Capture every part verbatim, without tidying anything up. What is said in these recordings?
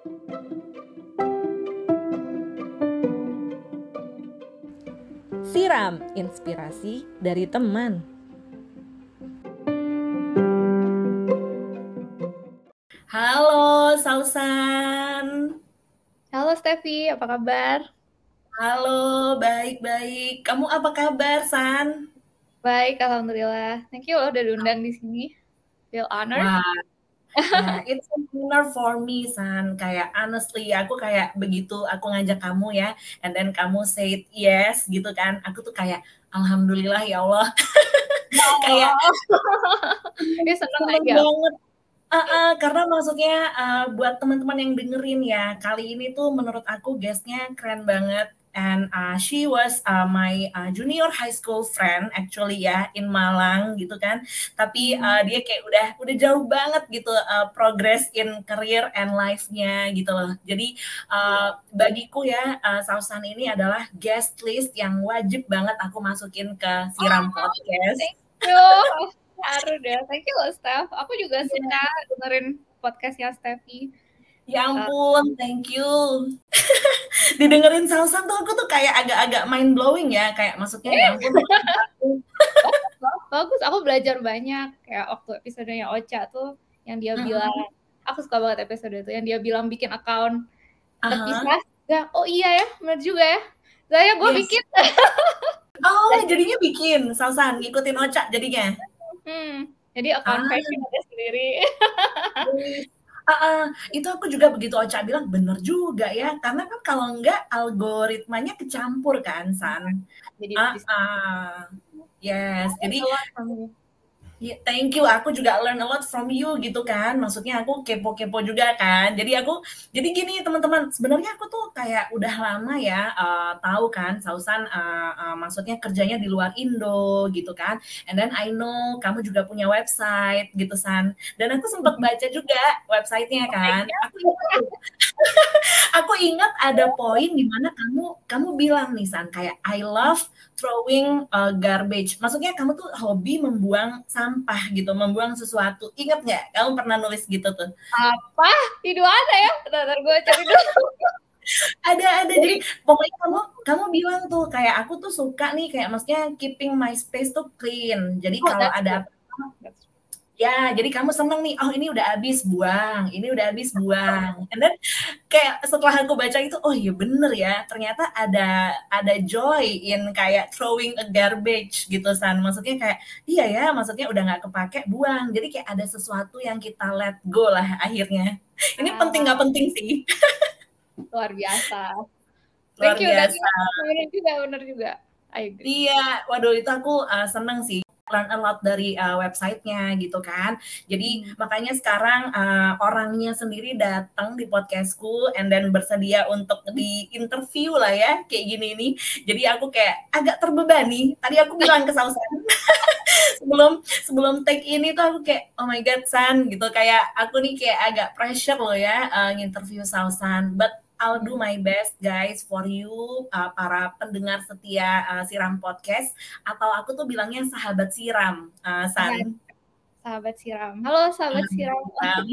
Siram, inspirasi dari teman. Halo Sausan. Halo Steffi, apa kabar? Halo, baik-baik. Kamu apa kabar, San? Baik, alhamdulillah. Thank you loh udah diundang di sini. Feel honored. Wah, ya, it's an honor for me, San. Kayak honestly, aku kayak begitu aku ngajak kamu ya, and then kamu say yes gitu kan. Aku tuh kayak alhamdulillah ya Allah. Kayak Oh, ya seneng seneng aja. banget. Uh, uh, karena maksudnya uh, buat teman-teman yang dengerin ya, kali ini tuh menurut aku guestnya keren banget. And uh, she was uh, my uh, junior high school friend actually ya in Malang gitu kan. Tapi uh, dia kayak udah udah jauh banget gitu uh, progress in career and life-nya gitu loh. Jadi uh, bagiku ya uh, Sausan ini adalah guest list yang wajib banget aku masukin ke Siram Oh, Podcast. thank you. Haru deh. Thank you loh, Steph. Aku juga suka dengerin podcastnya Steffi. Ya Uh, ampun, thank you. Didengerin Sausan tuh aku tuh kayak agak-agak mind blowing ya, kayak maksudnya ya ampun. bagus, loh. Bagus. Aku belajar banyak. Kayak waktu episodenya Ocha tuh, yang dia bilang, aku suka banget episode itu, yang dia bilang bikin account Aha, terpisah. Ya, oh iya ya, benar juga ya. Saya gue yes. bikin. Oh, jadinya bikin Sausan ngikutin Ocha jadinya. Hmm, jadi account Ah, fashion ada sendiri. yes. Ah, ah, itu aku juga begitu Ocha bilang bener juga ya, karena kan kalau enggak algoritmanya kecampur kan, San. Jadi Ah, bisa. ah. Yes, jadi Kamu. ya, thank you. Aku juga learn a lot from you gitu kan. Maksudnya aku kepo-kepo juga kan. Jadi aku, jadi gini teman-teman. Sebenarnya aku tuh kayak udah lama ya uh, tahu kan, Sausan uh, uh, maksudnya kerjanya di luar Indo gitu kan. And then I know kamu juga punya website gitu San. Dan aku sempat baca juga websitenya kan. Aku ingat tuh, aku ingat ada poin di mana kamu kamu bilang nih San kayak I love throwing uh, garbage. Maksudnya kamu tuh hobi membuang sampah gitu, membuang sesuatu. Ingat nggak? Kamu pernah nulis gitu tuh? Apa? Itu ada ya? Ntar gue cari dulu. Ada, ada. Jadi pokoknya kamu kamu bilang tuh kayak aku tuh suka nih kayak maksudnya keeping my space tuh clean. Jadi Oh, kalau that's true. ada That's true. ya, jadi kamu seneng nih, oh ini udah habis buang, ini udah habis buang. And then kayak setelah aku baca itu, oh iya bener ya, ternyata ada ada joy in kayak throwing a garbage gitu San. Maksudnya kayak iya ya, maksudnya udah nggak kepake buang. Jadi kayak ada sesuatu yang kita let go lah akhirnya. Ini penting nggak Ah, penting sih, luar biasa. luar Thank you, thank you. biasa. Bener juga, bener juga. I agree. Iya, waduh itu aku uh, seneng sih learn a lot dari uh, websitenya gitu kan. Jadi Hmm. makanya sekarang uh, orangnya sendiri datang di podcastku and then bersedia untuk di interview lah ya kayak gini nih. Jadi aku kayak agak terbebani. Tadi aku bilang ke Sausan sebelum sebelum take ini tuh aku kayak oh my god San gitu kayak aku nih kayak agak pressure loh ya uh, nginterview Sausan. But I'll do my best guys for you uh, para pendengar setia uh, Siram Podcast atau aku tuh bilangnya sahabat Siram uh, Nah, San. sahabat siram. Halo, sahabat siram. Um,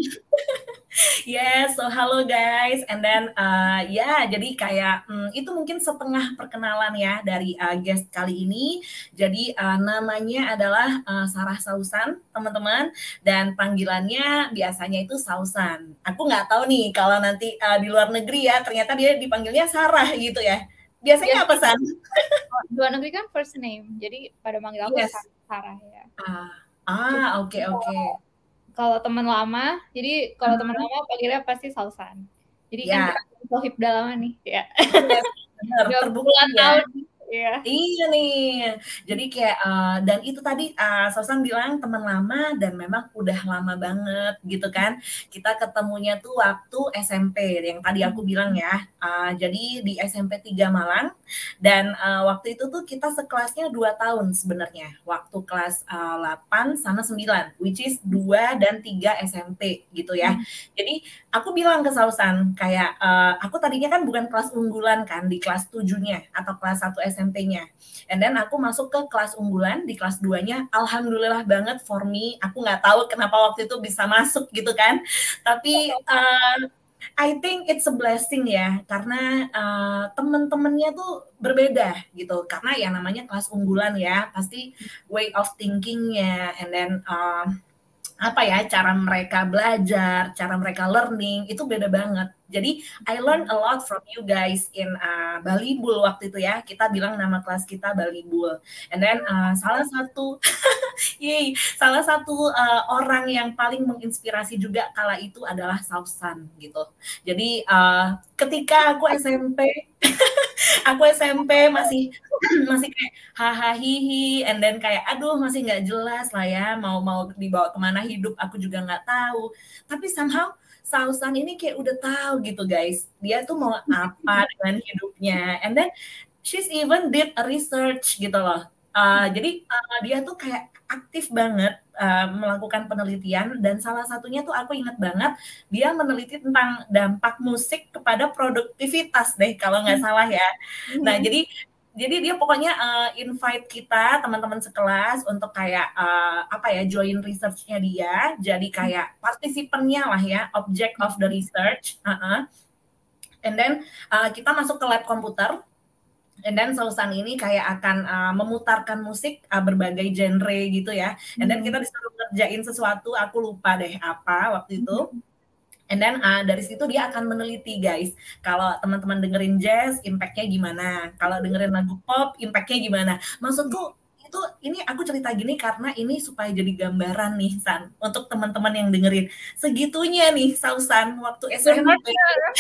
Yes, so halo guys, and then uh, ya, jadi kayak hmm, itu mungkin setengah perkenalan ya dari uh, guest kali ini. Jadi uh, namanya adalah uh, Sarah Sausan, teman-teman, dan panggilannya biasanya itu Sausan. Aku nggak tahu nih kalau nanti uh, di luar negeri ya, ternyata dia dipanggilnya Sarah gitu ya. Biasanya apa Biasanya San? dua negeri kan first name, jadi pada manggil aku Yes. Sarah ya. Ah, Cuma ah, oke oke. kalau teman lama, jadi kalau teman Uh-huh. lama panggilnya pasti Sausan. Jadi kan kita Ya, sohib udah lama nih, ya. yes, benar, Udah terbukti puluhan ya. tahun, ya. Iya nih. Jadi kayak uh, dan itu tadi uh, Sosan bilang teman lama dan memang udah lama banget gitu kan. Kita ketemunya tuh waktu S M P yang tadi aku bilang ya. Uh, jadi di S M P tiga Malang dan uh, waktu itu tuh kita sekelasnya dua tahun sebenarnya. Waktu kelas uh, delapan sama sembilan which is dua dan tiga S M P gitu ya. Jadi aku bilang ke Sausan kayak uh, aku tadinya kan bukan kelas unggulan kan di kelas tujuh-nya atau kelas satu S M P-nya. And then aku masuk ke kelas unggulan di kelas dua-nya. Alhamdulillah banget for me. Aku nggak tahu kenapa waktu itu bisa masuk gitu kan. Tapi uh, I think it's a blessing ya, karena uh, teman-temannya tuh berbeda gitu. Karena ya namanya kelas unggulan ya, pasti way of thinkingnya, and then uh, apa ya, cara mereka belajar, cara mereka learning itu beda banget. Jadi I learn a lot from you guys in uh, Bali Bull waktu itu ya. Kita bilang nama kelas kita Bali Bull. And then uh, salah satu yay, salah satu uh, orang yang paling menginspirasi juga kala itu adalah Sausan gitu. Jadi uh, ketika aku S M P aku S M P masih masih kayak hahaha hihi, and then kayak aduh masih nggak jelas lah ya, mau mau dibawa kemana hidup aku juga nggak tahu. Tapi somehow Sausan ini kayak udah tahu gitu guys, dia tuh mau apa dengan hidupnya, and then she's even did a research gitu loh. Uh, jadi uh, dia tuh kayak aktif banget uh, melakukan penelitian, dan salah satunya tuh aku ingat banget dia meneliti tentang dampak musik kepada produktivitas deh kalau nggak salah ya. Nah jadi jadi dia pokoknya uh, invite kita teman-teman sekelas untuk kayak uh, apa ya, join research-nya dia, jadi kayak partisipannya lah ya, object of the research. Uh-uh. And then uh, kita masuk ke lab komputer. And then Sausan ini kayak akan uh, memutarkan musik uh, berbagai genre gitu ya. And then kita disuruh ngerjain sesuatu, aku lupa deh apa waktu itu. And then uh, dari situ dia akan meneliti guys, kalau teman-teman dengerin jazz, impact-nya gimana? Kalau dengerin lagu pop, impact-nya gimana? Maksudku itu, ini aku cerita gini karena ini supaya jadi gambaran nih San, untuk teman-teman yang dengerin. Segitunya nih Sausan waktu S M P.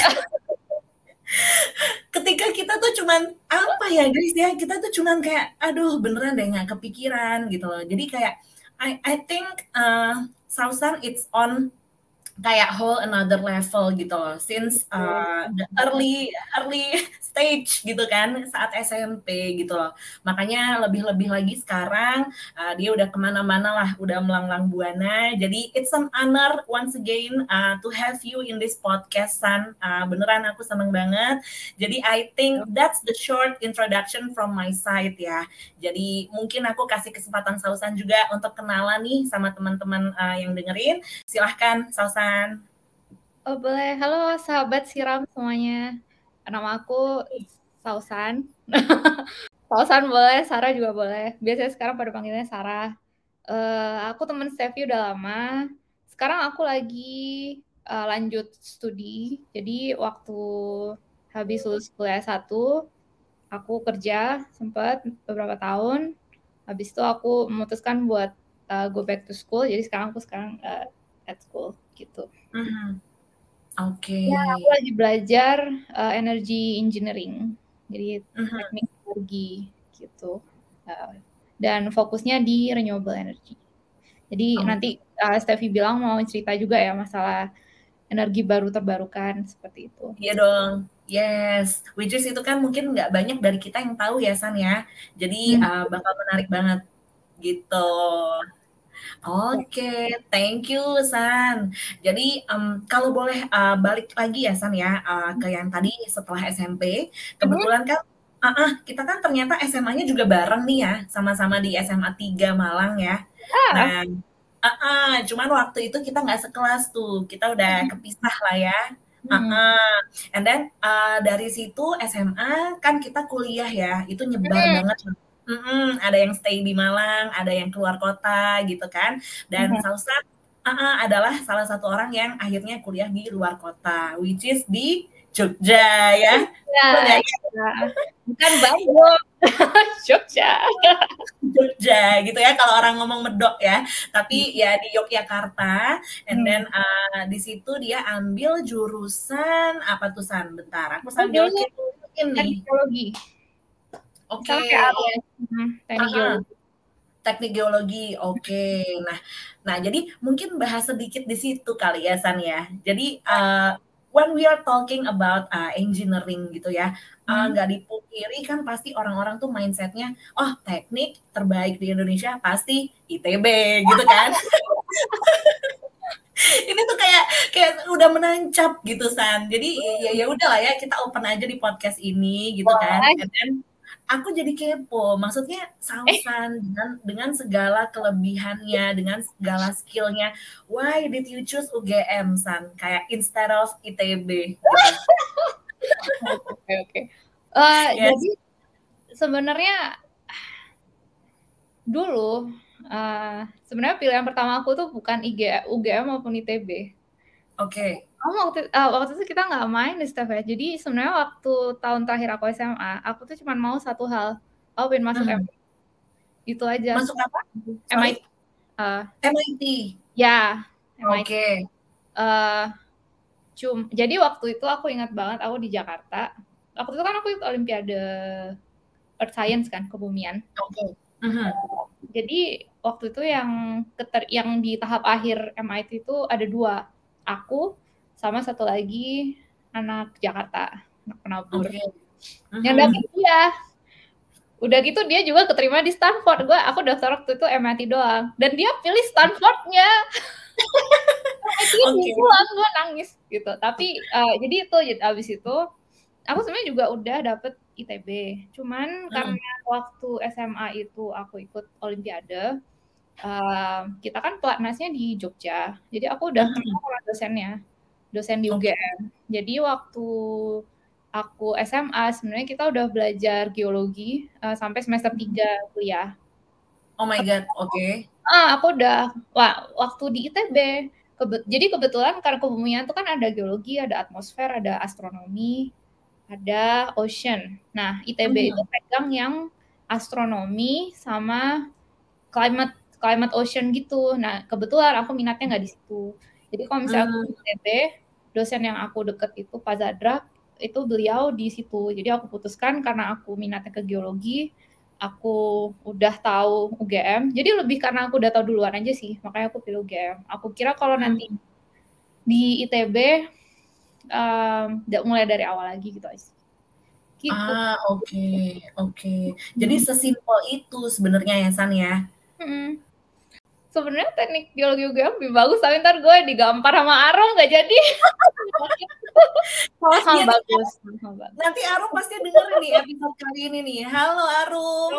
Ketika kita tuh cuman apa ya guys ya, kita tuh cuman kayak aduh beneran deh nggak kepikiran gitu loh. Jadi kayak I I think uh, Sausan it's on kayak whole another level gitu loh, since uh, the early early stage gitu kan, saat S M P gitu loh. Makanya lebih-lebih lagi sekarang uh, dia udah kemana-mana lah, udah melanglang buana. Jadi it's an honor once again uh, to have you in this podcast, San. Uh, beneran aku seneng banget. Jadi I think that's the short introduction from my side ya. Jadi mungkin aku kasih kesempatan Sausan juga untuk kenalan nih sama teman-teman uh, yang dengerin. Silahkan Sausan. Oh boleh, halo sahabat Siram semuanya. Nama aku Sausan. Sausan boleh, Sarah juga boleh. Biasanya sekarang pada panggilnya Sarah. Uh, aku teman Steffi udah lama. Sekarang aku lagi uh, lanjut studi. Jadi waktu habis lulus kuliah satu, aku kerja sempat beberapa tahun. Habis itu aku memutuskan buat uh, go back to school. Jadi sekarang aku sekarang uh, at school gitu. Mm-hmm. Oke. Okay. Ya, aku lagi belajar uh, energy engineering, jadi uh-huh. teknik energi gitu. Uh, dan fokusnya di renewable energy. Jadi oh. nanti uh, Steffi bilang mau cerita juga ya masalah energi baru terbarukan seperti itu. Iya dong, yes. Which is itu kan mungkin nggak banyak dari kita yang tahu ya San ya. Jadi hmm. uh, bakal menarik banget gitu. Oke, okay, thank you San. Jadi um, kalau boleh uh, balik lagi ya San ya uh, ke yang tadi setelah S M P, kebetulan kan uh, uh, kita kan ternyata S M A-nya juga bareng nih ya, sama-sama di S M A tiga Malang ya. Ah. Nah, uh, uh, cuman waktu itu kita nggak sekelas tuh, kita udah kepisah lah ya. Uh, uh. And then uh, dari situ S M A kan kita kuliah ya, itu nyebar hmm. banget. Mm-mm, ada yang stay di Malang, ada yang keluar kota gitu kan. Dan mm-hmm. Sausan uh-uh, adalah salah satu orang yang akhirnya kuliah di luar kota, which is di Jogja ya. Ya, bukan Bandung, Jogja. Jogja gitu ya kalau orang ngomong medok ya. Tapi ya di Yogyakarta. And then uh, di situ dia ambil jurusan apa tuh San? Bentar, aku sambil ini teknologi. Oke, okay. teknik geologi. Teknik geologi, oke. Okay. Nah, nah jadi mungkin bahas sedikit di situ kali ya San ya. Jadi uh, when we are talking about uh, engineering gitu ya, nggak uh, hmm. dipungkiri kan pasti orang-orang tuh mindsetnya, oh teknik terbaik di Indonesia pasti I T B gitu kan. Ini tuh kayak kayak udah menancap gitu San. Jadi ya ya udah lah ya, kita open aja di podcast ini gitu kan. And then aku jadi kepo. Maksudnya Eh, Sausan dengan dengan segala kelebihannya, dengan segala skillnya, why did you choose U G M, San? Kayak instead of I T B gitu. oke oke. oke. Eh, Yes. jadi sebenarnya dulu eh, sebenarnya pilihan pertama aku tuh bukan I G, U G M maupun I T B. Oke. Oh, waktu, ah, waktu itu kita nggak main di Steph ya. Jadi sebenarnya waktu tahun terakhir aku S M A, aku tuh cuma mau satu hal. Aku pengen masuk M I T. Mhm. Itu aja. Masuk apa? M I T. Sorry? eh, M I T. ya, M I T. Oke. Eh, cum, jadi waktu itu aku ingat banget aku di Jakarta. Waktu itu kan aku ikut Olimpiade Earth Science kan, kebumian. Oke. Mhm. Jadi waktu itu yang keter, yang di tahap akhir M I T itu ada dua, aku sama satu lagi anak Jakarta, anak penabur. Oke. Yang Mhm. dapet dia, udah gitu dia juga keterima di Stanford. Gue aku daftar waktu itu M I T doang, dan dia pilih Stanfordnya. M I T Oke. pulang, gue nangis gitu. Tapi uh, jadi itu abis itu aku sebenarnya juga udah dapet I T B. Cuman Mhm. karena waktu S M A itu aku ikut Olimpiade, uh, kita kan pelatnasnya di Jogja. Jadi aku udah kenal Mhm. sama dosennya, dosen di Oke. U G M. Jadi waktu aku S M A sebenarnya kita udah belajar geologi uh, sampai semester tiga kuliah. Oh my God. Oke. Ah, aku udah wah, waktu di I T B. Kebe- jadi kebetulan karena kebumian itu kan ada geologi, ada atmosfer, ada astronomi, ada ocean. Nah, I T B itu Mhm. pegang yang astronomi sama climate climate ocean gitu. Nah, kebetulan aku minatnya nggak di situ. Jadi kalau misalnya aku di Mmm. I T B, dosen yang aku deket itu Pak Zadrak, itu beliau di situ. Jadi aku putuskan karena aku minatnya ke geologi, aku udah tahu U G M. Jadi lebih karena aku udah tahu duluan aja sih, makanya aku pilih U G M. Aku kira kalau nanti Mmm. di I T B um, mulai dari awal lagi gitu aja. Gitu. Ah, oke oke. Jadi sesimpel itu sebenarnya ya, San, ya? Hmm. Sebenarnya teknik geologi U G M lebih bagus, tapi ntar gue digampar sama Arom nggak jadi. Iya Sama-sama nih, bagus, sama-sama bagus. nanti Arum pasti dengerin nih episode kali ini nih. Halo Arum.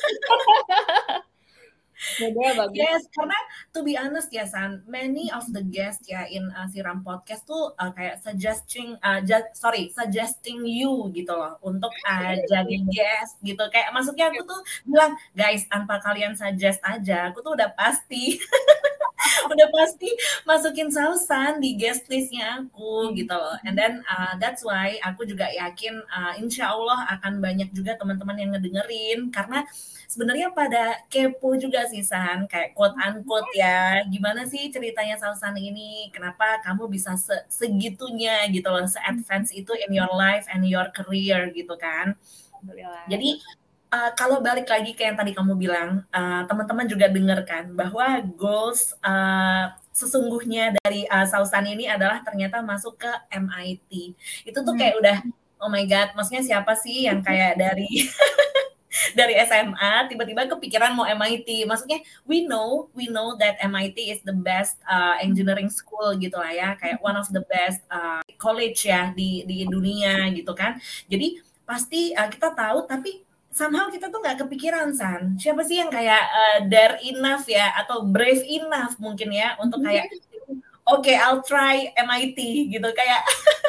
Dua-duanya bagus. Yes, karena to be honest ya San, many of the guests ya in uh, Siram Podcast tuh uh, kayak suggesting, uh, ju- sorry, suggesting you gitu loh untuk uh, jadi guest gitu. Kayak maksudnya aku tuh bilang, guys, tanpa kalian suggest aja, aku tuh udah pasti udah pasti masukin Sausan di guest listnya aku gitu loh. And then uh, that's why aku juga yakin uh, insya Allah akan banyak juga teman-teman yang ngedengerin karena sebenarnya pada kepo juga sih San, kayak quote unquote ya, gimana sih ceritanya Sausan ini, kenapa kamu bisa se segitunya gitu loh, se-advance itu in your life and your career gitu kan. Alhamdulillah. Jadi uh, kalau balik lagi ke yang tadi kamu bilang, uh, teman-teman juga dengar kan bahwa goals uh, sesungguhnya dari uh, Sausan ini adalah ternyata masuk ke M I T. Itu tuh Hmm. kayak udah oh my god, maksudnya siapa sih yang kayak dari dari S M A tiba-tiba kepikiran mau M I T. Maksudnya we know we know that M I T is the best uh, engineering school gitu lah ya, kayak one of the best uh, college ya di di dunia gitu kan. Jadi pasti uh, kita tahu tapi somehow kita tuh nggak kepikiran San. Siapa sih yang kayak uh, dare enough ya atau brave enough mungkin ya untuk kayak oke okay, I'll try M I T gitu kayak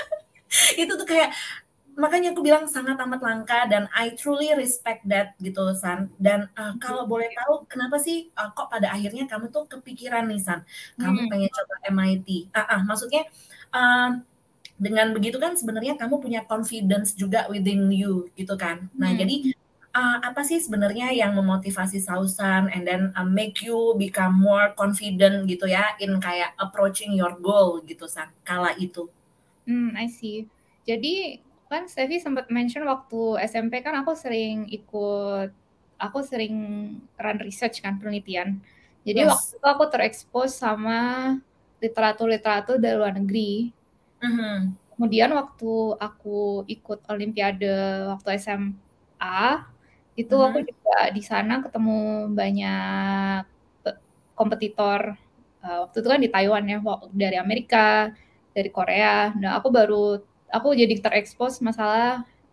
itu tuh kayak makanya aku bilang sangat amat langka dan I truly respect that gitu San. Dan uh, kalau boleh tahu kenapa sih uh, kok pada akhirnya kamu tuh kepikiran nih San, kamu Hmm. pengen coba M I T. Ah, ah maksudnya uh, dengan begitu kan sebenarnya kamu punya confidence juga within you gitu kan. Nah, Hmm. jadi uh, apa sih sebenarnya yang memotivasi Sausan and then uh, make you become more confident gitu ya in kayak approaching your goal gitu San kala itu. Hmm, I see. Jadi kan Steffi sempat mention waktu S M P kan aku sering ikut, aku sering run research kan, penelitian. Jadi waktu Yes. itu aku terekspos sama literatur-literatur dari luar negeri. Mhm. Kemudian waktu aku ikut Olimpiade waktu S M A, itu aku Mhm. juga di sana ketemu banyak pe- kompetitor. Uh, waktu itu kan di Taiwan ya, wa- dari Amerika, dari Korea. Nah, aku baru aku jadi terekspos masalah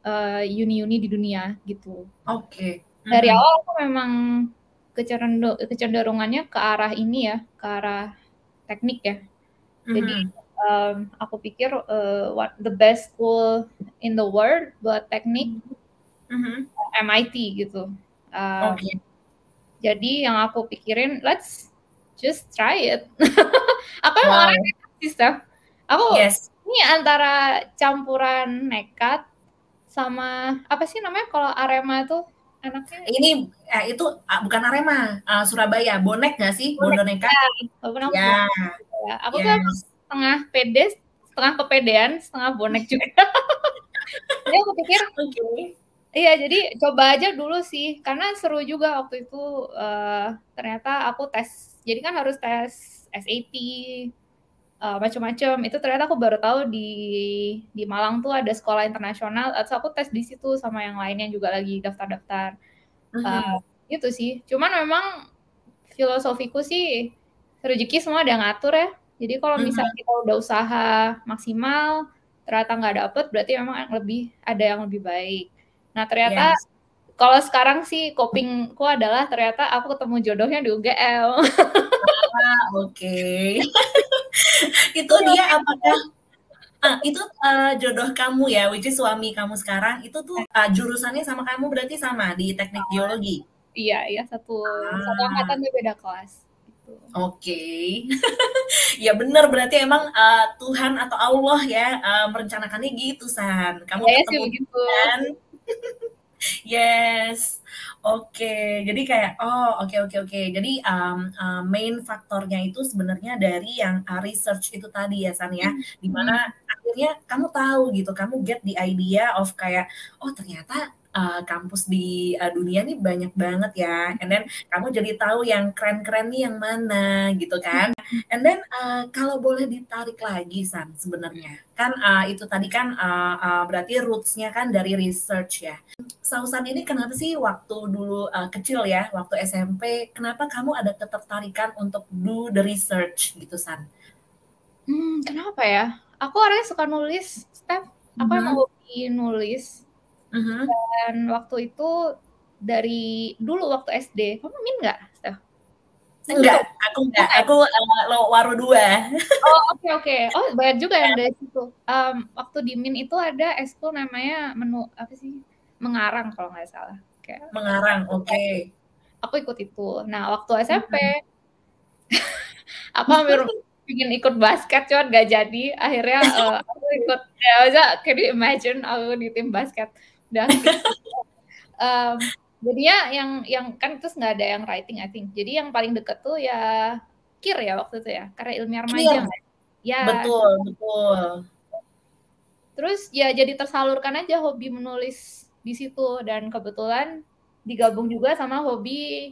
uh, uni-uni di dunia gitu. Oke. Dari Mhm. awal aku memang kecenderung- kecenderungannya ke arah ini ya, ke arah teknik ya. Jadi Mhm. um, aku pikir uh, what the best school in the world buat teknik Mhm. M I T gitu. Um, Oke. Jadi yang aku pikirin, let's just try it. Aku emang Wow. orangnya nekat sih, Steph. Aku Yes. ini antara campuran nekat sama apa sih namanya kalau Arema tuh anaknya? Ini eh, itu uh, bukan Arema, uh, Surabaya. Bonek nggak sih? Bonek. Bondo nekat? Ya, walaupun aku Ya. bonek juga ya. Aku tuh emang Yes. setengah pede, setengah kepedean, setengah bonek juga. Jadi aku pikir, Oke. iya jadi coba aja dulu sih, karena seru juga waktu itu uh, ternyata aku tes, jadi kan harus tes S A T, uh, macam-macam. Itu ternyata aku baru tahu di di Malang tuh ada sekolah internasional, atau aku tes di situ sama yang lainnya juga lagi daftar-daftar. Uh, Mhm. Gitu sih. Cuman memang filosofiku sih rezeki semua ada yang ngatur ya. Jadi kalau misalnya Mhm. kita udah usaha maksimal, ternyata nggak dapet, berarti memang yang lebih ada yang lebih baik. Nah ternyata Yes. kalau sekarang sih copingku adalah ternyata aku ketemu jodohnya di U G L. Ah, oke. Itu dia apakah ah, itu uh, jodoh kamu ya, which is suami kamu sekarang, itu tuh uh, jurusannya sama kamu berarti sama di teknik geologi? Iya, iya satu satu angkatan Ah, tapi beda kelas gitu. oke. Ya bener, berarti emang uh, Tuhan atau Allah ya uh, merencanakannya gitu, San. Kamu Saya sih ketemu begitu. kan? Yes. Oke, jadi kayak oh oke oke oke. Jadi um, uh, main faktornya itu sebenarnya dari yang uh, research itu tadi ya San ya, Hmm. dimana Hmm. akhirnya kamu tahu gitu, kamu get the idea of kayak oh ternyata uh, kampus di uh, dunia nih banyak banget ya, and then kamu jadi tahu yang keren-keren nih yang mana gitu kan. And then uh, kalau boleh ditarik lagi San sebenarnya kan uh, itu tadi kan uh, uh, berarti roots-nya kan dari research ya. Sausan ini kenapa sih waktu dulu uh, kecil ya, waktu S M P, kenapa kamu ada ketertarikan untuk do the research gitu, San? Hmm, kenapa ya? Aku orangnya suka nulis, Steph. Aku emang Mhm. hobi nulis. Mhm. Dan waktu itu dari dulu waktu S D, kamu min nggak, Steph? Min Enggak, tuh? aku enggak. Bukan? Aku uh, lo waru dua. Oh oke oke. Oh banyak juga yang dari situ. Um, waktu di min itu ada ekskul namanya menu apa sih? Mengarang kalau nggak salah. Kayak Mengarang, oke. Okay. aku ikut itu. Nah waktu S M P Mhm. aku hampir ingin ikut basket cuman gak jadi. Akhirnya uh, aku ikut ya aja. Can you imagine aku di tim basket udah fix. Um, jadinya yang yang kan terus nggak ada yang writing I think. Jadi yang paling deket tuh ya K I R ya waktu itu ya, karya ilmiah remaja Clear. nggak? Ya. Betul, betul. Terus ya jadi tersalurkan aja hobi menulis di situ dan kebetulan digabung juga sama hobi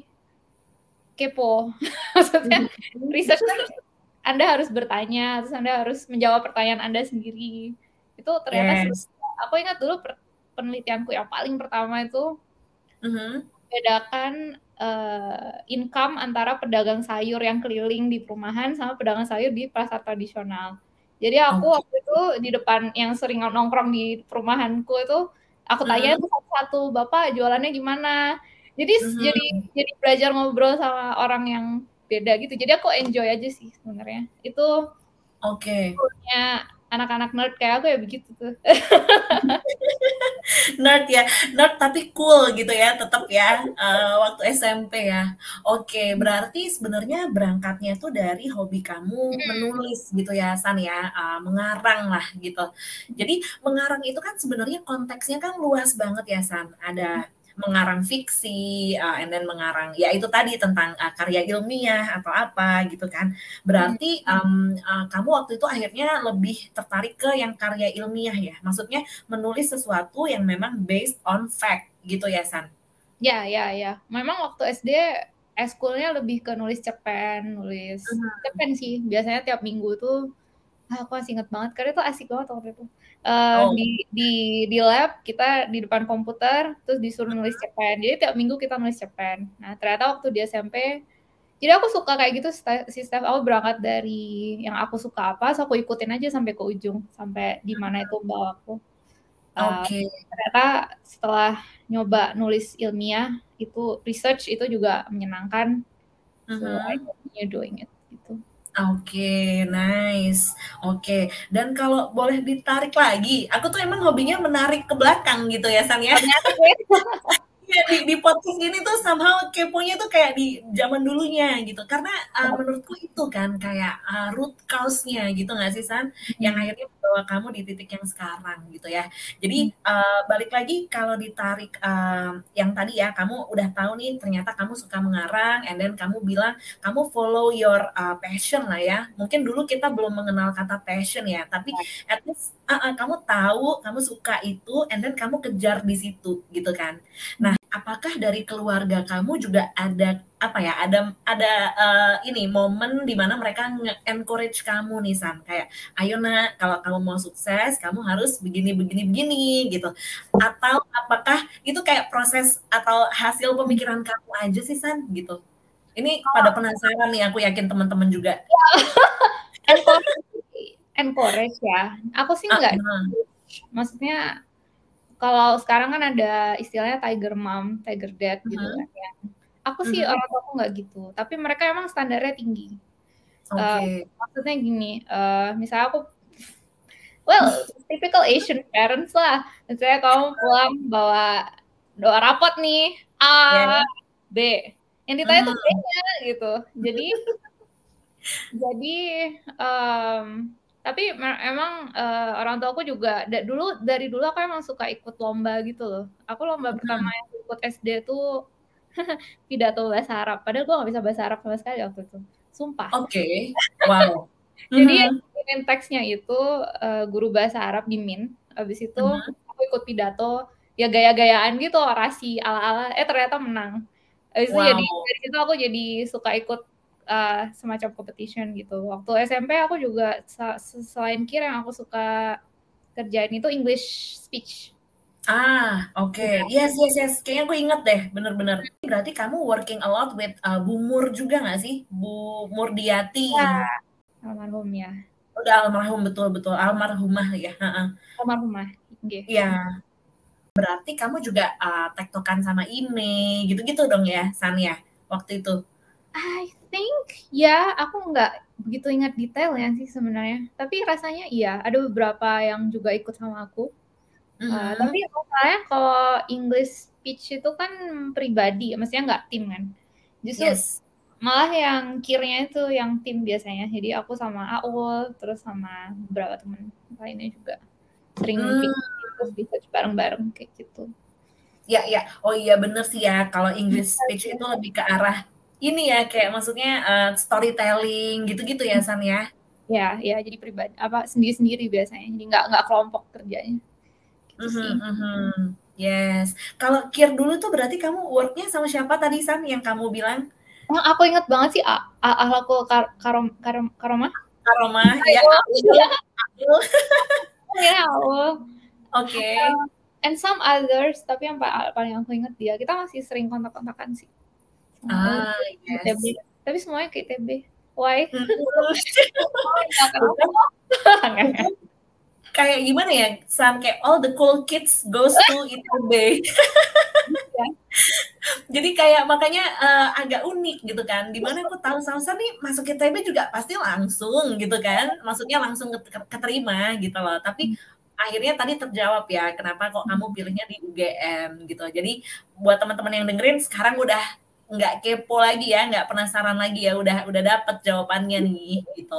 kepo. Maksudnya Mhm. research kan Anda harus bertanya, terus Anda harus menjawab pertanyaan Anda sendiri. Itu ternyata seru. Yes. Aku ingat dulu penelitianku yang paling pertama itu Mhm. bedakan uh, income antara pedagang sayur yang keliling di perumahan sama pedagang sayur di pasar tradisional. Jadi aku Oke. waktu itu di depan yang sering nongkrong di perumahanku itu aku tanya Mhm. tuh satu-satu, Bapak jualannya gimana? Jadi jadi Mhm. jadi belajar ngobrol sama orang yang beda gitu. Jadi aku enjoy aja sih sebenarnya. Itu Oke. punya anak-anak nerd kayak aku ya begitu tuh. Nerd ya, nerd tapi cool gitu ya, tetap ya, uh, waktu S M P ya. Oke, berarti sebenarnya berangkatnya tuh dari hobi kamu menulis gitu ya, San ya, uh, mengarang lah gitu. Jadi mengarang itu kan sebenarnya konteksnya kan luas banget ya, San. Ada mengarang fiksi, uh, and then mengarang ya itu tadi tentang uh, karya ilmiah atau apa gitu kan. Berarti um, uh, kamu waktu itu akhirnya lebih tertarik ke yang karya ilmiah ya, maksudnya menulis sesuatu yang memang based on fact gitu ya, San? Ya, ya, ya. Memang waktu S D eskulnya lebih ke nulis cerpen, nulis Mhm. cerpen sih. Biasanya tiap minggu tuh, ah, aku masih inget banget karena itu asik banget waktu itu. Uh, Oh. di di di lab kita di depan komputer terus disuruh nulis Mhm. cerpen. Jadi tiap minggu kita nulis cerpen. Nah ternyata waktu di S M P, jadi aku suka kayak gitu si Steph. Aku berangkat dari yang aku suka apa, so aku ikutin aja sampai ke ujung, sampai di mana itu bawa aku. Uh, Oke. ternyata setelah nyoba nulis ilmiah, itu research itu juga menyenangkan. So I Mhm. continue doing it gitu. Oke, nice. Oke, dan kalau boleh ditarik lagi, aku tuh emang hobinya menarik ke belakang gitu ya, San, ya. Oh menarik ya? Iya, di di podcast ini tuh somehow keponya tuh kayak di zaman dulunya gitu. Karena, eee, menurutku itu kan kayak, eee, root cause-nya gitu nggak sih, San? Yang Mhm. akhirnya membawa kamu di titik yang sekarang gitu ya. Mmm. Jadi, eee, balik lagi kalau ditarik, eee, yang tadi ya, kamu udah tahu nih ternyata kamu suka mengarang and then kamu bilang kamu follow your, eee, passion lah ya. Mungkin dulu kita belum mengenal kata passion ya, tapi at least heeh, kamu tahu, kamu suka itu and then kamu kejar di situ gitu kan. Nah, apakah dari keluarga kamu juga ada, apa ya, ada ada, eee, ini, momen di mana mereka nge-encourage kamu nih, San, kayak, "Ayo Nak, kalau kamu mau sukses, kamu harus begini begini begini," gitu. Atau apakah itu kayak proses atau hasil Mmm. pemikiran kamu aja sih, San, gitu? Ini pada Kalau penasaran nih, aku yakin teman-teman juga. Iya. Encourage sih, encourage ya. Aku sih nggak Heeh. di-push, maksudnya kalau sekarang kan ada istilahnya tiger mom, tiger dad gitu kan Mhm. ya. Aku sih Mhm. orang tuaku nggak gitu, tapi mereka emang standarnya tinggi. Eee, Oke. maksudnya gini, eee, misalnya aku well, typical Asian parents lah. Misalnya kamu pulang bawa dua rapot nih, A, Iya. B, yang ditanya tuh Mhm. B-nya gitu. Jadi jadi, mmm, tapi me emang, eee, orang tuaku juga da dulu dari dulu aku emang suka ikut lomba gitu loh. Aku lomba pertama Mhm. yang ikut S D tuh pidato bahasa Arab, padahal gua nggak bisa bahasa Arab sama sekali waktu itu, sumpah. Oke, wow. Jadi yang Mhm. bikinin teksnya itu, eee, guru bahasa Arab di M I N, habis itu Mhm. aku ikut pidato, ya gaya-gayaan gitu, orasi ala-ala, eh ternyata menang. Habis itu jadi Wow. dari situ aku jadi suka ikut, eee, semacam competition gitu. Waktu S M P aku juga sa se selain Q I R yang aku suka kerjain itu English speech. Ah, oke. Iya. Yes yes yes, kayaknya aku inget deh, bener bener. Berarti kamu working a lot with, eee, Bu Mur juga nggak sih? Bu Iya, Murdiati. almarhum ya. Udah almarhum, betul betul, almarhumah ya, heeh. Almarhumah, nggih. Iya. Berarti kamu juga, eee, tektokan sama Ime, gitu-gitu dong ya, San, ya, waktu itu? I think ya, aku nggak begitu ingat detailnya sih sebenarnya, tapi rasanya iya, ada beberapa yang juga ikut sama aku. Eee, tapi Mhm. masalahnya kalau English speech itu kan pribadi, maksudnya nggak tim kan. Justru Yes. malah yang Q I R-nya itu yang tim biasanya. Jadi aku sama Aul, terus sama beberapa temen lainnya juga sering Mmm. bikin terus research bareng-bareng, kayak gitu. Iya iya. Oh iya, bener sih ya, kalau English speech itu Aja. lebih ke arah ini ya, kayak maksudnya, eee, storytelling gitu-gitu ya, Mmm. San, ya? Iya iya, jadi pribad apa, sendiri-sendiri biasanya, jadi nggak nggak kelompok kerjanya. Gitu Mhm sih. mhm. Yes. Kalau Q I R dulu tuh berarti kamu work-nya sama siapa tadi, San, yang kamu bilang? Oh, aku inget banget sih a a akhlakul kar karom karom karomah. Karomah, iya, Aul. Aul Aul. Oh ya, Aul. Oke. Eee, and some others, tapi yang pa paling aku inget dia. Kita masih sering kontak-kontakan sih. Sama Aul Ah, di I-T-B, yes. tapi semuanya ke I-T-B. Why? Mhm. Oh, ya Tuh kenapa? kan Nggak tuh nggak. kan, kayak gimana ya, San, kayak all the cool kids goes to I-T-B. Iya. Jadi kayak makanya, eee, agak unik gitu kan, di mana aku tahu Sausan nih masuk I-T-B juga pasti langsung gitu kan, maksudnya langsung keter keterima gitu loh. Tapi Mmm. akhirnya tadi terjawab ya, kenapa kok kamu Mhm. pilihnya di U G M gitu. Jadi buat teman-teman yang dengerin sekarang udah nggak kepo lagi ya, nggak penasaran lagi ya, udah udah dapet jawabannya nih, gitu.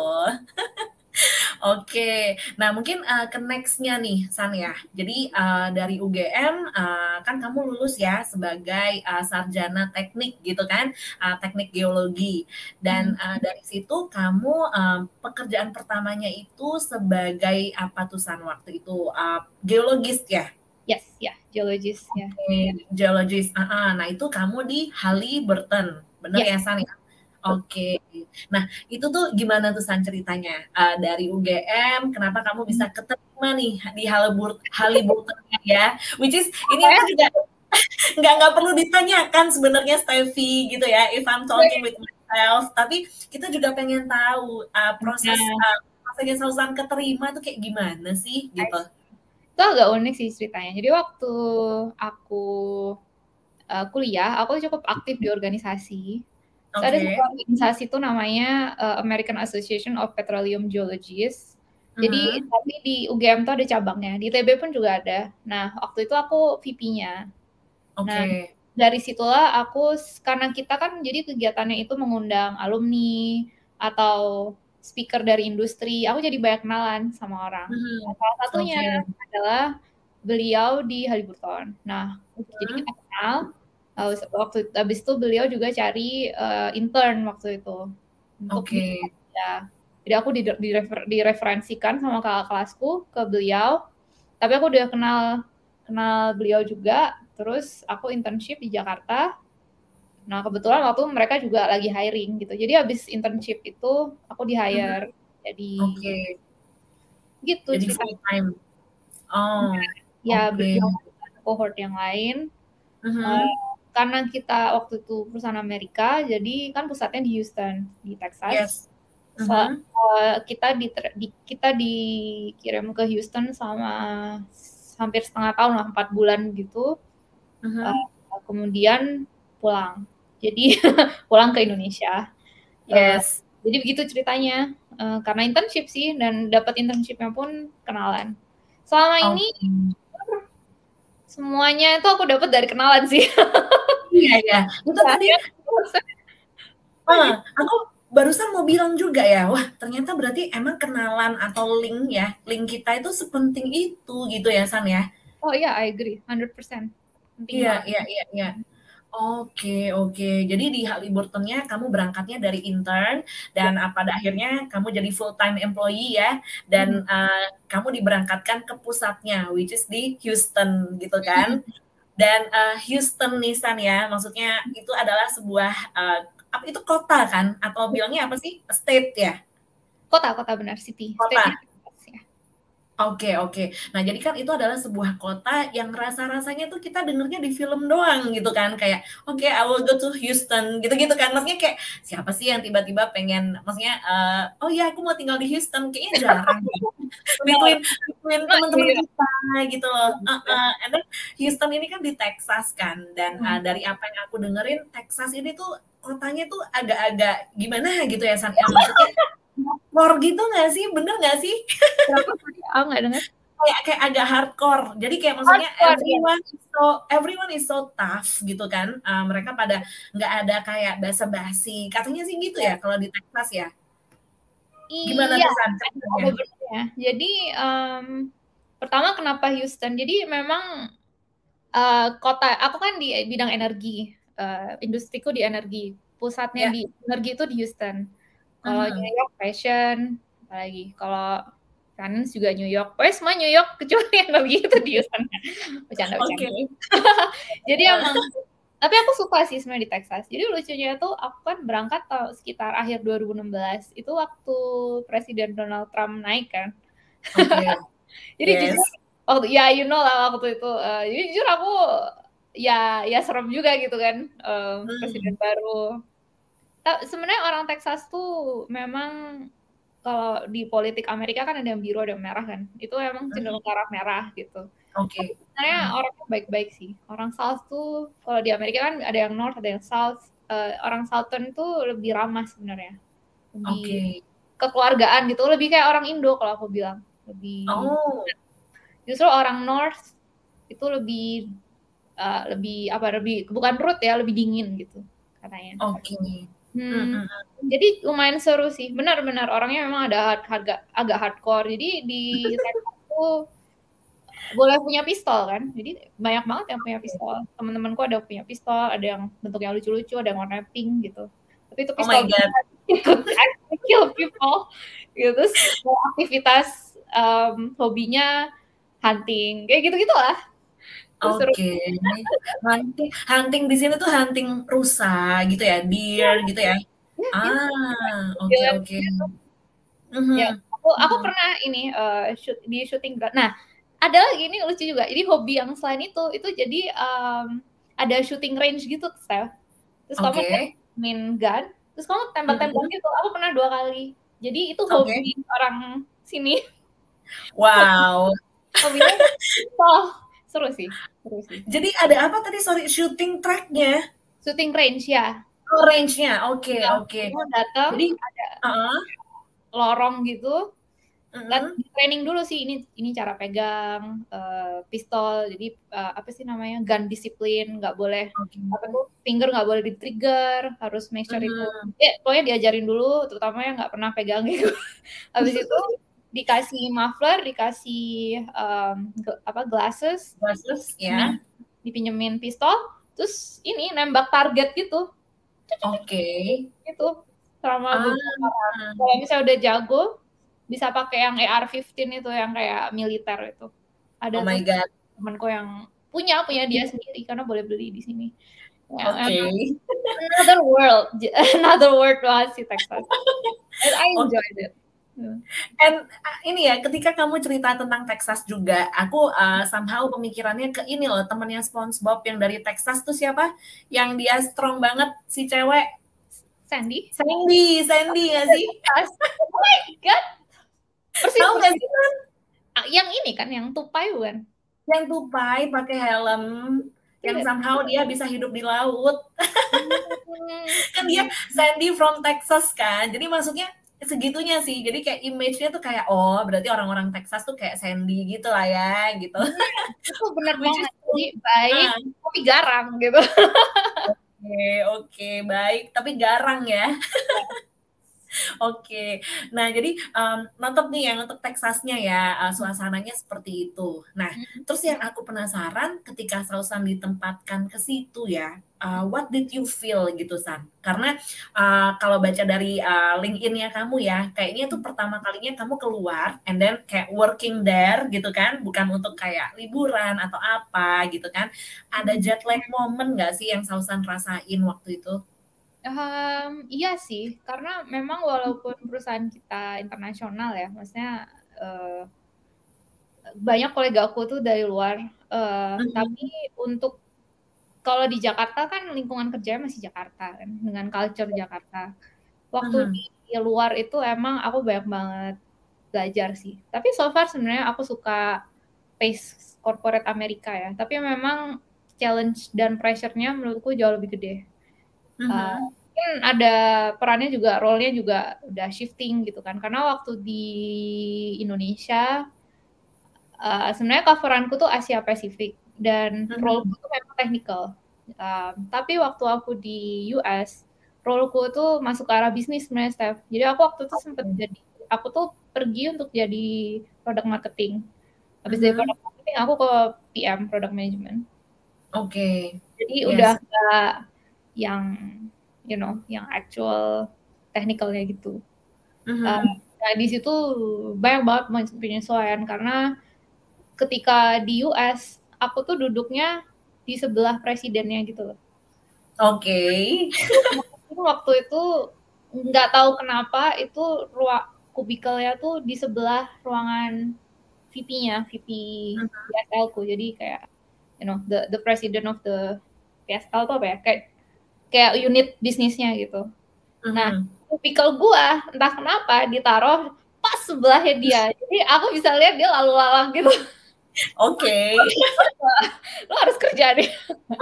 Oke, nah mungkin, eee, ke next-nya nih, San, ya. Jadi, eee, dari U G M, eee, kan kamu lulus ya sebagai, eee, sarjana teknik gitu kan, eee, teknik geologi. Dan, Mhm. eee, dari situ kamu, eee, pekerjaan pertamanya itu sebagai apa tuh, San, waktu itu? Eee, geologis ya? Yes, ya, geologis, ya. Oke, geologis, heeh. Nah, itu kamu di Halliburton, bener Yes. ya, San, ya? Bet Oke. Nah, itu tuh gimana tuh, San, ceritanya? Eee, dari U G M, kenapa kamu Mhm. bisa keterima nih di Halibur Halliburton-nya ya, which is ini Apa ya? aku juga nggak nggak perlu ditanyakan sebenarnya, Stefy, gitu ya, if I'm talking with myself, tapi kita juga pengen tahu, eee, proses, Nah. eee, rasanya Sausan keterima tuh kayak gimana sih, I gitu? see. Itu agak unik sih ceritanya. Jadi waktu aku uh, kuliah, aku cukup aktif di organisasi. So, ada satu Oke. organisasi itu namanya uh, American Association of Petroleum Geologists. Jadi Mhm. tapi di U G M tuh ada cabangnya, di I T B pun juga ada. Nah, waktu itu aku V P-nya. Nah, Oke. dari situlah aku karena kita kan jadi kegiatannya itu mengundang alumni atau speaker dari industri, aku jadi banyak kenalan sama orang. Mhm. Nah, salah satunya Oke. adalah beliau di Halliburton. Nah, jadi Mhm. kita kenal. Uh, waktu habis itu beliau juga cari uh, intern waktu itu untuk di Oke. ya. Jadi aku direfer, direferensikan sama kakak kelasku ke beliau. Tapi aku udah kenal kenal beliau juga. Terus aku internship di Jakarta. Nah, kebetulan waktu mereka juga lagi hiring gitu. Jadi habis internship itu aku di Mhm. hire. Jadi Oke. gitu Jadi full ceritanya. time. Oh, Ya oke. berjuang dengan cohort yang lain. Uh, Mhm. karena kita waktu itu perusahaan Amerika, jadi kan pusatnya di Houston, di Texas. Yes. So, Mhm. uh, kita di, di kita dikirim ke Houston selama hampir setengah tahun lah, empat bulan gitu. Uh, Mhm. kemudian pulang. Jadi pulang ke Indonesia. Uh, Yes. jadi begitu ceritanya. Uh, karena internship sih, dan dapat internshipnya pun kenalan. Selama ini Oke. semuanya itu aku dapat dari kenalan sih. Iya ya. Itu Ya, tadi ya. ah, aku barusan mau bilang juga ya, wah ternyata berarti emang kenalan atau link ya, link kita itu sepenting itu gitu ya San ya. Oh iya, I agree, one hundred percent. Penting Iya, banget. iya, iya, iya. Oke, oke. Jadi di Halliburton-nya kamu berangkatnya dari intern dan Ya. uh, pada akhirnya kamu jadi full time employee ya Mhm. dan uh, kamu diberangkatkan ke pusatnya which is di Houston gitu kan. Mhm. Dan uh, Houston nih San ya, maksudnya itu adalah sebuah uh, apa itu kota kan atau bilangnya apa sih? State ya? Kota, kota benar, city. State-nya Kota. Texas ya. Oke, oke. Nah, jadi kan itu adalah sebuah kota yang rasa-rasanya tuh kita dengernya di film doang gitu kan. Kayak, oke, okay, I will go to Houston gitu-gitu kan. Maksudnya kayak siapa sih yang tiba-tiba pengen maksudnya uh, oh ya aku mau tinggal di Houston. Kayaknya jarang gitu. Benar. Between between Nah, teman-teman iya. kita gitu loh. Iya. Uh-uh. And then Houston ini kan di Texas kan. Dan uh, Hmm. dari apa yang aku dengerin Texas ini tuh kotanya tuh agak-agak gimana gitu ya San. Ya, maksudnya hardcore gitu nggak sih? Bener nggak sih? Kenapa tadi aku nggak dengar? kayak kayak agak hardcore. Jadi kayak maksudnya Hardcore ya. everyone is so everyone is so tough gitu kan. Uh, mereka pada nggak ada kayak basa-basi. Katanya sih gitu ya kalau di Texas ya. Gimana Iya, tuh San ada ceritanya? ada benernya. Jadi um, pertama kenapa Houston? Jadi memang uh, kota aku kan di bidang energi, uh, industriku di energi, pusatnya Ya. di energi itu di Houston. Kalau New Mhm. York fashion, apalagi kalau finance juga New York. Pokoknya semua New York kecuali energi itu di Houston. Bercanda-bercanda. Oke. Jadi emang, tapi aku suka sih sebenarnya di Texas. Jadi lucunya tuh aku kan berangkat tahun sekitar akhir dua ribu enam belas. Itu waktu Presiden Donald Trump naik kan. Oke. Jadi jujur Yes. waktu ya you know lah waktu itu. Uh, jadi jujur aku ya ya serem juga gitu kan, uh, presiden Hmm. baru. Sebenarnya orang Texas tuh memang kalau di politik Amerika kan ada yang biru ada yang merah kan. Itu emang cenderung ke arah merah gitu. Tapi Oke. sebenarnya Hmm. orangnya baik-baik sih. Orang South tuh kalau di Amerika kan ada yang North, ada yang South. Uh, orang Southern tuh lebih ramah sebenarnya. Lebih Oke. kekeluargaan gitu. Lebih kayak orang Indo kalau aku bilang. Lebih Oh. justru orang North itu lebih uh, lebih apa lebih bukan rude ya, lebih dingin gitu katanya. Oke. Hmm, Hmm, hmm, hmm. jadi lumayan seru sih. Benar-benar orangnya memang ada harga agak hardcore. Jadi di Texas tuh boleh punya pistol kan. Jadi banyak banget yang punya pistol. Teman-temanku ada punya pistol, ada yang bentuknya lucu-lucu, ada yang warna pink gitu. Tapi itu Oh my pistol god. ikut actually kill people. Gitu. Terus aktivitas um, hobinya hunting, kayak gitu-gitu lah. Terus seru. Oke. Hunting, hunting di sini tuh hunting rusa gitu ya, Ya, deer gitu ya. ya, ya. Ah, oke Jalan oke. gitu. Ya, Mhm. aku aku Mhm. pernah ini uh, shoot di shooting ground. Nah, ada lagi ini lucu juga. Jadi hobi yang selain itu itu jadi um, ada shooting range gitu, Steph. Terus kamu Oke. main gun, terus kamu tembak-tembak Mhm. gitu. Aku pernah dua kali. Jadi itu Oke. hobi orang sini. Wow. Hobinya oh, seru sih, seru sih. Jadi ada apa tadi? Sorry, shooting track-nya? Shooting range ya. Oh, range-nya. Oke, Nah, oke. kamu datang Jadi, ada heeh, lorong gitu, lat mhm, training dulu sih ini ini cara pegang uh, pistol. Jadi uh, apa sih namanya gun disiplin, nggak boleh oke. apa tuh finger nggak boleh di trigger, harus make sure itu. Mhm. Ya pokoknya diajarin dulu, terutama yang nggak pernah pegang gitu. Habis itu dikasih muffler, dikasih um, apa glasses, Bagus dipinjemin, ya. dipinjemin pistol, terus ini nembak target gitu, Oke. gitu selama Ah, beberapa round. Kalau misalnya udah jago, bisa pakai yang A R lima belas itu yang kayak militer itu. Ada oh tuh my God. temanku yang punya punya dia sendiri karena boleh beli di sini. Ya, Oke. emang another world, another world banget sih Texas. And I Oke. enjoyed it. Hmm. And uh, ini ya, ketika kamu cerita tentang Texas juga, aku uh, somehow pemikirannya ke ini loh, temennya SpongeBob yang dari Texas tuh siapa? Yang dia strong banget, si cewek. Sandy? Sandy, Sandy nggak sih? Oh my God. Persis, Tahu nggak persis. sih kan? Yang ini kan, yang tupai bukan? Yang tupai, pakai helm, yang Iya. somehow dia bisa hidup di laut. Kan dia Hmm. Sandy from Texas kan, jadi maksudnya segitunya sih, jadi kayak image-nya tuh kayak oh berarti orang-orang Texas tuh kayak Sandy gitu lah ya gitu. Hmm, itu benar Which is banget. Jadi true. baik Ah, tapi garang gitu. oke oke baik tapi garang ya. Oke. Nah, jadi um, mantap nih yang untuk Texasnya ya, uh, suasananya seperti itu. Nah, terus yang aku penasaran ketika Sausan ditempatkan ke situ ya, uh, what did you feel gitu San? Karena uh, kalau baca dari uh, LinkedIn-nya kamu ya, kayaknya itu pertama kalinya kamu keluar and then kayak working there gitu kan, bukan untuk kayak liburan atau apa gitu kan. Ada jet lag moment nggak sih yang Sausan rasain waktu itu? Um, iya sih, karena memang walaupun perusahaan kita internasional ya, maksudnya uh, banyak kolega aku tuh dari luar, uh, tapi Mhm, untuk kalau di Jakarta kan lingkungan kerjanya masih Jakarta kan, dengan culture Jakarta. Waktu mhm. di luar itu emang aku banyak banget belajar sih. Tapi so far sebenarnya aku suka pace corporate Amerika ya. Tapi memang challenge dan pressure-nya menurutku jauh lebih gede. Uh, Mhm. mungkin ada perannya juga, role-nya juga udah shifting gitu kan. Karena waktu di Indonesia, uh, sebenarnya coveranku tuh Asia Pasifik dan Mhm. role-ku tuh memang technical. Um, tapi waktu aku di U S, role-ku tuh masuk ke arah bisnis sebenarnya, Steph. Jadi aku waktu itu sempat jadi, aku tuh pergi untuk jadi product marketing. Habis dari Mhm. product marketing, aku ke P M, product management. Oke. Jadi udah Yes. nggak yang, you know, yang actual technicalnya gitu. Uh, Mhm. nah di situ banyak banget penyesuaian karena ketika di U S aku tuh duduknya di sebelah presidennya gitu loh. Oke. Waktu itu nggak tahu kenapa itu ruang kubikelnya tuh di sebelah ruangan V P-nya, V P P S L ku. Jadi kayak you know the the president of the P S L tuh apa ya? Kayak kayak unit bisnisnya gitu. Nah, Mhm. kubikel gua entah kenapa ditaruh pas sebelahnya dia. Jadi aku bisa lihat dia lalu lalang gitu. Oke. Lo harus kerja deh.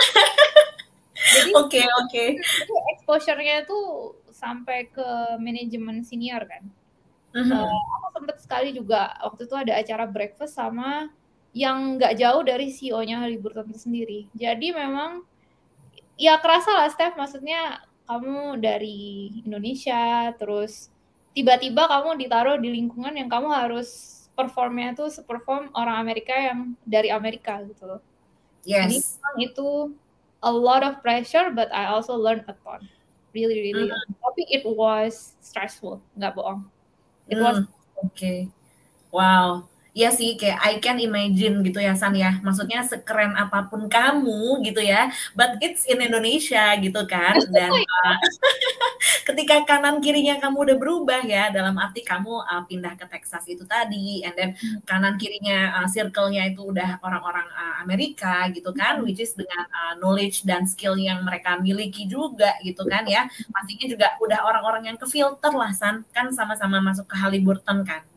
Jadi Oke oke. exposure-nya tuh sampai ke manajemen senior kan. Uh, Mhm. aku sempet sekali juga waktu itu ada acara breakfast sama yang nggak jauh dari C E O-nya Halliburton itu sendiri. Jadi memang ya kerasa lah Steph, maksudnya kamu dari Indonesia, terus tiba-tiba kamu ditaruh di lingkungan yang kamu harus performnya tuh seperform orang Amerika yang dari Amerika gitu loh. Jadi Yes. memang itu a lot of pressure, but I also learned a ton. Really, really. Mhm. Tapi it was stressful, nggak bohong. It was. Mmm, oke. Wow. Iya sih, kayak I can imagine gitu ya, San, ya. Maksudnya sekeren apapun kamu gitu ya, but it's in Indonesia gitu kan, dan, eee, ketika kanan kirinya kamu udah berubah ya, dalam arti kamu, eee, pindah ke Texas itu tadi, and then kanan kirinya, eee, circle-nya itu udah orang-orang, eee, Amerika gitu kan, which is dengan, eee, knowledge dan skill yang mereka miliki juga gitu kan ya. Pastinya juga udah orang-orang yang ke-filter lah, San, kan sama-sama masuk ke Halliburton kan.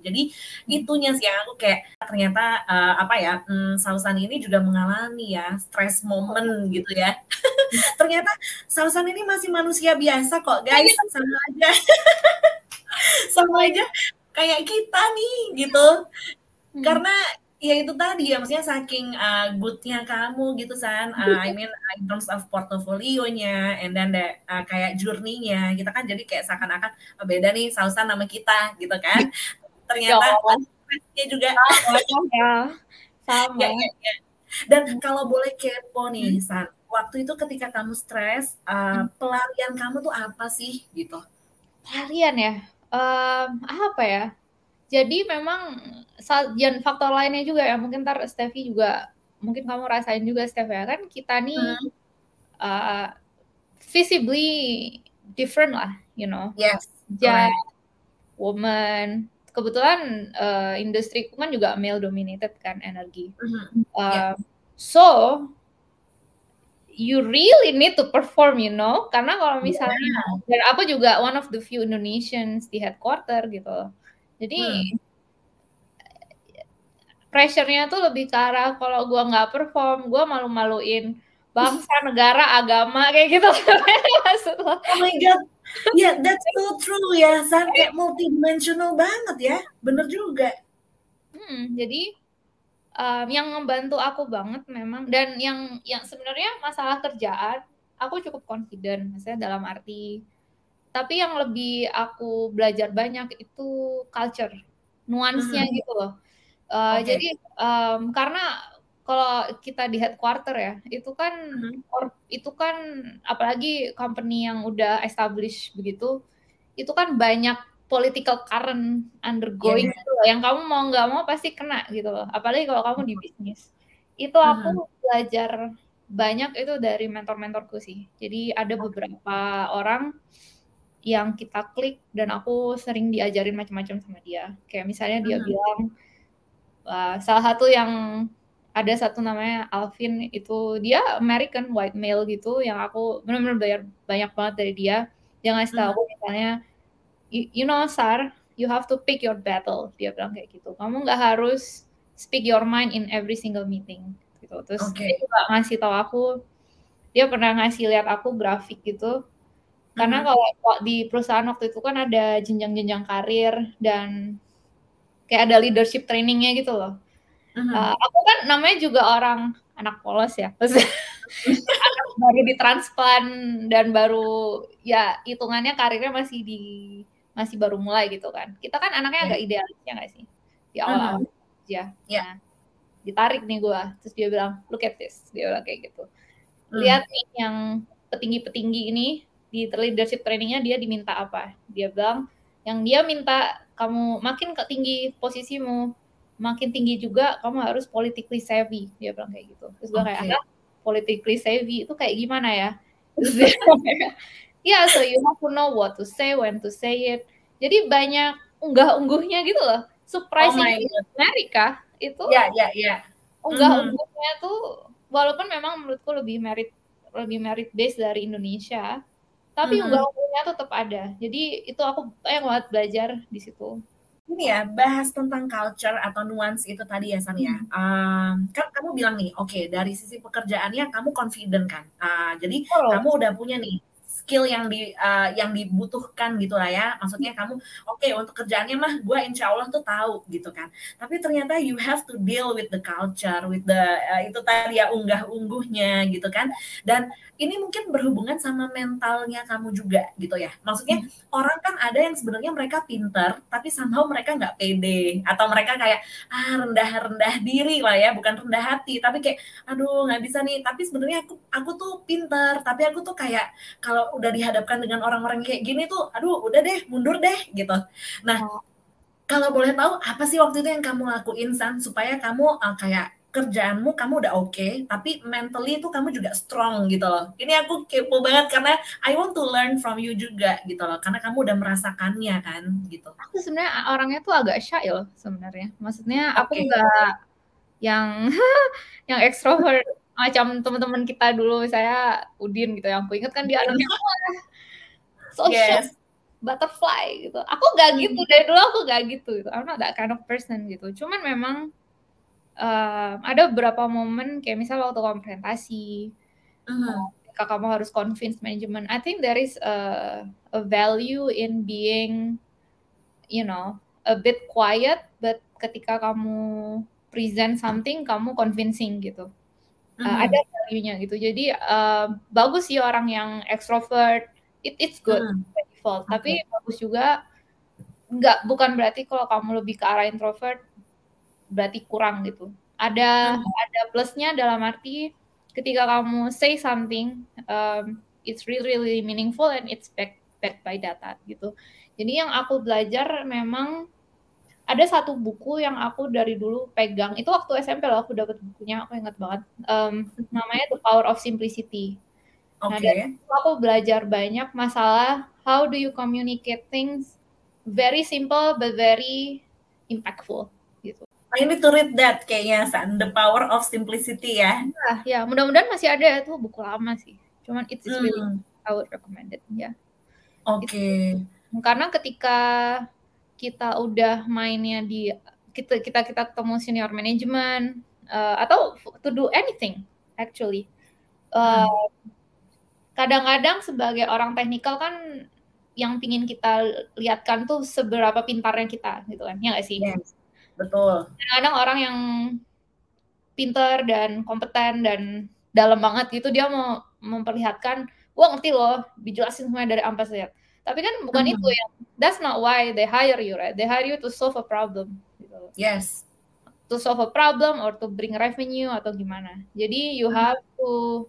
Jadi itunya sih yang aku kayak ternyata uh, apa ya, um, Sausan ini juga mengalami ya stress moment gitu ya. Ternyata Sausan ini masih manusia biasa kok guys, sama aja, sama aja kayak kita nih gitu. Karena ya itu tadi ya, maksudnya saking uh, good-nya kamu gitu San, uh, I mean in terms of portofolionya, and then the, uh, kayak journey-nya, kita kan jadi kayak seakan-akan oh, beda nih Sausan sama kita gitu kan. Ternyata oh, stress-nya juga sama ya. Sama. ya, ya, ya. Dan kalau boleh kepo nih San, waktu itu ketika kamu stres, uh, pelarian kamu tuh apa sih gitu? Pelarian ya, um, apa ya? Jadi memang dan faktor lainnya juga ya, mungkin ntar Steffi juga, mungkin kamu rasain juga Steph ya, kan kita nih hmm. uh, visibly different lah, you know. Yes, Just woman, kebetulan uh, industriku kan juga male dominated kan energi. Mm-hmm. Uh, yeah. So you really need to perform, you know, karena kalau misalnya yeah. dan aku juga one of the few Indonesians di headquarter gitu, jadi hmm. pressure-nya tuh lebih ke arah kalau gue nggak perform, gue malu-maluin bangsa, negara, agama kayak gitu. Oh my god, ya yeah, that's so true ya, San, kayak multidimensional banget ya, bener juga. Hmm, jadi um, yang membantu aku banget memang, dan yang yang sebenarnya masalah kerjaan aku cukup confident, maksudnya dalam arti, tapi yang lebih aku belajar banyak itu culture, nuansnya mm-hmm. gitu loh. Uh, okay. Jadi um, karena kalau kita di headquarter ya, itu kan mm-hmm. or, itu kan apalagi company yang udah established begitu, itu kan banyak political current undergoing yeah. gitu loh, yang kamu mau nggak mau pasti kena gitu loh. Apalagi kalau kamu di bisnis. Itu aku mm-hmm. belajar banyak itu dari mentor-mentorku sih. Jadi ada beberapa orang yang kita klik dan aku sering diajarin macam-macam sama dia. Kayak misalnya dia mm-hmm. bilang, uh, salah satu yang ada satu namanya Alvin, itu dia American white male gitu, yang aku benar-benar belajar banyak banget dari dia. Dia ngasih tahu mm-hmm. misalnya, you know Sar, you have to pick your battle. Dia bilang kayak gitu. Kamu nggak harus speak your mind in every single meeting. Gitu. Terus okay. dia juga ngasih tahu aku, dia pernah ngasih lihat aku grafik gitu. Karena mm-hmm. kalau di perusahaan waktu itu kan ada jenjang-jenjang karir dan kayak ada leadership trainingnya gitu loh. Mm-hmm. Uh, aku kan namanya juga orang anak polos ya. Anak baru ditransplant dan baru ya hitungannya karirnya masih di masih baru mulai gitu kan. Kita kan anaknya agak idealis ya nggak sih? Di awal-awal mm-hmm. aja. Yeah. Nah, ditarik nih gue. Terus dia bilang, look at this. Dia bilang kayak gitu. Mm. Lihat nih yang petinggi-petinggi ini di leadership trainingnya dia diminta apa? Dia bilang, yang dia minta kamu makin ke tinggi posisimu, makin tinggi juga kamu harus politically savvy. Dia bilang kayak gitu. Terus gue okay. kayak, ah, politically savvy itu kayak gimana ya? Terus dia ya, yeah, so you have to know what to say, when to say it. Jadi banyak unggah-ungguhnya gitu loh. Surprising oh Amerika itu yeah, yeah, yeah. unggah-ungguhnya mm-hmm. tuh walaupun memang menurutku lebih merit lebih merit base dari Indonesia, tapi mm-hmm. unggah-ungguhnya tetap ada. Jadi itu aku banyak banget belajar di situ. Ini ya, bahas tentang culture atau nuance itu tadi ya, San ya. Um, kan kamu bilang nih, oke, okay, dari sisi pekerjaannya kamu confident kan. Uh, jadi oh. kamu udah punya nih skill yang di uh, yang dibutuhkan gitu lah ya. Maksudnya kamu oke okay, untuk kerjaannya mah gue insya Allah tuh tahu gitu kan. Tapi ternyata you have to deal with the culture, with the uh, itu tadi ya unggah-ungguhnya gitu kan. Dan ini mungkin berhubungan sama mentalnya kamu juga gitu ya. Maksudnya hmm. orang kan ada yang sebenarnya mereka pinter, tapi somehow mereka nggak pede. Atau mereka kayak, ah rendah-rendah diri lah ya, bukan rendah hati. Tapi kayak, aduh nggak bisa nih. Tapi sebenarnya aku aku tuh pinter, tapi aku tuh kayak, kalau udah dihadapkan dengan orang-orang kayak gini tuh, aduh udah deh, mundur deh gitu. Nah, oh. kalau boleh tahu, apa sih waktu itu yang kamu lakuin, San? Supaya kamu uh, kayak, kerjaanmu kamu udah oke, okay, tapi mentally itu kamu juga strong gitu loh. Ini aku kepo banget karena I want to learn from you juga gitu loh, karena kamu udah merasakannya kan gitu. Aku sebenarnya orangnya tuh agak shy loh sebenarnya. Maksudnya okay. aku nggak yang yang extrovert macam teman-teman kita dulu, saya Udin gitu, yang aku ingat kan dia anaknya so yes. shy. butterfly gitu. Aku nggak gitu dari dulu, aku nggak gitu. Gitu. I'm not that kind of person gitu. Cuman memang uh, ada beberapa momen kayak misal waktu kamu presentasi, Mhm. ketika kamu harus convince manajemen. I think there is a, a value in being, you know, a bit quiet, but ketika kamu present something, kamu convincing gitu. Uh, ada Mhm. value-nya gitu. Jadi uh, bagus sih orang yang extrovert, it, it's good Mhm. by default. Tapi Oke. bagus juga, nggak bukan berarti kalau kamu lebih ke arah introvert berarti kurang gitu. Ada Mhm. ada plusnya dalam arti ketika kamu say something, um, it's really really meaningful and it's back backed by data gitu. Jadi yang aku belajar memang ada satu buku yang aku dari dulu pegang. Itu waktu S M P loh aku dapat bukunya, aku ingat banget. Um, namanya The Power of Simplicity. Nah, dari Oke. situ aku belajar banyak masalah how do you communicate things very simple but very impactful gitu. I need to read that kayaknya, San. The Power of Simplicity ya. Nah, ya mudah-mudahan masih ada ya, tuh buku lama sih. Cuman it's, it's really Hmm. I would recommend it ya. Oke. It's, karena ketika kita udah mainnya di kita kita kita ketemu senior management uh, atau to do anything actually. Uh, Hmm. Kadang-kadang sebagai orang teknikal kan yang pingin kita lihatkan tuh seberapa pintarnya kita gitu kan, ya nggak sih? Yes, betul. Kadang-kadang orang yang pintar dan kompeten dan dalam banget gitu dia mau memperlihatkan, wah ngerti loh, dijelasin semuanya dari A sampai Z. Tapi kan bukan itu Mhm. yang, that's not why they hire you, right? They hire you to solve a problem. Gitu. Yes. To solve a problem or to bring revenue atau gimana. Jadi you Mhm. have to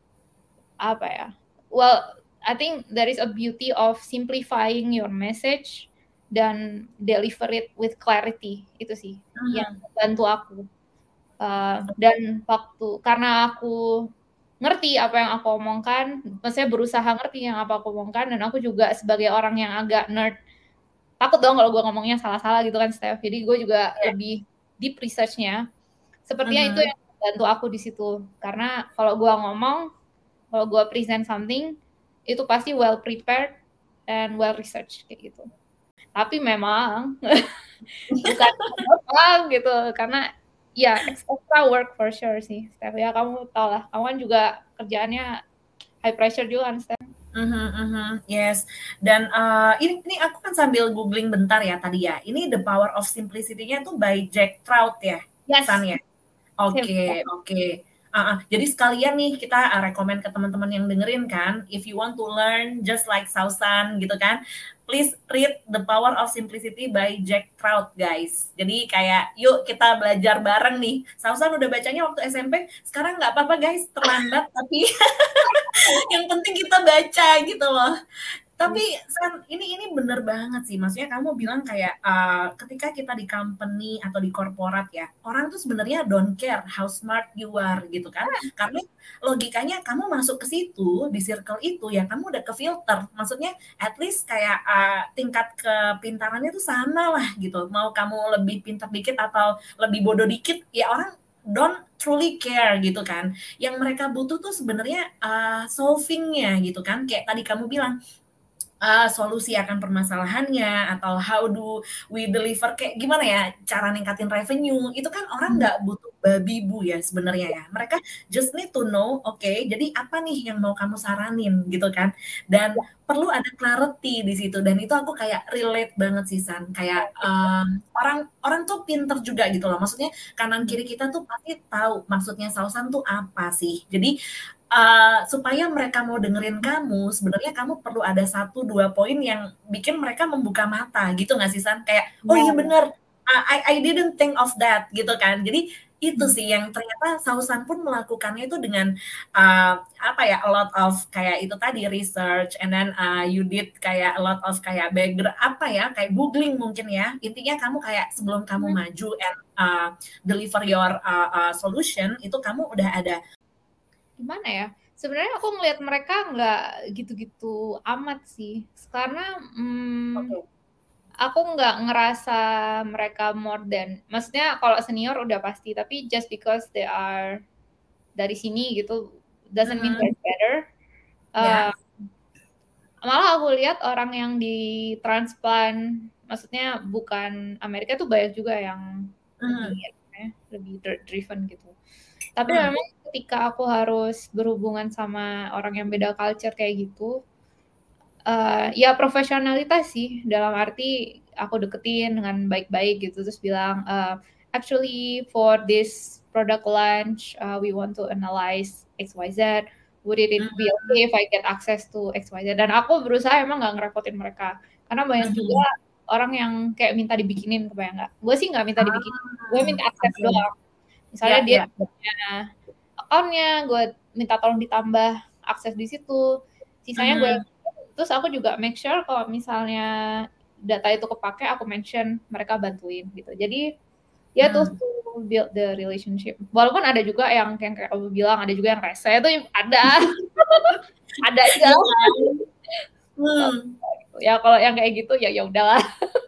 apa ya? Well, I think there is a beauty of simplifying your message dan deliver it with clarity. Itu sih yang Mhm. membantu aku. Uh, dan waktu karena aku ngerti apa yang aku omongkan, maksudnya berusaha ngerti yang apa aku omongkan, dan aku juga sebagai orang yang agak nerd, takut dong kalau gue ngomongnya salah-salah gitu kan, Steph. Jadi gue juga Yeah. lebih deep research-nya. Sepertinya itu Mhm. yang membantu aku di situ. Karena kalau gue ngomong, kalau gue present something, itu pasti well prepared and well researched kayak gitu. Tapi memang bukan gampang gitu, karena ya extra work for sure sih, Steph. Ya kamu tau lah, kamu kan juga kerjaannya high pressure juga kan, Steph. Mhm, mhm, yes. Dan uh, ini, ini aku kan sambil googling bentar ya tadi ya. Ini The Power of Simplicity-nya tuh by Jack Trout ya, Yes. San ya. Oke, oke. Uh, uh, jadi sekalian nih kita uh, rekomend ke teman-teman yang dengerin kan, if you want to learn just like Sausan gitu kan, please read The Power of Simplicity by Jack Trout, guys. Jadi kayak yuk kita belajar bareng nih. Sausan udah bacanya waktu S M P, sekarang nggak apa-apa guys, terlambat tapi yang penting kita baca gitu loh. Tapi San, ini ini bener banget sih. Maksudnya kamu bilang kayak uh, ketika kita di company atau di korporat ya, orang tuh sebenarnya don't care how smart you are gitu kan. Karena logikanya kamu masuk ke situ, di circle itu ya kamu udah ke filter. Maksudnya at least kayak uh, tingkat kepintarannya tuh sama lah gitu. Mau kamu lebih pintar dikit atau lebih bodoh dikit, ya orang don't truly care gitu kan. Yang mereka butuh tuh sebenarnya uh, solvingnya gitu kan. Kayak tadi kamu bilang, uh, solusi akan permasalahannya atau how do we deliver, kayak gimana ya cara ningkatin revenue, itu kan orang nggak butuh babi bu ya sebenarnya ya, mereka just need to know, oke okay, jadi apa nih yang mau kamu saranin gitu kan, dan perlu ada clarity di situ, dan itu aku kayak relate banget sih San, kayak um, orang orang tuh pinter juga gitu loh, maksudnya kanan kiri kita tuh pasti tahu maksudnya Sausan tuh apa sih, jadi Uh, supaya mereka mau dengerin kamu, sebenarnya kamu perlu ada satu dua poin yang bikin mereka membuka mata gitu nggak sih San? Kayak, oh iya bener, uh, I, I didn't think of that gitu kan. Jadi itu sih yang ternyata Sausan pun melakukannya itu dengan uh, apa ya, a lot of kayak itu tadi research, and then uh, you did kayak a lot of kayak background apa ya, kayak googling mungkin ya. Intinya kamu kayak sebelum kamu maju and uh, deliver your uh, uh, solution, itu kamu udah ada gimana ya, sebenarnya aku ngelihat mereka nggak gitu-gitu amat sih, karena hmm, okay. aku nggak ngerasa mereka more than, maksudnya kalau senior udah pasti, tapi just because they are dari sini gitu doesn't mean they're better. Uh, yeah. Malah aku lihat orang yang di transplant, maksudnya bukan Amerika tuh banyak juga yang lebih Mhm. ya, lebih driven gitu. Tapi Hmm. memang ketika aku harus berhubungan sama orang yang beda culture kayak gitu, uh, ya profesionalitas sih, dalam arti aku deketin dengan baik-baik gitu, terus bilang, uh, actually for this product launch, uh, we want to analyze X Y Z, would it be okay Mhm. if I get access to X Y Z? Dan aku berusaha emang nggak ngerepotin mereka, karena banyak juga Mhm. orang yang kayak minta dibikinin, kebayang nggak? Gue sih nggak minta dibikinin, gue Ah, minta akses oke. doang. Ya Misalnya dia ya. punya account-nya, gue minta tolong ditambah akses di situ, sisanya gue Mhm. terus aku juga make sure kalau misalnya data itu kepake, aku mention mereka bantuin gitu. Jadi ya tuh Hmm. to build the relationship. Walaupun ada juga yang yang kayak kamu bilang, ada juga yang rese, itu ada. Ada aja. Iya kan? Hmm. Ya kalau yang kayak gitu ya ya udahlah.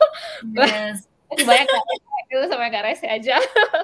Yes. Masih banyak yang rese, itu sama yang nggak rese aja.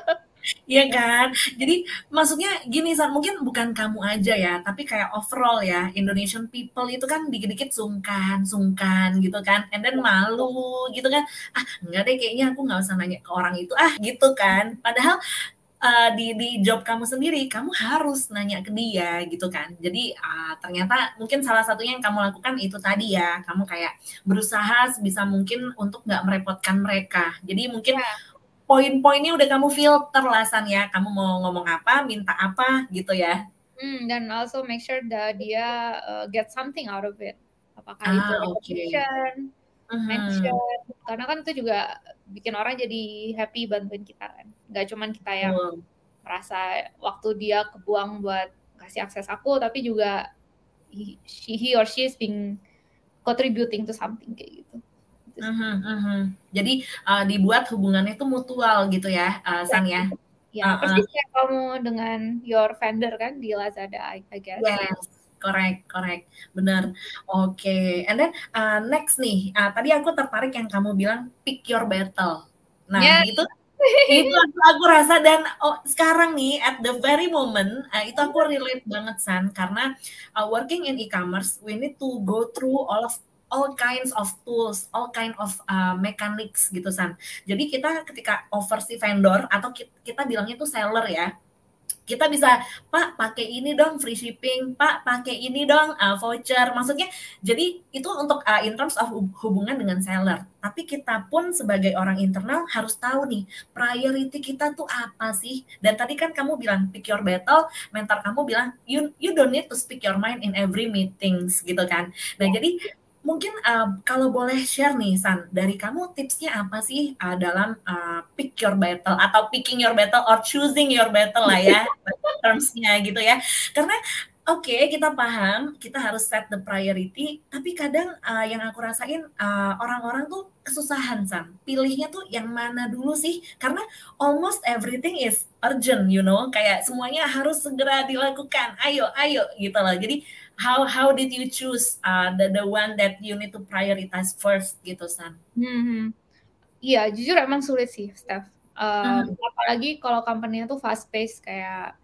Iya kan? Jadi maksudnya gini San, mungkin bukan kamu aja ya, tapi kayak overall ya, Indonesian people itu kan dikit-dikit sungkan, sungkan gitu kan, and then malu gitu kan, ah enggak deh kayaknya aku nggak usah nanya ke orang itu ah gitu kan. Padahal uh, di di job kamu sendiri, kamu harus nanya ke dia gitu kan. Jadi uh, ternyata mungkin salah satunya yang kamu lakukan itu tadi ya, kamu kayak berusaha sebisa mungkin untuk nggak merepotkan mereka. Jadi mungkin Ya. poin-poinnya udah kamu filter lah San ya, kamu mau ngomong apa, minta apa gitu ya. Hmm, dan also make sure that dia uh, get something out of it. Apakah itu Ah, oke. recognition, mention, Mhm. karena kan itu juga bikin orang jadi happy bantuin kita kan. Nggak cuman kita yang Betul. merasa waktu dia kebuang buat kasih akses aku, tapi juga he, she, he or she is being contributing to something kayak gitu. Gitu sih. Mhm, mhm. Jadi uh, dibuat hubungannya itu mutual gitu ya, uh, San ya. Ya, Heeh. persis kayak kamu dengan your vendor kan di Lazada, I, I guess. Yes, correct, correct, benar. Oke, okay. And then uh, next nih, uh, tadi aku tertarik yang kamu bilang pick your battle. Nah, Ya. itu itu aku, aku rasa dan oh, sekarang nih at the very moment uh, itu aku relate banget San karena uh, working in e-commerce we need to go through all of all kinds of tools, all kind of uh, mechanics gitu San. Jadi kita ketika offer si vendor atau kita, kita bilangnya tuh seller ya, kita bisa Pak pakai ini dong free shipping, Pak pakai ini dong uh, voucher. Maksudnya jadi itu untuk uh, in terms of hubungan dengan seller. Tapi kita pun sebagai orang internal harus tahu nih priority kita tuh apa sih. Dan tadi kan kamu bilang pick your battle, mentor kamu bilang you you don't need to speak your mind in every meetings gitu kan. Nah jadi mungkin uh, kalau boleh share nih San, dari kamu tipsnya apa sih uh, dalam uh, pick your battle atau picking your battle or choosing your battle lah ya termsnya gitu ya. Karena oke okay, kita paham kita harus set the priority, tapi kadang uh, yang aku rasain uh, orang-orang tuh kesusahan San. Pilihnya tuh yang mana dulu sih? Karena almost everything is urgent, you know, kayak semuanya harus segera dilakukan. Ayo, ayo gitu loh. Jadi how how did you choose uh, the the one that you need to prioritize first gitu San? Hmm, iya jujur emang sulit sih Steph. Um, Hmm. apalagi kalau company-nya tuh fast pace kayak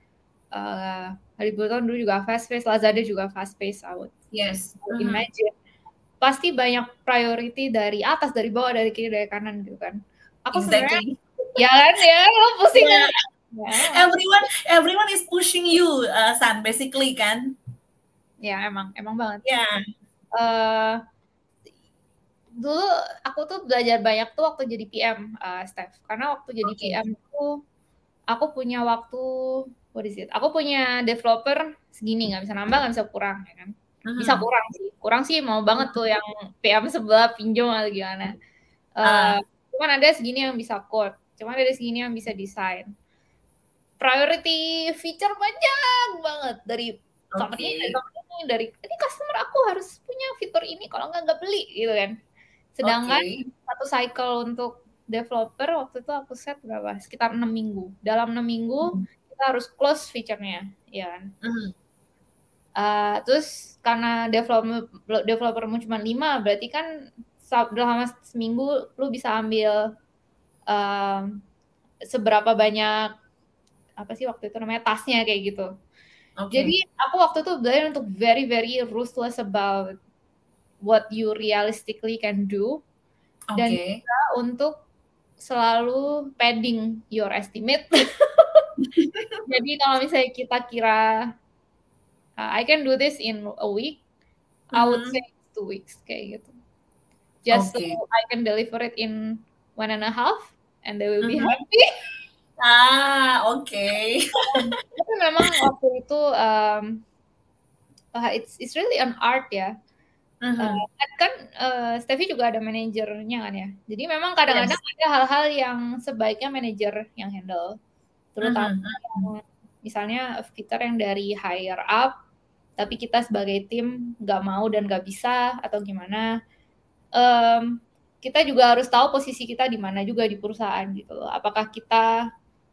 uh, Haliburton dulu juga fast pace, Lazada juga fast pace, I would, Yes. I would Mm-hmm. imagine. Pasti banyak priority dari atas, dari bawah, dari kiri, dari kanan gitu kan. Aku sebenarnya Exactly. ya kan ya, lo pusing kan? Yeah. Ya, Everyone everyone is pushing you, uh, San, basically kan? ya emang emang banget. Ya. Yeah. Uh, dulu aku tuh belajar banyak tuh waktu jadi P M, uh, Steph. Karena waktu jadi Okay. P M tuh aku punya waktu, what is it? Aku punya developer segini, nggak bisa nambah, nggak bisa kurang, ya kan? Bisa Mm-hmm. kurang sih, kurang sih mau banget tuh yang P M sebelah pinjam atau gimana. Uh, Uh. cuman ada segini yang bisa code, cuman ada segini yang bisa desain. Priority feature banyak banget dari company, dari Okay. company, dari ini customer aku harus punya fitur ini, kalau nggak nggak beli gitu kan. Sedangkan Okay. satu cycle untuk developer waktu itu aku set berapa? Sekitar enam minggu. Dalam enam minggu Mm-hmm. kita harus close feature-nya, ya kan. Mm-hmm. Uh, terus karena developer developermu cuma lima, berarti kan dalam seminggu lu bisa ambil uh, seberapa banyak apa sih waktu itu namanya tasnya kayak gitu. Okay. Jadi aku waktu itu belajar untuk very very ruthless about what you realistically can do, dan Oke. juga untuk selalu padding your estimate. Jadi kalau misalnya kita kira uh, I can do this in a week, I would say Mhm. two weeks kayak gitu. Just so Oke. I can deliver it in one and a half, and they will be Mhm. happy. Ah, oke. Um, tapi memang waktu itu um, uh, it's it's really an art ya. Uh, Mhm. kan kan uh, Steffi juga ada manajernya kan ya. Jadi memang kadang-kadang Yes. ada hal-hal yang sebaiknya manajer yang handle, terutama Mhm, yang mhm. misalnya fitur yang dari higher up, tapi kita sebagai tim nggak mau dan nggak bisa atau gimana. Um, kita juga harus tahu posisi kita di mana juga di perusahaan gitu loh. Apakah kita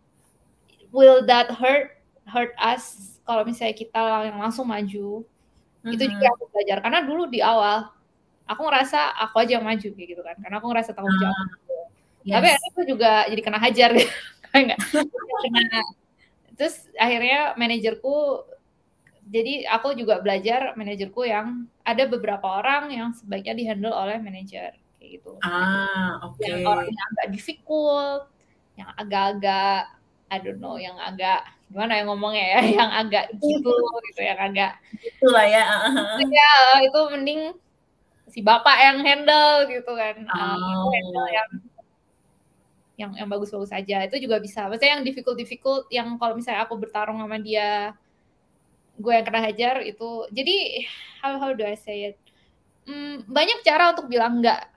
will that hurt hurt us kalau misalnya kita yang langsung maju. Itu juga Mhm. aku belajar karena dulu di awal aku ngerasa aku aja yang maju kayak gitu kan. Karena aku ngerasa tanggung jawab. Ah, Tapi yes. akhirnya aku juga jadi kena hajar gitu. Enggak. Kena. Terus akhirnya manajerku jadi aku juga belajar manajerku yang ada beberapa orang yang sebaiknya di-handle oleh manajer kayak gitu. Ah, Yang orang oke. yang agak difficult, yang agak-agak I don't know, yang agak gimana ya ngomongnya ya, yang agak gitu gitu, yang agak Gitulah ya, heeh heeh. ya itu mending si bapak yang handle gitu kan. Uh, aku handle Oh. yang yang yang bagus-bagus aja. Itu juga bisa. Maksudnya yang difficult-difficult yang kalau misalnya aku bertarung sama dia, gue yang kena hajar itu. Jadi how how do I say it? Hmm, banyak cara untuk bilang enggak.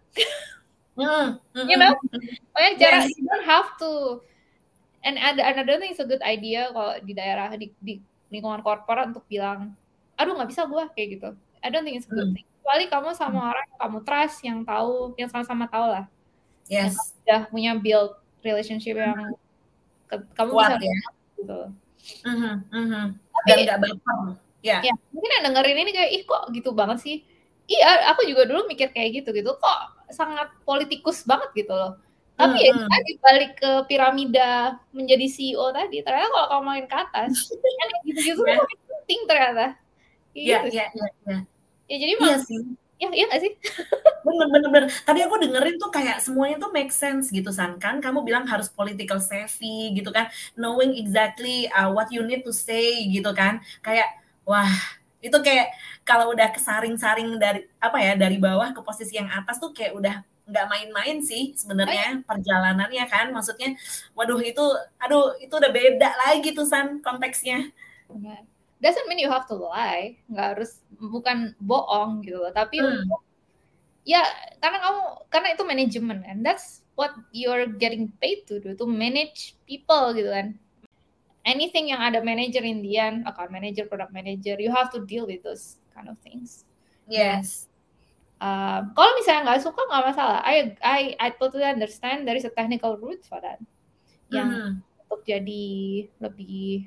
Mhm, You know? mhm, mhm. Banyak cara. Yes. You don't have to. And ada another thing is a good idea kalau di daerah di, di lingkungan korporat untuk bilang, aduh nggak bisa gue kayak gitu. I don't think it's a good Hmm. thing. Kecuali kamu Hmm. sama orang yang kamu trust, yang tahu, yang sama-sama tahu lah. Yang kamu Yes. udah punya build relationship yang ke, kamu bisa Kuat ya. gitu. Mhm, mhm. Dan Tapi nggak baper. Ya. ya mungkin yang dengerin ini kayak ih kok gitu banget sih. Iya, aku juga dulu mikir kayak gitu gitu. Kok sangat politikus banget gitu loh. Tapi ya itu Mhm. tadi balik ke piramida menjadi C E O tadi. Ternyata kalau kamu main ke atas, yang kayak gitu-gitu tuh Ya. makin penting ternyata. Kayak Ya, gitu ya, sih. ya, ya. Ya jadi Iya emang, sih. ya iya nggak sih? Bener, bener, bener. Tadi aku dengerin tuh kayak semuanya tuh make sense gitu San. Kan kamu bilang harus political savvy gitu kan. Knowing exactly uh, what you need to say gitu kan. Kayak wah itu kayak kalau udah kesaring-saring dari apa ya dari bawah ke posisi yang atas tuh kayak udah nggak main-main sih Oh iya. sebenarnya perjalanannya kan. Maksudnya waduh itu aduh itu udah beda lagi tuh San konteksnya. Yeah. Doesn't mean you have to lie. Nggak harus, bukan bohong gitu loh. Tapi Hmm. untuk ya karena kamu karena itu manajemen kan, that's what you're getting paid to do, to manage people gitu kan. Anything yang ada manager in the end, account manager, product manager, you have to deal with those kind of things. Dan Yes. uh, kalau misalnya nggak suka nggak masalah. I I I totally understand there is a technical route for that. Yang Mhm. untuk jadi lebih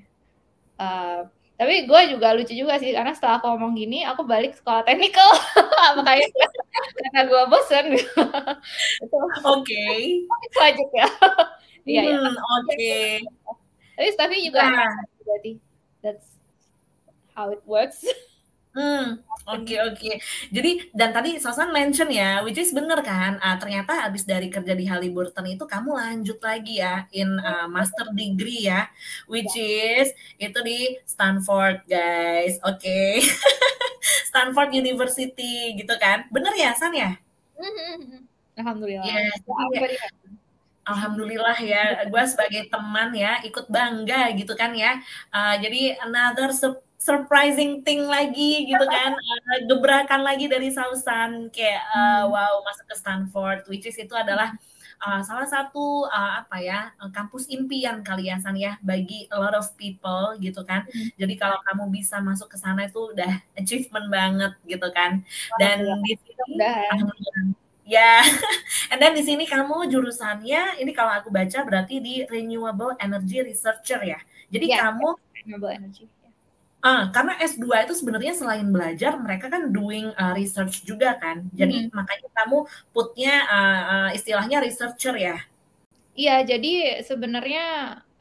uh, tapi gue juga lucu juga sih karena setelah aku ngomong gini aku balik sekolah technical makanya karena gue bosen gitu. Itu Oke. itu aja ya. Iya ya. Hmm, oke. Tapi tapi juga Nah. enak berarti. That's how it works. Hmm, oke, oke. Jadi dan tadi Sausan mention ya, which is bener kan, uh, ternyata habis dari kerja di Halliburton itu kamu lanjut lagi ya in uh, master degree ya, which is itu di Stanford guys, oke. Okay. Stanford University gitu kan, bener ya San ya? Alhamdulillah. Yes, jadi ya Very happy. alhamdulillah ya, gue sebagai teman ya ikut bangga gitu kan ya. Uh, jadi another sur- surprising thing lagi gitu kan, uh, gebrakan lagi dari Sausan kayak uh, Hmm. wow masuk ke Stanford, which is itu adalah uh, salah satu uh, apa ya kampus impian kali ya San ya bagi a lot of people gitu kan. Hmm. Jadi kalau kamu bisa masuk ke sana itu udah achievement banget gitu kan. Alhamdulillah. Dan di sini Mudah-mudahan. alhamdulillah. Ya, and then di sini kamu jurusannya, ini kalau aku baca berarti di Renewable Energy Researcher ya. Jadi Yes, kamu, renewable energy. ah, karena S dua itu sebenarnya selain belajar, mereka kan doing uh, research juga kan. Jadi Hmm. makanya kamu putnya uh, uh, istilahnya researcher ya. Iya, jadi sebenarnya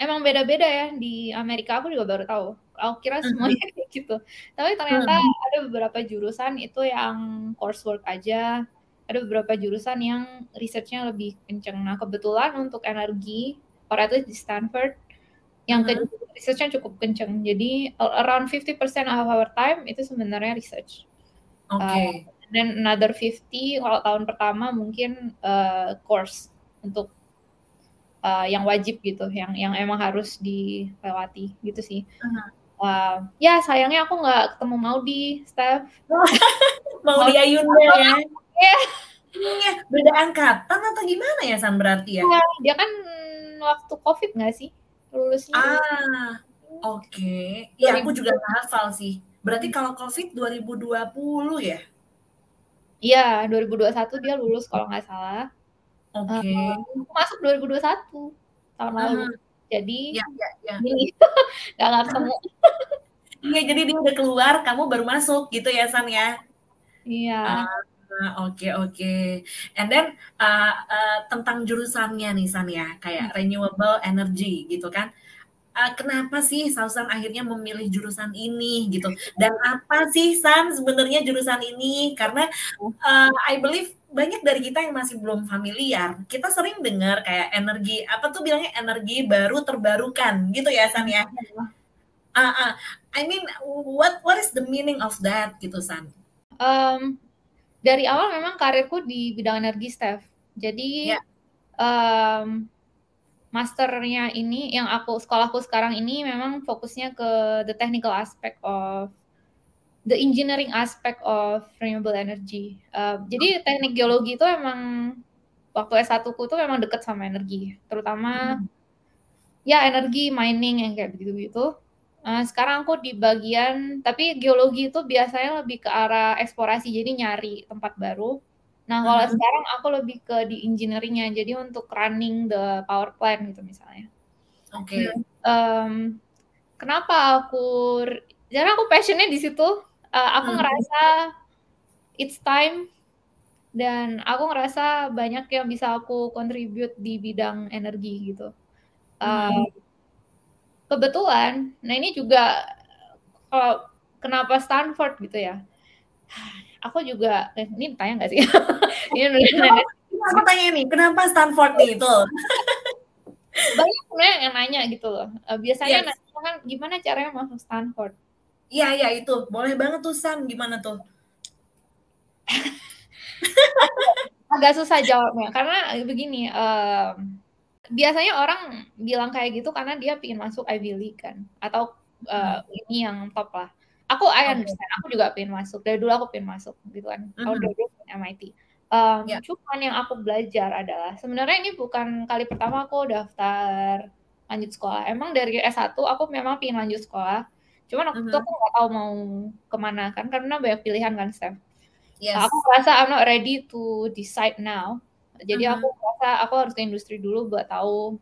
emang beda-beda ya, di Amerika aku juga baru tahu. Aku kira Mhm. semuanya kayak gitu. Tapi ternyata Mhm. ada beberapa jurusan itu yang coursework aja, ada beberapa jurusan yang research-nya lebih kenceng. Nah, kebetulan untuk energi, or at least di Stanford, yang ke Mhm. research-nya cukup kenceng. Jadi around fifty percent of our time itu sebenarnya research. Uh, Oke. then another fifty kalau tahun pertama mungkin uh, course untuk uh, yang wajib gitu, yang yang emang harus dilewati gitu sih. Mhm. Uh, ya sayangnya aku nggak ketemu Maudy, Steph. Maudy Ayunda ya? Iya. Iya, beda angkatan atau gimana ya San berarti ya? Iya, dia kan waktu COVID nggak sih lulusnya? Ah, oke. Iya dua aku ribu juga nggak hafal sih. Berarti kalau COVID dua ribu dua puluh ya? Iya, dua ribu dua puluh satu dia lulus kalau nggak salah. Uh, Oke. aku masuk dua ribu dua puluh satu tahun lalu. Mhm. Jadi Ya ya ya. milih nggak nggak ketemu. Iya, jadi dia udah keluar, kamu baru masuk gitu ya San ya? Iya. Ah, oke oke. And then uh, uh, tentang jurusannya nih San ya, kayak renewable energy gitu kan. Uh, kenapa sih Sausan akhirnya memilih jurusan ini gitu? Dan apa sih San sebenarnya jurusan ini? Karena uh, I believe banyak dari kita yang masih belum familiar. Kita sering dengar kayak energi apa tuh bilangnya energi baru terbarukan gitu ya San ya. Uh, uh, I mean what what is the meaning of that gitu San? Um, dari awal memang karirku di bidang energi, Steph. Jadi Ya. um, masternya ini, yang aku sekolahku sekarang ini memang fokusnya ke the technical aspect of the engineering aspect of renewable energy. Uh, jadi teknik geologi itu emang waktu S satu ku tuh memang deket sama energi, terutama Hmm. ya energi mining yang kayak begitu-gitu. Uh, sekarang aku di bagian, tapi geologi itu biasanya lebih ke arah eksplorasi, jadi nyari tempat baru. Nah, kalau Uh-huh. sekarang aku lebih ke di engineering-nya, jadi untuk running the power plant gitu misalnya. Oke. Okay. Um, kenapa aku, karena aku passionnya di situ. Uh, aku Hmm. ngerasa it's time, dan aku ngerasa banyak yang bisa aku contribute di bidang energi gitu. Uh, Hmm. Kebetulan, nah ini juga kalau kenapa Stanford gitu ya? Aku juga, eh, ini tanya nggak sih? Ini Kenapa, aku tanya nih, kenapa Stanford nih itu? Banyak sebenarnya yang nanya gitu loh. Uh, biasanya Yes. nanya kan gimana caranya masuk Stanford? Iya iya itu, boleh banget tuh Sam, gimana tuh? Agak susah jawabnya karena begini. Um, biasanya orang bilang kayak gitu karena dia pengen masuk Ivy League kan, atau uh, Hmm. ini yang top lah. Aku I Oke. understand, aku juga pengen masuk. Dari dulu aku pengen masuk gitu kan. Aku Mhm. dari dulu M I T. Um, Ya. Cuman yang aku belajar adalah sebenarnya ini bukan kali pertama aku daftar lanjut sekolah. Emang dari S satu aku memang pengen lanjut sekolah. Cuman waktu itu Mhm. aku nggak tahu mau kemana kan, karena banyak pilihan kan, Steph. Aku Yes. merasa I'm not ready to decide now. Jadi aku Mhm. merasa aku harus ke industri dulu buat tahu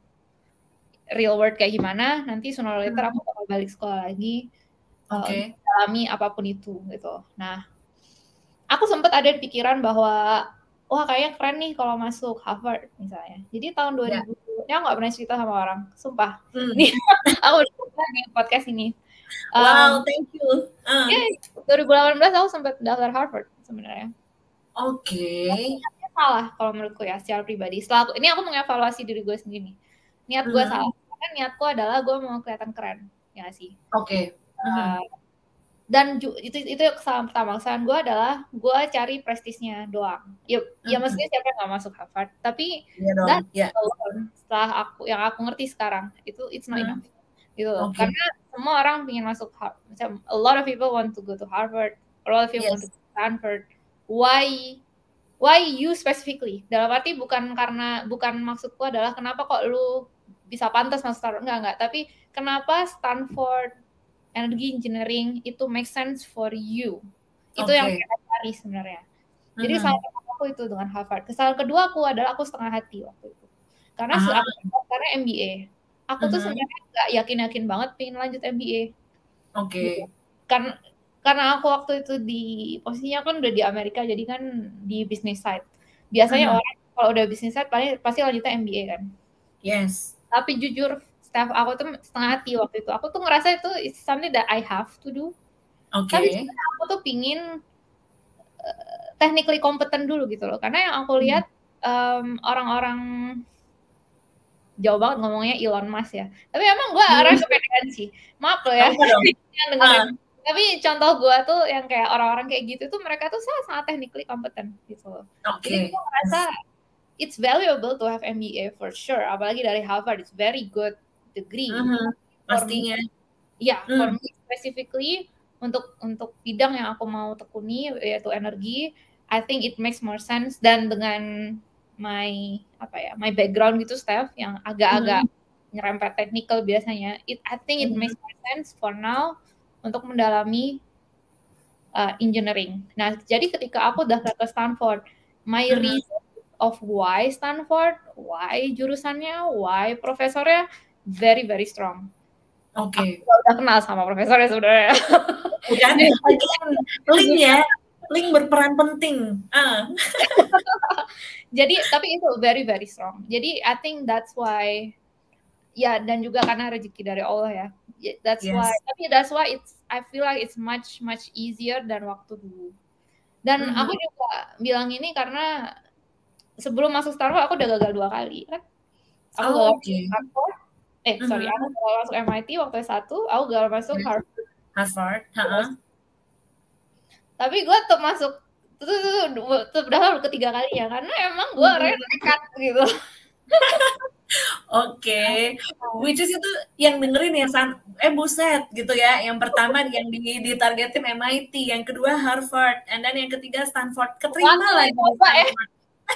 real world kayak gimana. Nanti sooner or later Mhm. aku bakal balik sekolah lagi uh, untuk Oke. mengalami apapun itu gitu. Nah, aku sempat ada di pikiran bahwa wah kayaknya keren nih kalau masuk Harvard misalnya. Jadi tahun dua Ya. ribu, ini aku nggak pernah cerita sama orang, sumpah. Hmm. Ini aku udah cerita di podcast ini. Wow, Um, thank you. Uh. Ya, dua ribu delapan belas aku sempat daftar Harvard sebenarnya. Oke. Tapi niatnya salah kalau menurutku ya, secara pribadi. Setelah aku, ini aku mengevaluasi diri gue sendiri. Niat gue Mhm. salah. Karena niatku adalah gue mau kelihatan keren, ya nggak sih? Oke. Uh, Mhm. dan ju- itu itu kesalahan pertama. Kesalahan gue adalah gue cari prestisnya doang. Ya, ya Mhm. mestinya siapa yang nggak masuk Harvard. Tapi Iya dong. that Ya. alone, setelah aku yang aku ngerti sekarang itu it's not Hmm. enough. Gitu loh. Oke. Karena semua orang ingin masuk Harvard. A lot of people want to go to Harvard. A lot of people want to Yes. go to Stanford. Why why you specifically? Dalam arti bukan karena, bukan maksudku adalah kenapa kok lu bisa pantas masuk Stanford, enggak enggak, tapi kenapa Stanford Energy Engineering itu make sense for you. Itu yang Oke. kita cari sebenarnya. Jadi Mhm. salah pertama aku itu dengan Harvard. Kesalahan kedua aku adalah aku setengah hati waktu itu. Karena Ah. aku karena M B A. Aku tuh Mhm. sebenarnya nggak yakin-yakin banget pengen lanjut M B A. Gitu. Oke. Kan karena aku waktu itu di posisinya kan udah di Amerika, jadi kan di business side. Biasanya Mhm. orang kalau udah business side paling pasti lanjutnya M B A kan. Yes. Tapi jujur staff aku tuh setengah hati waktu itu. Aku tuh ngerasa itu it's something that I have to do. Oke. Tapi sebenarnya aku tuh pingin uh, technically competent dulu gitu loh. Karena yang aku lihat um, orang-orang jauh banget ngomongnya Elon Musk ya. Tapi emang gue Hmm. orang kepedean sih. Maaf loh ya. Apa dong? yang dengerin. Ah. Tapi contoh gue tuh yang kayak orang-orang kayak gitu tuh mereka tuh sangat sangat technically competent gitu loh. Oke. Jadi gue ngerasa it's valuable to have M B A for sure. Apalagi dari Harvard, it's very good degree. Mhm, pastinya. Ya, Hmm. for me specifically untuk untuk bidang yang aku mau tekuni yaitu energi, I think it makes more sense dan dengan my apa ya, my background gitu Steph yang agak-agak Mhm. nyerempet technical biasanya, it I think it Mhm. makes more sense for now untuk mendalami uh, engineering. Nah, jadi ketika aku daftar ke Stanford, my Mhm. reason of why Stanford, why jurusannya, why profesornya very very strong. Oke. Aku udah kenal sama profesornya sebenarnya. Bukan? Again, link ya, link berperan penting. Ah. Jadi tapi itu very very strong. Jadi I think that's why ya dan juga karena rezeki dari Allah ya. That's Yes. why tapi that's why it's I feel like it's much much easier dan waktu dulu. Dan Mhm. aku juga bilang ini karena sebelum masuk Stanford aku udah gagal dua kali kan. Aku Oh, gagal oke. masuk Stanford. Eh, Mhm. sorry, aku gagal masuk M I T waktu S satu, aku gagal masuk Yes. Harvard. Harvard, heeh. Tapi gue tetap masuk tuh tuh tuh tuh daftar ketiga kalinya karena emang gue orangnya nekat gitu. Oke, which is itu yang dengerin ya San, eh buset gitu ya. Yang pertama yang di ditargetin M I T, yang kedua Harvard, and then yang ketiga Stanford. Keterima Waktu lagi itu di apa ya? Stanford.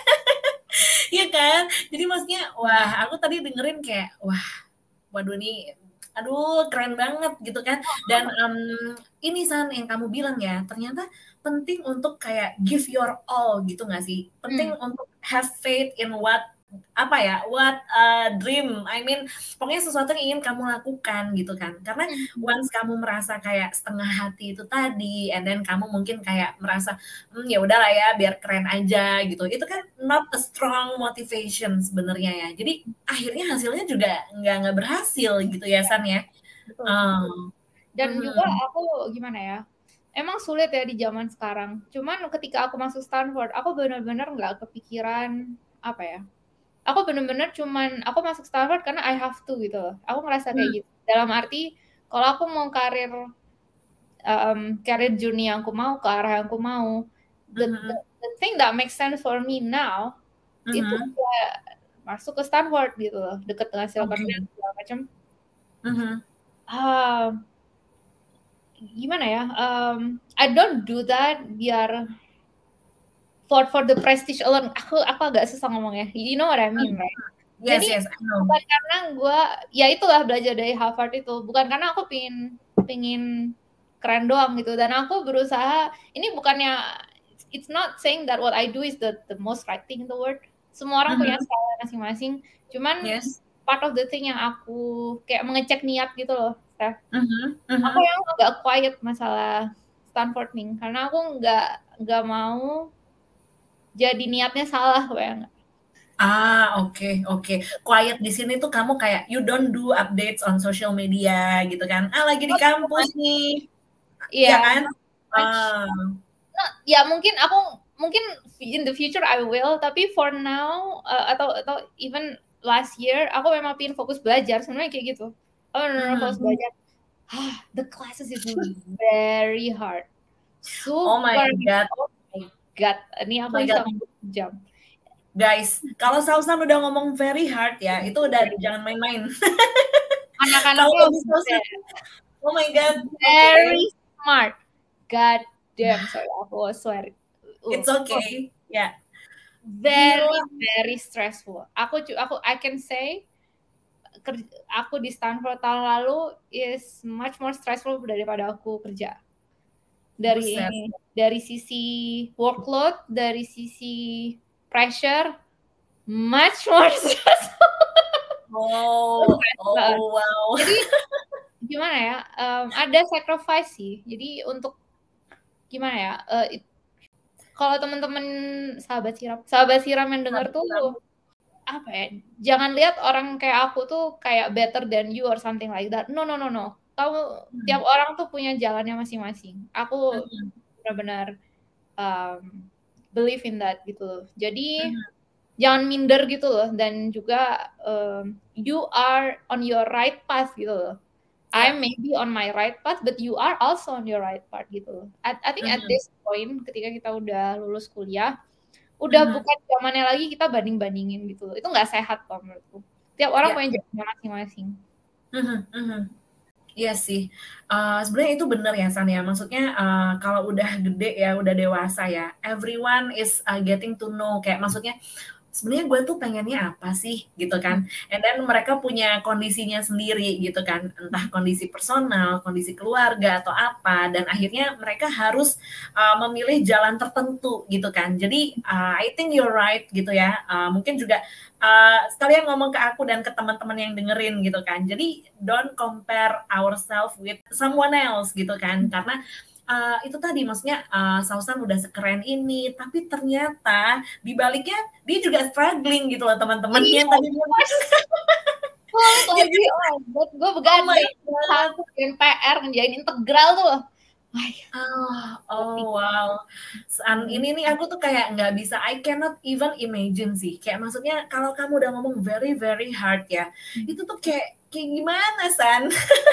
Iya kan? Jadi maksudnya, wah aku tadi dengerin kayak, wah, waduh nih, aduh keren banget gitu kan. Dan um, ini San yang kamu bilang ya, ternyata penting untuk kayak give your all gitu nggak sih? Penting Hmm. untuk have faith in what apa ya, what uh, dream, I mean, pokoknya sesuatu yang ingin kamu lakukan gitu kan. Karena once kamu merasa kayak setengah hati itu tadi, and then kamu mungkin kayak merasa, hmm, ya udahlah ya, biar keren aja gitu. Itu kan not a strong motivation sebenarnya ya. Jadi akhirnya hasilnya juga nggak nggak berhasil gitu ya San ya. Betul. Um, Dan mhm. juga aku gimana ya? Emang sulit ya di zaman sekarang. Cuman ketika aku masuk Stanford, aku benar-benar nggak kepikiran apa ya? Aku benar-benar cuman aku masuk Stanford karena I have to gitu loh. Aku ngerasa kayak Hmm. gitu. Dalam arti kalau aku mau karir um, karir journey yang aku mau ke arah yang aku mau, the, Mhm. the, the thing that makes sense for me now itu Mhm. ya masuk ke Stanford gitu loh, deket dengan Silicon Oke. Valley segala macam. Mhm. Ah, gimana ya? Um, I don't do that biar for for the prestige alone. Aku aku agak susah ngomongnya. You know what I mean, right? Yes, Jadi yes, I know. bukan karena gue, ya itulah belajar dari Harvard itu. Bukan karena aku pingin pingin keren doang gitu. Dan aku berusaha. Ini bukannya, it's not saying that what I do is the the most right thing in the world. Semua orang punya Mhm. style masing-masing. Cuman Yes. part of the thing yang aku kayak mengecek niat gitu loh, Steph. Mhm. Aku Mhm. yang agak quiet masalah Stanford nih, karena aku nggak nggak mau jadi niatnya salah, bayang. Ah, oke, oke. Quiet di sini tuh kamu kayak you don't do updates on social media gitu kan. Ah, lagi di Not too kampus much. nih. Iya Iya, kan? not too much. Ah. Nah, ya mungkin aku mungkin in the future I will, tapi for now uh, atau atau even last year aku memang pengen fokus belajar sebenarnya kayak gitu. Oh, benar-benar fokus Mhm. belajar. Ah, the classes is very hard. Oh my Super. God. Oh my God. Ini Oh aku my bisa God. jam. Guys, kalau Sausan udah ngomong very hard ya, itu udah jangan main-main. Kalau Anak-anaknya dari Sausan, oh my God. very Okay. smart. God damn, sorry, aku swear. Uh, It's okay. Ya. Yeah. Very Gila. very stressful. Aku aku I can say kerja, aku di Stanford tahun lalu is much more stressful daripada aku kerja. Dari Buset. ini, dari sisi workload, dari sisi pressure, much more stressful. Oh, oh wow. Jadi gimana ya? Um, ada sacrifice sih. Jadi untuk gimana ya? Uh, it, kalau teman-teman sahabat siram, sahabat siram yang dengar tuh apa ya, jangan lihat orang kayak aku tuh kayak better than you or something like that. No no no no. Kamu Hmm. tiap orang tuh punya jalannya masing-masing. Aku Mhm. benar-benar um, believe in that gitu loh. Jadi Mhm. jangan minder gitu loh, dan juga um, you are on your right path gitu loh. I Ya. may be on my right path, but you are also on your right path gitu loh. I, I think at Mhm. this point ketika kita udah lulus kuliah, udah Mhm. bukan zamannya lagi kita banding-bandingin gitu loh. Itu nggak sehat kok menurutku. Tiap orang Ya. punya jalannya masing-masing. Mhm. Mhm. Iya sih, eee, sebenarnya itu bener ya, San, ya. Maksudnya, eee, kalau udah gede ya, udah dewasa ya, everyone is, eee, getting to know, kayak maksudnya, sebenarnya gue tuh pengennya apa sih, gitu Hmm. kan. And then mereka punya kondisinya sendiri gitu kan, entah kondisi personal, kondisi keluarga, atau apa, dan akhirnya mereka harus, eee, memilih jalan tertentu gitu kan. Jadi, eee, I think you're right gitu ya, eee, mungkin juga, eee, sekalian ngomong ke aku dan ke teman-teman yang dengerin gitu kan. Jadi don't compare ourselves with someone else gitu kan. Karena, eee, itu tadi maksudnya, eee, Sausan udah sekeren ini, tapi ternyata di baliknya dia juga struggling gitu loh teman-teman Iya, yang tadi bilang sulit ya lagi. kan? Oh my god, gue Oh my begadang God. satu ngerjain P R, ngerjain integral tuh loh. Ay, Oh, oh ngerti. wow. San, Hmm. ini nih aku tuh kayak nggak bisa, I cannot even imagine sih. Kayak maksudnya kalau kamu udah ngomong very very hard ya, itu tuh kayak kayak gimana, San?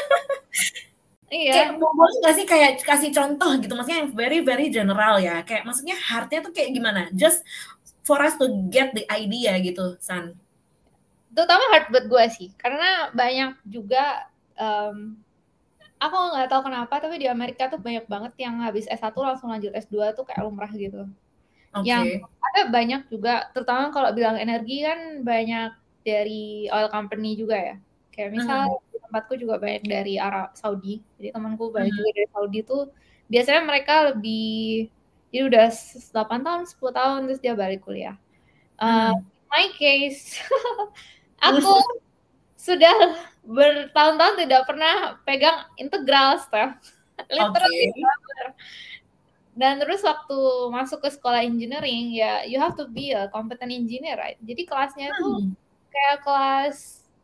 Kayak Iya. mau boleh nggak sih kayak kasih contoh gitu, maksudnya yang very very general ya, kayak maksudnya hard-nya tuh kayak gimana? Just for us to get the idea gitu, San. Terutama hard buat gue sih, karena banyak juga, um, aku nggak tahu kenapa, tapi di Amerika tuh banyak banget yang habis S satu langsung lanjut S dua tuh kayak lumrah gitu. Yang Oke. ada banyak juga, terutama kalau bilang energi kan banyak dari oil company juga ya. Kayak misal Mhm. di tempatku juga banyak dari Arab Saudi. Jadi temanku banyak Mhm. juga dari Saudi tuh biasanya mereka lebih, jadi udah delapan tahun, sepuluh tahun terus dia balik kuliah. Uh, Mhm. my case, aku sudah bertahun-tahun tidak pernah pegang integral, Steph. Literally Oke. never. Dan terus waktu masuk ke sekolah engineering, ya you have to be a competent engineer, right? Jadi kelasnya tuh Hmm. kayak kelas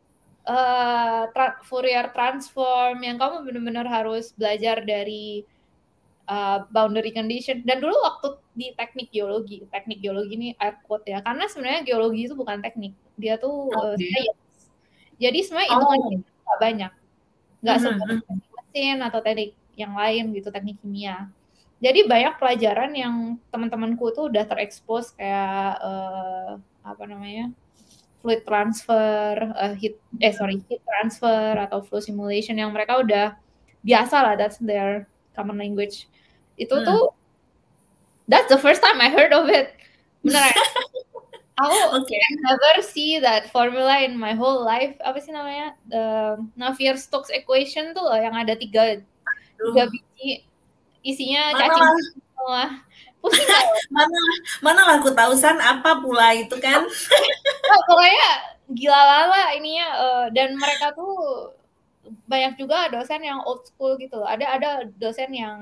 uh, tra- Fourier transform yang kamu benar-benar harus belajar dari uh, boundary condition. Dan dulu waktu di teknik geologi, teknik geologi ini air quote ya, karena sebenarnya geologi itu bukan teknik, dia tuh uh, Oke. science. Jadi sebenarnya hitungannya Oh. nggak banyak, nggak Mhm. seperti Mhm. teknik mesin atau teknik yang lain gitu, teknik kimia. Jadi banyak pelajaran yang teman-temanku tuh udah terekspos kayak uh, apa namanya, fluid transfer, uh, heat eh sorry heat transfer atau flow simulation yang mereka udah biasa lah, that's their common language. Itu Hmm. tuh that's the first time I heard of it. Beneran. Aku Oke. can never see that formula in my whole life. Apa sih namanya? The Navier-Stokes equation tuh loh, yang ada tiga tiga Aduh. biji isinya Mana cacing lah, semua. Pusing gak lo? mana mana lah aku tahu, San, apa pula itu kan? Oh, pokoknya gila lala ininya, uh, dan mereka tuh banyak juga dosen yang old school gitu. Ada ada dosen yang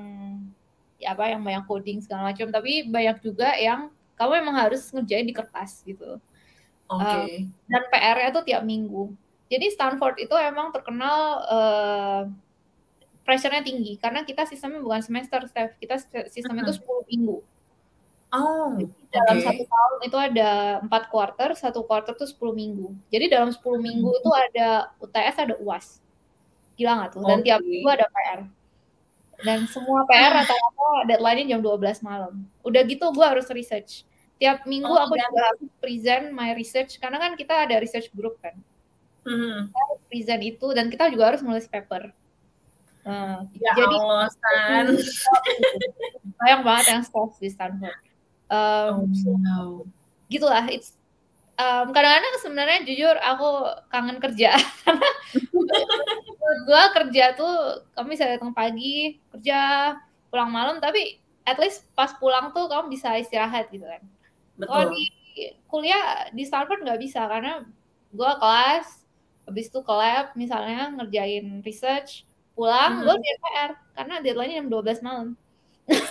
ya apa yang banyak coding segala macam, tapi banyak juga yang kamu emang harus ngerjain di kertas gitu. Uh, Oke. dan P R-nya tuh tiap minggu. Jadi Stanford itu emang terkenal uh, pressure-nya tinggi karena kita sistemnya bukan semester, Steph. Kita sistemnya itu Mhm. sepuluh minggu. Oh, Jadi dalam satu oke. tahun itu ada empat quarter, satu quarter tuh sepuluh minggu. Jadi dalam sepuluh minggu Mhm. itu ada U T S, ada U A S. Gila nggak tuh? Dan tiap minggu Oke. ada P R. Dan semua P R rata-rata deadline-nya jam dua belas malam. Udah gitu gue harus research. Tiap minggu Oh, aku dan juga harus present my research, karena kan kita ada research group kan. Mhm. Kita harus present itu, dan kita juga harus nulis paper. Uh, Ya jadi Allah, San. banyak banget yang stress di Stanford. Oh, Um, so, wow. gitulah, it's um, kadang-kadang sebenarnya jujur aku kangen kerja karena menurut gue kerja tuh kamu bisa datang pagi kerja, pulang malam, tapi at least pas pulang tuh kamu bisa istirahat gitu kan. Kalau di Betul. kuliah di Stanford nggak bisa, karena gue kelas habis itu ke lab misalnya ngerjain research, pulang gue Mhm. ngerjain P R karena deadline-nya jam dua belas malam.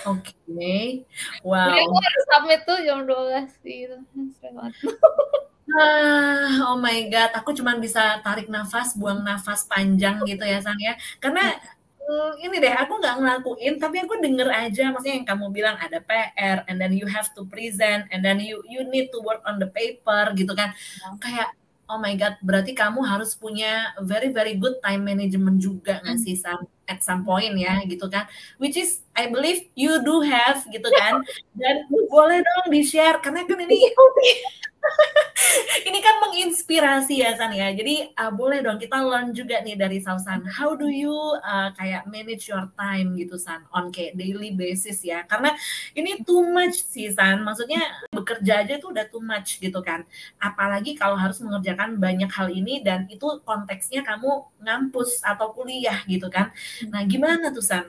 Oke. Jadi aku Wow. harus submit tuh jam dua belas gitu. Sering banget. Ah, oh my God, aku cuman bisa tarik nafas, buang nafas panjang gitu ya, San, ya. Karena, eee, ini deh, aku nggak ngelakuin, tapi aku denger aja, maksudnya yang kamu bilang ada P R, and then you have to present, and then you you need to work on the paper, gitu kan. Kayak, oh my God, berarti kamu harus punya very very good time management juga nggak Mhm. sih, San, at some point ya, gitu kan. Which is I believe you do have, gitu kan. Dan boleh dong di-share, karena kan ini ini kan menginspirasi ya, San, ya. Jadi, uh, boleh dong kita learn juga nih dari Sausan. How do you, uh, kayak manage your time gitu, San, on kayak daily basis ya. Karena ini too much sih, San. Maksudnya bekerja aja tuh udah too much gitu kan. Apalagi kalau harus mengerjakan banyak hal ini dan itu konteksnya kamu ngampus atau kuliah gitu kan. Nah, gimana tuh, San?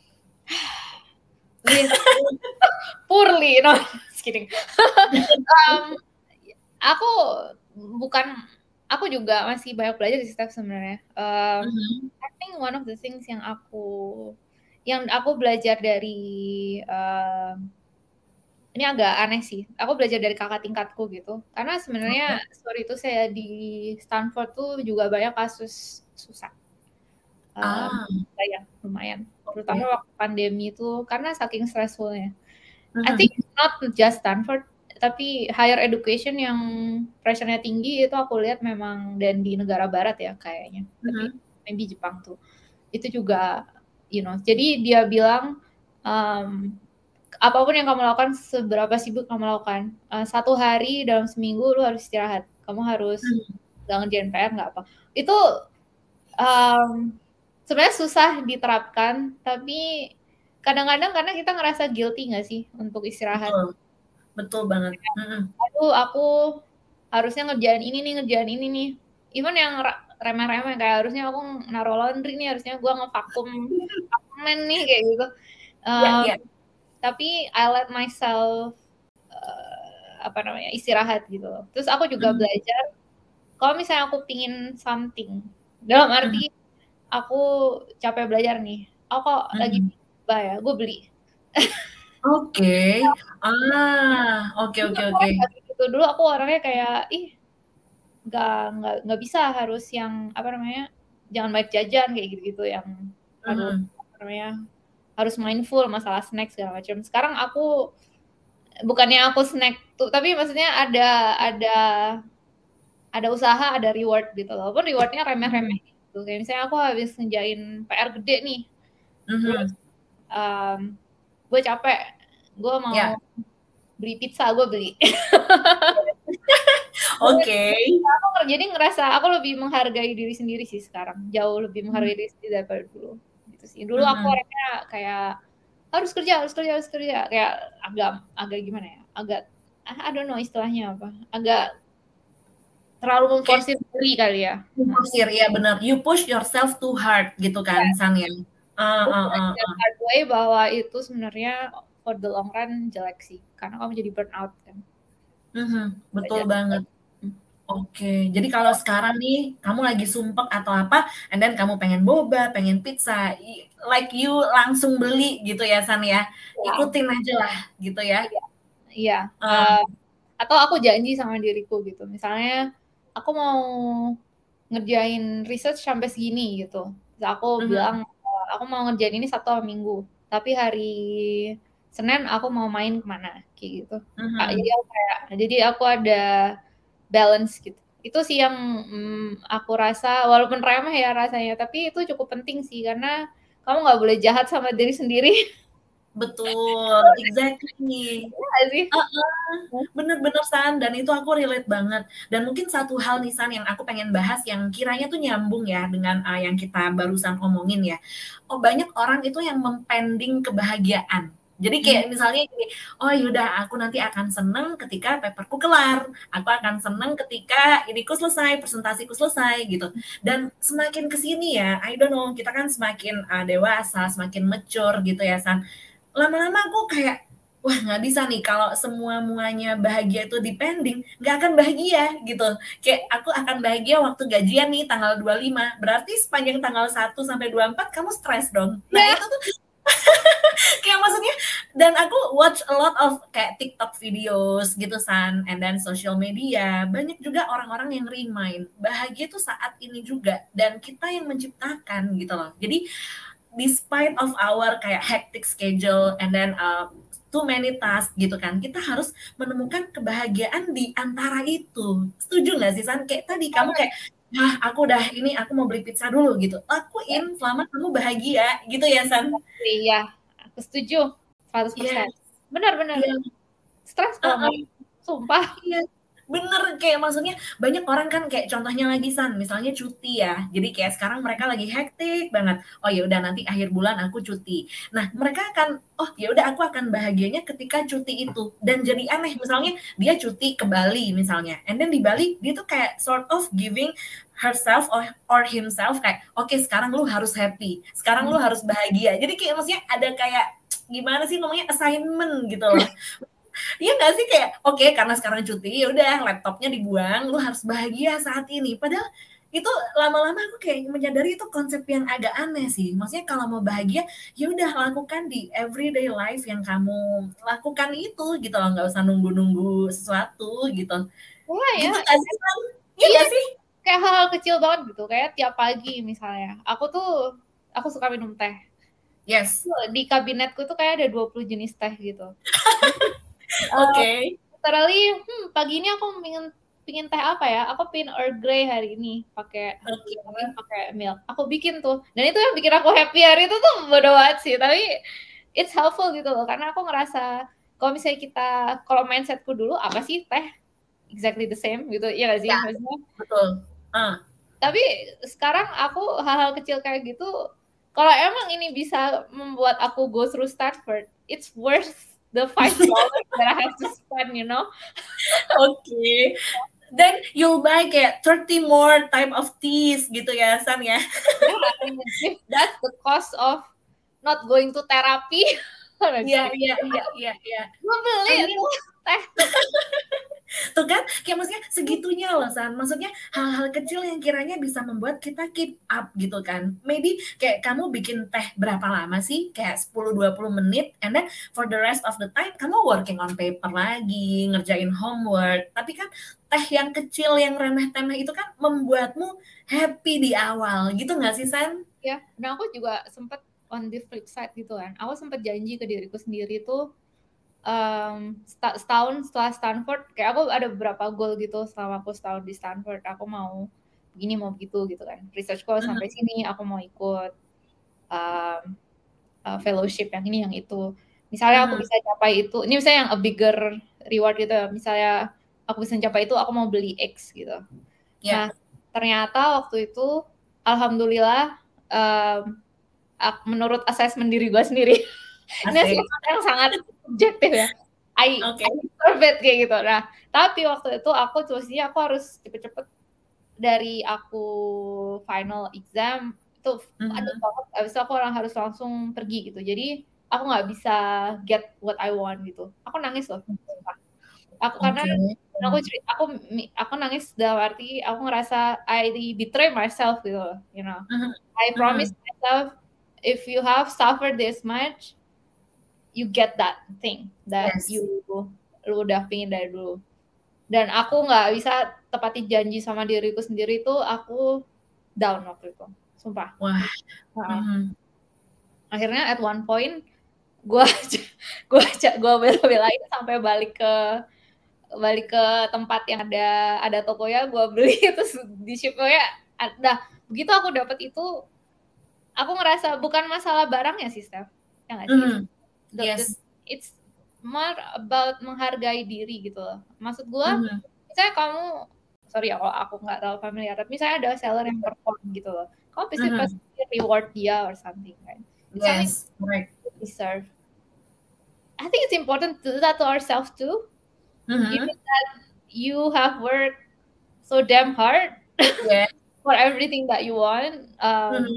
With poorly, no, just kidding. um, aku bukan, aku juga masih banyak belajar di Steph sebenarnya. Um, Mhm. I think one of the things yang aku yang aku belajar dari um, ini agak aneh sih. Aku belajar dari kakak tingkatku gitu. Karena sebenarnya Oke. sorry itu saya di Stanford tuh juga banyak kasus susah. Um, Ah. banyak lumayan. Terutama Oke. waktu pandemi itu karena saking stressful-nya. I Mhm. think not just Stanford, tapi higher education yang pressure-nya tinggi itu aku lihat memang dan di negara barat ya kayaknya. Tapi Mhm. maybe Jepang tuh. Itu juga, you know, jadi dia bilang, um, apapun yang kamu lakukan, seberapa sibuk kamu lakukan, uh, satu hari dalam seminggu lu harus istirahat. Kamu harus Hmm. nggak ngerjain P R, nggak apa. Itu um, sebenarnya susah diterapkan, tapi kadang-kadang karena kita ngerasa guilty nggak sih untuk istirahat. Betul. Betul banget. Mhm. Aduh, aku harusnya ngerjain ini nih, ngerjain ini nih. Even yang remeh-remeh kayak harusnya aku naruh laundry nih, harusnya gua ngevakum apartemen nih kayak gitu. Iya Um, iya. tapi I let myself uh, apa namanya istirahat gitu loh. Terus aku juga Mhm. belajar kalau misalnya aku pingin something, dalam Mhm. arti aku capek belajar nih, aku kok lagi Mhm. ya, gue beli. Oke. Ah, oke Dulu oke aku oke. orangnya nggak kayak gitu, dulu aku orangnya kayak, ih nggak nggak nggak bisa harus yang apa namanya, jangan banyak jajan kayak gitu-gitu, yang harus Mhm. apa namanya, harus mindful masalah snack segala macam. Sekarang aku bukannya aku snack tuh, tapi maksudnya ada ada ada usaha, ada reward gitu loh. Walaupun reward-nya remeh-remeh Mhm. gitu. Kayak misalnya aku habis ngerjain P R gede nih, terus Mhm. um, gue capek, gue Ya. mau beli pizza, gue beli. Oke. Aku jadi ngerasa aku lebih menghargai diri sendiri sih sekarang, jauh lebih Mmm. menghargai diri sendiri daripada dulu, gitu sih. Dulu aku Mhm. orangnya kayak harus kerja harus kerja harus kerja, kayak agak agak gimana ya, agak I don't know istilahnya apa, agak terlalu Kayak memforsir diri kali ya. Nah, memforsir, iya bener. You push yourself too hard gitu iya, kan, San, ya? Eee gue eee eee belajar eee. hard way bahwa itu sebenarnya for the long run jelek sih, karena kamu jadi burn out kan. Mhm, betul Belajar. banget. Oke, jadi kalau sekarang nih kamu lagi sumpek atau apa, and then kamu pengen boba, pengen pizza, i like you langsung beli gitu ya, San, ya? Iya. Ikutin ajalah gitu ya? Iya, iya, Eee. eee, atau aku janji sama diriku gitu, misalnya aku mau ngerjain research sampai segini gitu, terus aku bilang, Mhm. eee, aku mau ngerjain ini Sabtu sama Minggu, tapi hari Senin aku mau main ke mana, kayak gitu. Kak, jadi Mhm. aku kayak jadi aku ada balance gitu. Itu sih yang, mmm, aku rasa walaupun remeh ya rasanya, tapi itu cukup penting sih, karena kamu nggak boleh jahat sama diri sendiri. Betul, exactly. Iya nggak sih? Heeh, bener bener, San, dan itu aku relate banget. Dan mungkin satu hal nih, San, yang aku pengen bahas yang kiranya tuh nyambung ya dengan, eee, yang kita barusan omongin ya. Oh, banyak orang itu yang mempending kebahagiaan. Jadi Mmm. kayak misalnya gini, "Oh, ya udah aku nanti akan seneng ketika paper-ku kelar, aku akan seneng ketika iniku selesai, presentasiku selesai," gitu. Dan semakin ke sini ya, I don't know, kita kan semakin, eee, dewasa, semakin mature gitu ya, San. Lama-lama aku kayak, wah nggak bisa nih kalau semua-muanya bahagia itu dipending, nggak akan bahagia gitu. Kayak aku akan bahagia waktu gajian nih tanggal dua puluh lima, berarti sepanjang tanggal satu sampai dua puluh empat kamu stres dong. Nah Iya. itu tuh kayak maksudnya dan aku watch a lot of kayak TikTok videos gitu San, and then social media. Banyak juga orang-orang yang remind bahagia tuh saat ini juga dan kita yang menciptakan gitu loh. Jadi despite of our kayak hectic schedule and then uh, too many tasks gitu kan, kita harus menemukan kebahagiaan di antara itu. Setuju nggak sih San? Kayak tadi kamu kayak, ah aku udah ini aku mau beli pizza dulu gitu. Lakuin selama kamu bahagia gitu ya San. Iya, aku setuju seratus persen. Yes. Benar-benar. Iya. Stres kalau Uh-uh. nggak, sumpah. Iya, bener. Kayak maksudnya banyak orang kan kayak contohnya lagi San, misalnya cuti ya. Jadi kayak sekarang mereka lagi hektik banget. Oh ya udah nanti akhir bulan aku cuti. Nah, mereka akan oh ya udah aku akan bahagianya ketika cuti itu. Dan jadi aneh misalnya dia cuti ke Bali misalnya. And then di Bali dia tuh kayak sort of giving herself or, or himself kayak oke okay, sekarang lu harus happy. Sekarang lu harus bahagia. Jadi kayak maksudnya ada kayak gimana sih namanya assignment gitu loh. Iya nggak sih kayak oke okay, karena sekarang cuti ya udah laptopnya dibuang, lu harus bahagia saat ini. Padahal itu lama-lama aku kayak menyadari itu konsep yang agak aneh sih. Maksudnya kalau mau bahagia ya udah lakukan di everyday life yang kamu lakukan itu gitu loh, nggak usah nunggu-nunggu sesuatu gitu. Wah, gitu ya. nggak sih San? Iya nggak sih? Kayak hal-hal kecil banget gitu, kayak tiap pagi misalnya. Aku tuh aku suka minum teh. Yes. Di kabinetku tuh kayak ada dua puluh jenis teh gitu. Oke. Okay. Uh, literally, hmm, pagi ini aku pingin pingin teh apa ya? Aku pingin Earl Grey hari ini pakai okay. pakai milk. Aku bikin tuh. Dan itu yang bikin aku happy hari itu tuh bodo banget sih. Tapi it's helpful gitu loh. Karena aku ngerasa kalau misalnya kita, kalau mindsetku dulu apa sih teh? Exactly the same gitu. Iya gak sih? Ya, maksudnya? betul. Uh. Tapi sekarang aku hal-hal kecil kayak gitu, kalau emang ini bisa membuat aku go through Stanford, it's worth the five dollars that I have to spend, you know? Oke. Okay. Then you'll buy kayak thirty more type of teas gitu ya, San ya? Yeah, that's the cost of not going to therapy. Iya, iya, iya, iya, iya. Gue beli tuh teh. Tuh kan, kayak maksudnya segitunya loh San. Maksudnya hal-hal kecil yang kiranya bisa membuat kita keep up gitu kan. Maybe kayak kamu bikin teh berapa lama sih? Kayak sepuluh dua puluh menit. And then for the rest of the time, kamu working on paper lagi, ngerjain homework. Tapi kan teh yang kecil, yang remeh-temeh itu kan membuatmu happy di awal. Gitu gak sih San? Ya, nah aku juga sempat on the flip side gitu kan. Aku sempat janji ke diriku sendiri tuh, Um, setahun setelah Stanford, kayak aku ada beberapa goal gitu selama aku setahun di Stanford. Aku mau begini, mau begitu gitu kan. Research goal sampai sini, aku mau ikut um, uh, fellowship yang ini, yang itu. Misalnya aku bisa capai itu, ini misalnya yang a bigger reward gitu ya. Misalnya aku bisa capai itu, aku mau beli X gitu. Yeah. Nah, ternyata waktu itu, alhamdulillah, um, menurut assessment diri gue sendiri, ini assessment yang sangat objektif ya. I, okay. I deserve it kayak gitu. Nah, tapi waktu itu aku tulisnya aku harus cepet-cepet dari aku final exam itu mm-hmm. ada banget. Abis itu aku orang harus langsung pergi gitu. Jadi aku nggak bisa get what I want gitu. Aku nangis loh. Aku okay. karena aku aku aku nangis dalam arti aku ngerasa I betray myself gitu loh, you know. Mm-hmm. I promise mm-hmm. myself if you have suffered this much, you get that thing that yes. you lu udah pingin dari dulu. Dan aku nggak bisa tepati janji sama diriku sendiri tuh, aku down waktu itu, sumpah. Wah. Nah, mm-hmm. akhirnya at one point gue gue gue bela-belain sampai balik ke balik ke tempat yang ada ada tokonya, gue beli terus di shipnya ada. Begitu aku dapat itu, aku ngerasa bukan masalah barangnya sih, Steph, ya nggak sih? Mm-hmm. The, yes. the, it's more about menghargai diri gitu loh. Maksud gue, mm-hmm. misalnya kamu, sorry ya kalau aku nggak tahu familiar, tapi misalnya ada seller yang perform gitu loh, kamu pasti mm-hmm. pasti reward dia or something kan? Yes, right. Deserve. I think it's important to do that to ourselves too. Mm-hmm. Given that you have worked so damn hard yeah. for everything that you want, um, mm-hmm.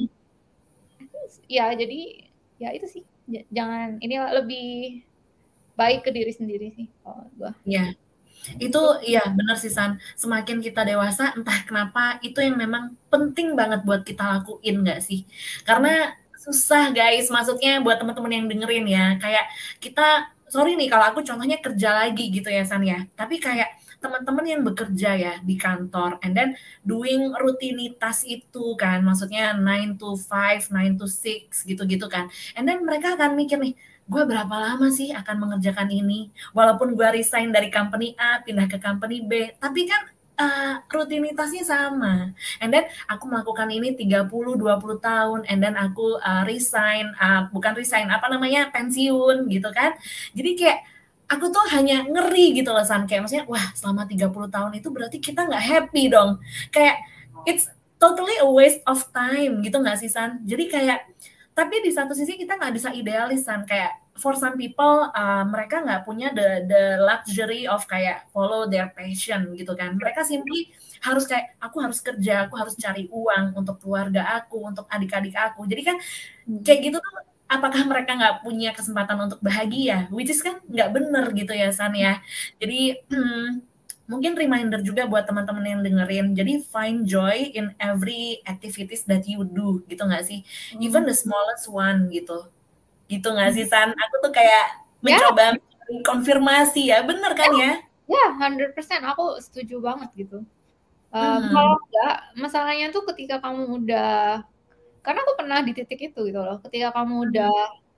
ya jadi ya itu sih. Jangan, ini lebih baik ke diri sendiri sih kalau gue. Iya, itu ya benar sih San. Semakin kita dewasa, entah kenapa itu yang memang penting banget buat kita lakuin nggak sih? Karena susah guys, maksudnya buat teman-teman yang dengerin ya, kayak kita sorry nih kalau aku contohnya kerja lagi gitu ya San ya, tapi kayak teman-teman yang bekerja ya di kantor and then doing rutinitas itu kan, maksudnya nine to five, nine to six gitu-gitu kan, and then mereka akan mikir nih, gue berapa lama sih akan mengerjakan ini, walaupun gue resign dari company A pindah ke company B, tapi kan uh, rutinitasnya sama, and then aku melakukan ini tiga puluh dua puluh tahun and then aku uh, resign uh, bukan resign apa namanya pensiun gitu kan. Jadi kayak aku tuh hanya ngeri gitu loh San, kayak maksudnya wah selama tiga puluh tahun itu berarti kita nggak happy dong, kayak it's totally a waste of time gitu nggak sih San. Jadi kayak tapi di satu sisi kita nggak bisa idealis San, kayak for some people uh, mereka nggak punya the the luxury of kayak follow their passion gitu kan, mereka simply harus kayak aku harus kerja, aku harus cari uang untuk keluarga aku, untuk adik-adik aku. Jadi kan kayak gitu tuh apakah mereka nggak punya kesempatan untuk bahagia? Which is kan nggak bener gitu ya San ya. Jadi hmm, mungkin reminder juga buat teman-teman yang dengerin. Jadi find joy in every activities that you do gitu nggak sih? Even the smallest one gitu. Gitu nggak sih San? Aku tuh kayak mencoba yeah. konfirmasi ya, bener kan ya? Ya, yeah, one hundred percent aku setuju banget gitu. Um, hmm. Kalau enggak, masalahnya tuh ketika kamu udah, karena aku pernah di titik itu gitu loh, ketika kamu hmm. udah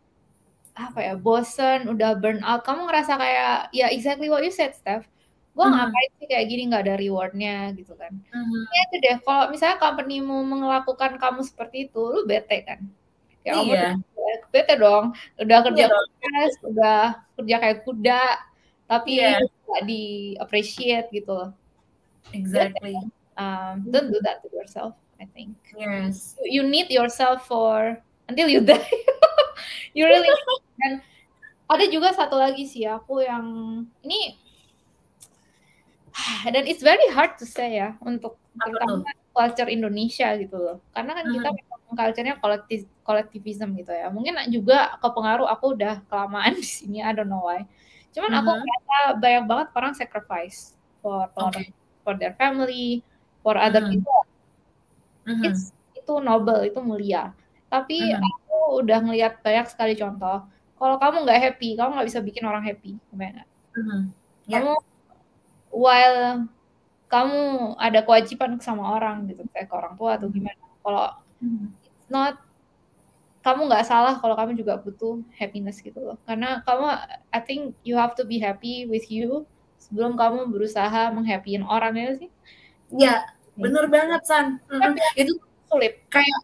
apa ya, bosen, udah burn out, kamu ngerasa kayak ya exactly what you said, Steph. Gue hmm. ngapain sih kayak gini, nggak ada rewardnya gitu kan. Hmm. Ya itu deh, kalau misalnya company-mu melakukan kamu seperti itu, lu bete kan. Ya iya. Kamu bete dong, udah kerja iya keras, udah kerja kayak kuda, tapi yeah. nggak di appreciate gitu loh. Exactly. Um, don't do that to yourself, I think. Yes. You, you need yourself for until you die. You really. Dan ada juga satu lagi sih aku yang ini, dan it's very hard to say ya untuk terutama culture Indonesia gitu loh. Karena kan kita memang culture-nya kolektif kolektivism gitu ya. Mungkin juga kepengaruh aku udah kelamaan di sini, I don't know why. Cuman aku merasa banyak banget orang sacrifice for for, okay. for their family, for other mm-hmm. people. Mm-hmm. It's, itu noble, itu mulia. Tapi mm-hmm. aku udah ngelihat banyak sekali contoh. Kalau kamu nggak happy, kamu nggak bisa bikin orang happy, gimana? Mm-hmm. Yeah. Kamu while kamu ada kewajiban sama orang gitu, kayak ke orang tua atau gimana. Kalau mm-hmm. it's not, kamu nggak salah kalau kamu juga butuh happiness gitu loh. Karena kamu, I think you have to be happy with you sebelum kamu berusaha menghappyin orang ya sih. Ya, bener banget San. Mm-hmm. Itu sulit. Kayak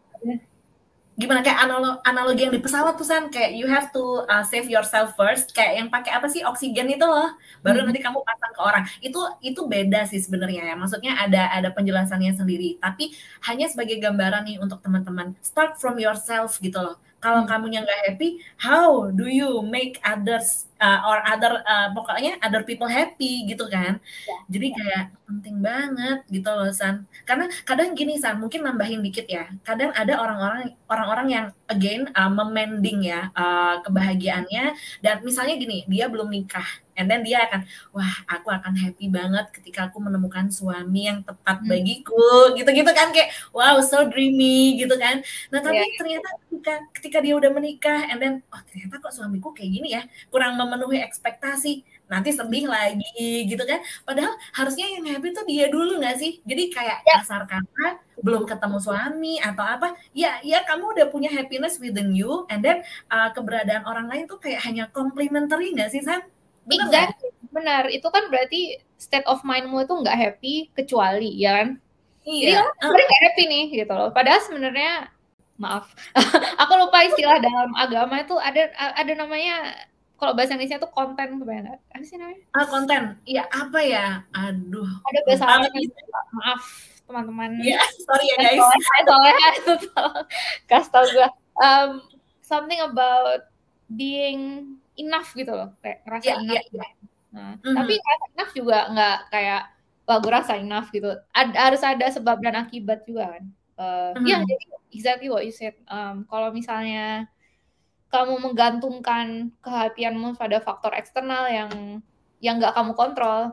gimana, kayak analog, analogi yang di pesawat tuh San, kayak you have to uh, save yourself first, kayak yang pakai apa sih, oksigen itu loh, baru hmm. nanti kamu pasang ke orang. Itu itu beda sih sebenarnya ya, maksudnya ada ada penjelasannya sendiri, tapi hanya sebagai gambaran nih untuk teman-teman, start from yourself gitu loh. Kalau hmm. kamunya nggak happy, how do you make others uh, or other uh, pokoknya other people happy gitu kan? Ya. Jadi kayak penting banget gitu loh San. Karena kadang gini San, mungkin nambahin dikit ya. Kadang ada orang-orang orang-orang yang again uh, memending ya uh, kebahagiaannya, dan misalnya gini, dia belum nikah. And then dia akan, wah aku akan happy banget ketika aku menemukan suami yang tepat hmm. bagiku, gitu-gitu kan, kayak wow so dreamy gitu kan. Nah tapi yeah. ternyata ketika, ketika dia udah menikah, and then oh ternyata kok suamiku kayak gini ya, kurang memenuhi ekspektasi, nanti sedih lagi gitu kan. Padahal harusnya yang happy tuh dia dulu nggak sih? Jadi kayak yeah. kasar kata belum ketemu suami atau apa, ya ya kamu udah punya happiness within you, and then uh, keberadaan orang lain tuh kayak hanya complimentary nggak sih San? Benar, exactly. Benar. Itu kan berarti state of mind-mu itu nggak happy kecuali, ya kan? Iya. Jadi sebenarnya nggak happy nih, gitu loh. Padahal sebenarnya, maaf, aku lupa istilah dalam agama itu ada ada namanya, kalau bahasa Inggrisnya tuh konten, kebanyakan. Apa sih namanya? Ah, konten. Iya, apa ya? Aduh. Ada bahasa Arabnya, maaf teman-teman. Iya, sorry ya guys. Soalnya itu kasih tau gue. Um, something about being enough gitu loh, kayak ngerasa yeah, enough. Yeah, yeah. Nah, mm-hmm. Tapi ngerasa enough juga nggak kayak, wah gue rasa enough gitu. Ad, harus ada sebab dan akibat juga kan. Uh, mm-hmm. Ya jadi exactly what you said. Um, kalau misalnya kamu menggantungkan kehappianmu pada faktor eksternal yang yang nggak kamu kontrol,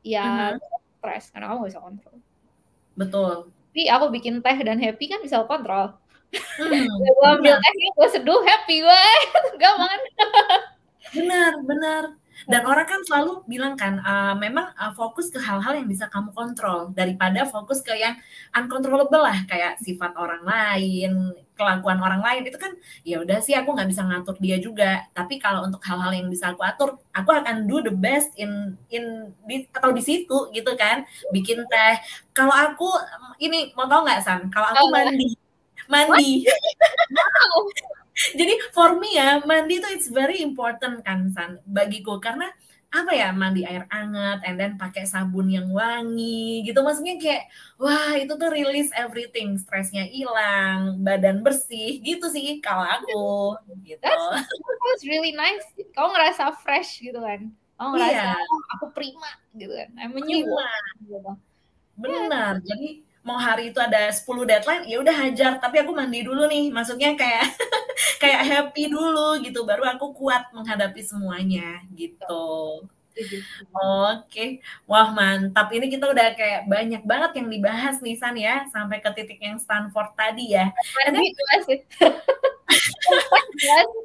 ya mm-hmm. stres karena kamu nggak bisa kontrol. Betul. Tapi aku bikin teh dan happy kan bisa kontrol. Mhm, Gue ambil benar. tehnya, gue seduh, happy gue, gampang. Benar, benar. Dan orang kan selalu bilang kan, eee, memang, eee, fokus ke hal-hal yang bisa kamu kontrol, daripada fokus ke yang uncontrollable lah, kayak sifat orang lain, kelakuan orang lain, itu kan, ya udah sih aku nggak bisa ngatur dia juga. Tapi kalau untuk hal-hal yang bisa aku atur, aku akan do the best in in di atau di situ gitu kan, bikin teh. Kalau aku, ini mau tahu nggak San, kalau aku Uh, mandi what? mandi. Wow. Jadi for me ya, mandi itu it's very important kan San, bagiku. Karena apa ya, mandi air hangat and then pakai sabun yang wangi gitu. Maksudnya kayak, wah itu tuh release everything, stresnya hilang, badan bersih gitu sih kalau aku, gitu. That's, that's really nice. Kamu ngerasa fresh gitu kan. Kamu ngerasa, Iya, oh, aku prima gitu kan. I'm a new prima, woman gitu. Yeah. benar. Jadi mau hari itu ada sepuluh deadline, ya udah hajar, tapi aku mandi dulu nih. Maksudnya kayak kayak happy dulu gitu, baru aku kuat menghadapi semuanya gitu. Setuju, setuju. Oke, wah mantap. Ini kita udah kayak banyak banget yang dibahas nih San ya, sampai ke titik yang Stanford tadi ya. And Mandi then, jelas sih. Jelas.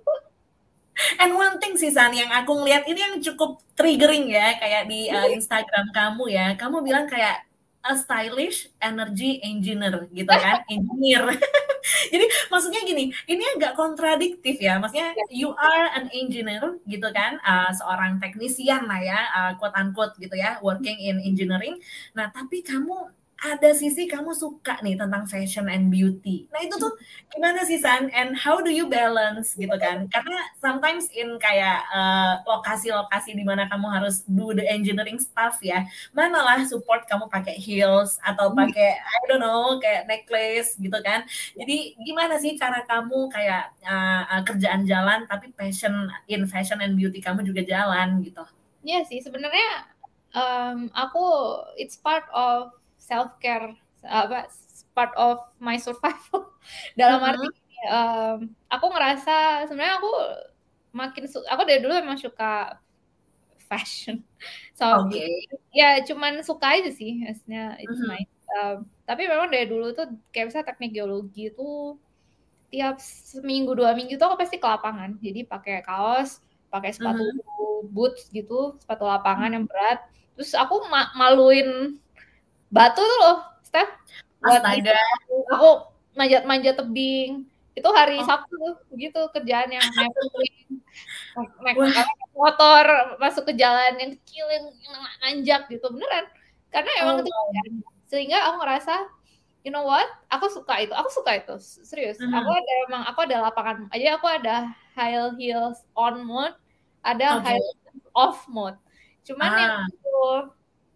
and one thing sih San, yang aku ngeliat ini yang cukup triggering ya, kayak di uh, Instagram kamu ya. Kamu bilang kayak a stylish energy engineer gitu kan, engineer. Jadi maksudnya gini, ini agak kontradiktif ya. Maksudnya you are an engineer gitu kan, uh, seorang teknisian lah ya, uh, quote unquote gitu ya, working in engineering. Nah, tapi kamu ada sisi kamu suka nih tentang fashion and beauty. Nah, itu tuh gimana sih San? And how do you balance gitu kan? Karena sometimes in kayak uh, lokasi-lokasi di mana kamu harus do the engineering stuff ya, manalah support kamu pakai heels atau pakai I don't know kayak necklace gitu kan. Jadi gimana sih cara kamu kayak uh, uh, kerjaan jalan tapi passion in fashion and beauty kamu juga jalan gitu? Iya sih, sebenarnya um, aku it's part of self care, apa part of my survival. Dalam arti Mm-hmm. um, aku ngerasa sebenarnya aku makin su- aku dari dulu emang suka fashion sama Oke. beauty. Ya cuman suka aja sih, maksudnya it's Mm-hmm. nice. Um, tapi memang dari dulu tuh kayak misalnya teknik geologi itu tiap seminggu dua minggu tuh aku pasti ke lapangan. Jadi pakai kaos, pakai sepatu Mm-hmm. boots gitu, sepatu lapangan yang berat. Terus aku ma- maluin batu tuh loh, Steph. Buat itu Astaga. aku manjat-manjat tebing. Itu hari Oh, Sabtu tuh, begitu kerjaan yang nepelin, naik, wah. naik motor masuk ke jalan yang kecil yang nanjak gitu beneran. Karena emang Oh, itu wow. sehingga aku ngerasa you know what? Aku suka itu. Aku suka itu. Serius. Aku Mm-hmm. ada emang aku ada lapangan. Aja aku ada high heels on mode, ada Oke. high heels off mode. Cuman yang Ah, aku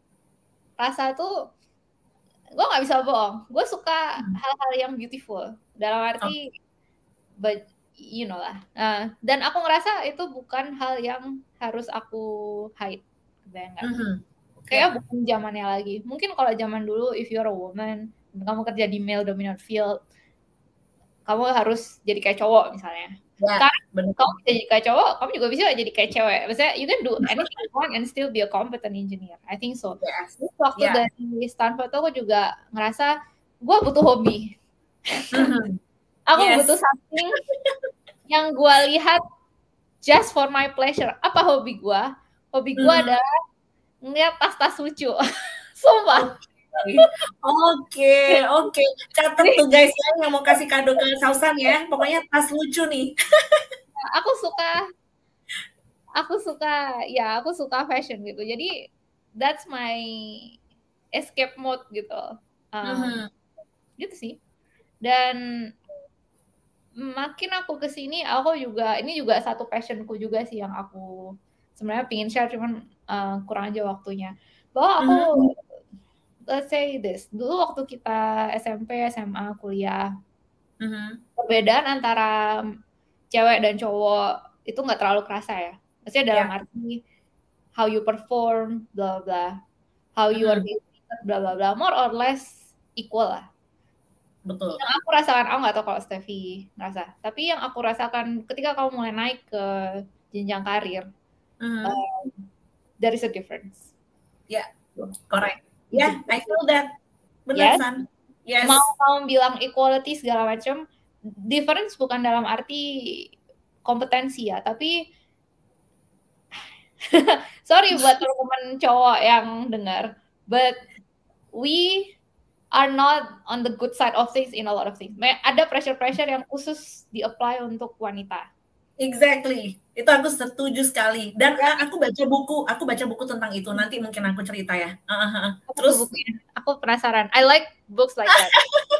rasa tuh gue nggak bisa bohong. Gue suka hmm. hal-hal yang beautiful. Dalam Oh, arti but you know lah. Uh, dan aku ngerasa itu bukan hal yang harus aku hide. Kebayang nggak? mm-hmm. Kayak Ya, bukan zamannya lagi. Mungkin kalau zaman dulu if you're a woman, kamu kerja di male dominant field, kamu harus jadi kayak cowok misalnya. ya, Sekarang benar. kamu bisa jadi kayak cowok, kamu juga bisa jadi kayak cewek. Maksudnya you can do anything you want and still be a competent engineer. I think so. Yes. Terus waktu Ya. dari Stanford tuh aku juga ngerasa gue butuh hobi. Mm-hmm. Aku butuh Yes. something yang gue lihat just for my pleasure. Apa hobi gue? Hobi gue Mm-hmm. adalah ngeliat tas-tas lucu. Sumpah. Oke, oke, oke. Catet tuh guys ya yang mau kasih kado ke Sausan ya. Pokoknya tas lucu nih. Aku suka aku suka ya aku suka fashion gitu jadi that's my escape mode gitu um, Mm-hmm. gitu sih dan makin aku kesini aku juga ini juga satu passionku juga sih yang aku sebenarnya pingin share cuman uh, kurang aja waktunya bahwa aku Mm-hmm. let's say this dulu waktu kita S M P S M A kuliah Mm-hmm. perbedaan antara cewek dan cowok itu nggak terlalu kerasa ya maksudnya dalam Ya. arti how you perform, blah blah, how you are Mm-hmm. being treated, blah blah blah, more or less equal lah. Betul. Yang aku rasakan, aku nggak tahu kalau Steffi ngerasa, tapi yang aku rasakan ketika kamu mulai naik ke jenjang karir, Mm-hmm. uh, there is a difference. Ya, yeah. Correct. Ya, yeah, I feel that. Benar, Yes. San. Yes. Mau kamu bilang equality segala macam, difference bukan dalam arti kompetensi ya, tapi sorry buat teman-teman cowok yang dengar, but we are not on the good side of things in a lot of things. Ada pressure-pressure yang khusus di-apply untuk wanita. Exactly, itu aku setuju sekali. Dan ya. aku baca buku, aku baca buku tentang itu. Nanti mungkin aku cerita ya. Uh-huh. Terus, bukunya. Aku penasaran. I like books like that.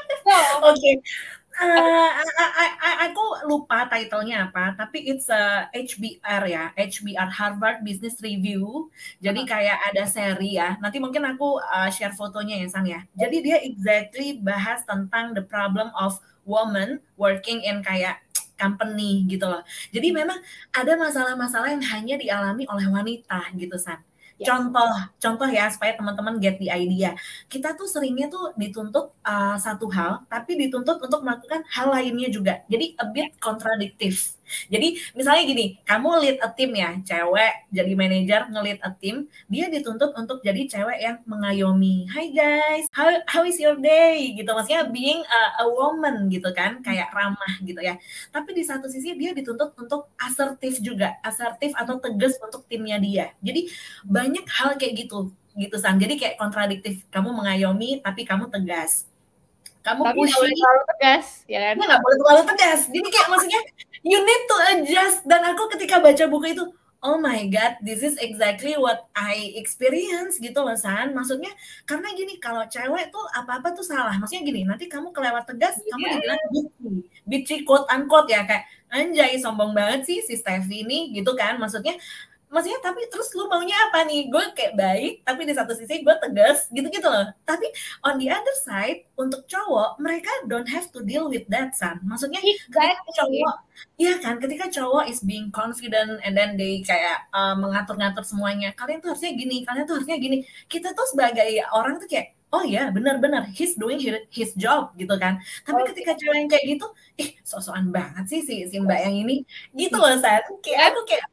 So, Oke. Okay. Uh, I, I, aku lupa title-nya apa, tapi it's a H B R ya, H B R Harvard Business Review. Jadi kayak ada seri ya. Nanti mungkin aku uh, share fotonya ya, San ya. Jadi dia exactly bahas tentang the problem of woman working in kayak company gitu loh. Jadi memang ada masalah-masalah yang hanya dialami oleh wanita gitu, San. Yes. Contoh, contoh ya supaya teman-teman get the idea. Kita tuh seringnya tuh dituntut uh, satu hal, tapi dituntut untuk melakukan hal lainnya juga. Jadi a bit kontradiktif. Jadi misalnya gini, kamu lead a team ya, cewek jadi manajer nge-lead a team, dia dituntut untuk jadi cewek yang mengayomi. Hi guys, how how is your day? Gitu, maksudnya being a, a woman gitu kan, kayak ramah gitu ya. Tapi di satu sisi dia dituntut untuk asertif juga, asertif atau tegas untuk timnya dia. Jadi banyak hal kayak gitu, gitu San. Jadi kayak kontradiktif, kamu mengayomi tapi kamu tegas. Kamu tapi pushy, nggak boleh terlalu tegas, ya kan? Nggak boleh terlalu tegas. Jadi kayak maksudnya you need to adjust. Dan aku ketika baca buku itu, oh my god, this is exactly what I experience gitu loh, San. Maksudnya karena gini, kalau cewek tuh apa-apa tuh salah. Maksudnya gini, nanti kamu kelewat tegas, yeah. kamu dibilang bitchy, bitchy quote unquote ya, kayak anjay sombong banget sih si Steffi ini gitu kan. Maksudnya maksudnya tapi terus lu maunya apa nih? Gue kayak baik, tapi di satu sisi gue tegas, gitu-gitu loh. Tapi on the other side, untuk cowok, mereka don't have to deal with that, San. Maksudnya exactly. ketika cowok, iya kan, ketika cowok is being confident and then they kayak uh, mengatur-ngatur semuanya, kalian tuh harusnya gini, kalian tuh harusnya gini. Kita tuh sebagai orang tuh kayak, oh ya benar-benar, he's doing his job gitu kan. Tapi oh, ketika cewek yang kayak gitu, ih sok-sokan banget sih si, si mbak yang ini, gitu loh, San. Kayak aku kayak,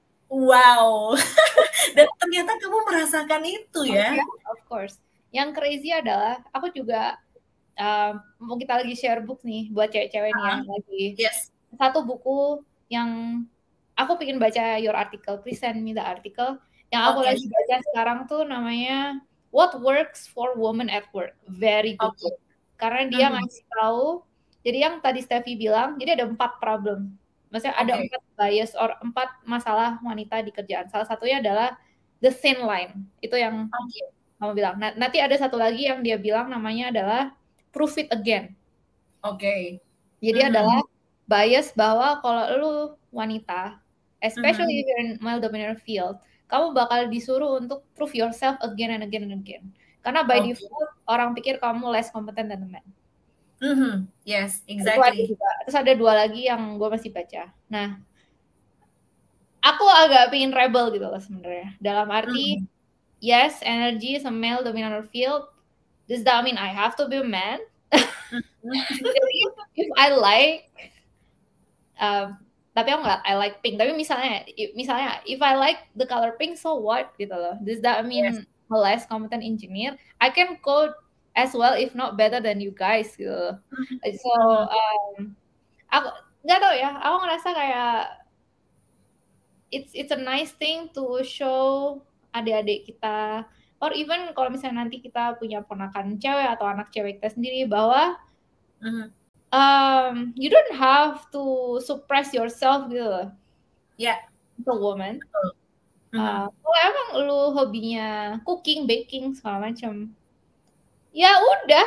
wow, dan ternyata kamu merasakan itu ya? Oh, yeah, of course. Yang crazy adalah aku juga uh, mau kita lagi share book nih buat cewek-cewek uh, nih yang lagi. Yes. Satu buku yang aku pengen baca your article, please send me the article. Yang aku okay. lagi baca sekarang tuh namanya What Works for Women at Work. Very good okay. book. Karena dia mm-hmm. ngasih tahu. Jadi yang tadi Steffi bilang, jadi ada empat problem. Maksudnya okay. ada empat bias or empat masalah wanita di kerjaan. Salah satunya adalah the thin line. Itu yang okay. kamu bilang. Nah, nanti ada satu lagi yang dia bilang namanya adalah prove it again. Oke. Okay. Jadi mm-hmm. adalah bias bahwa kalau lu wanita, especially mm-hmm. if you're in male-dominated field, kamu bakal disuruh untuk prove yourself again and again and again. Karena by okay. default, orang pikir kamu less competent than the man. Mm-hmm. Yes, exactly. Terus ada dua lagi yang gue masih baca. Nah, aku agak pengen rebel gitu loh sebenarnya. Dalam arti, mm-hmm. yes, energy is a male dominant field. Does that mean I have to be a man? Jadi, if I like, um, tapi aku nggak, I like pink. Tapi misalnya, misalnya, if I like the color pink, so what gitu loh? Does that mean yes. a less competent engineer? I can code as well, if not better than you guys gitu. So, um, aku nggak tahu ya. Aku ngerasa kayak it's it's a nice thing to show adik-adik kita, or even kalau misalnya nanti kita punya ponakan cewek atau anak cewek kita sendiri bahwa mm-hmm. um, you don't have to suppress yourself gitu. Ya. Yeah. As a woman. Mm-hmm. Uh, kalau emang lu hobinya cooking, baking segala macam. Ya udah,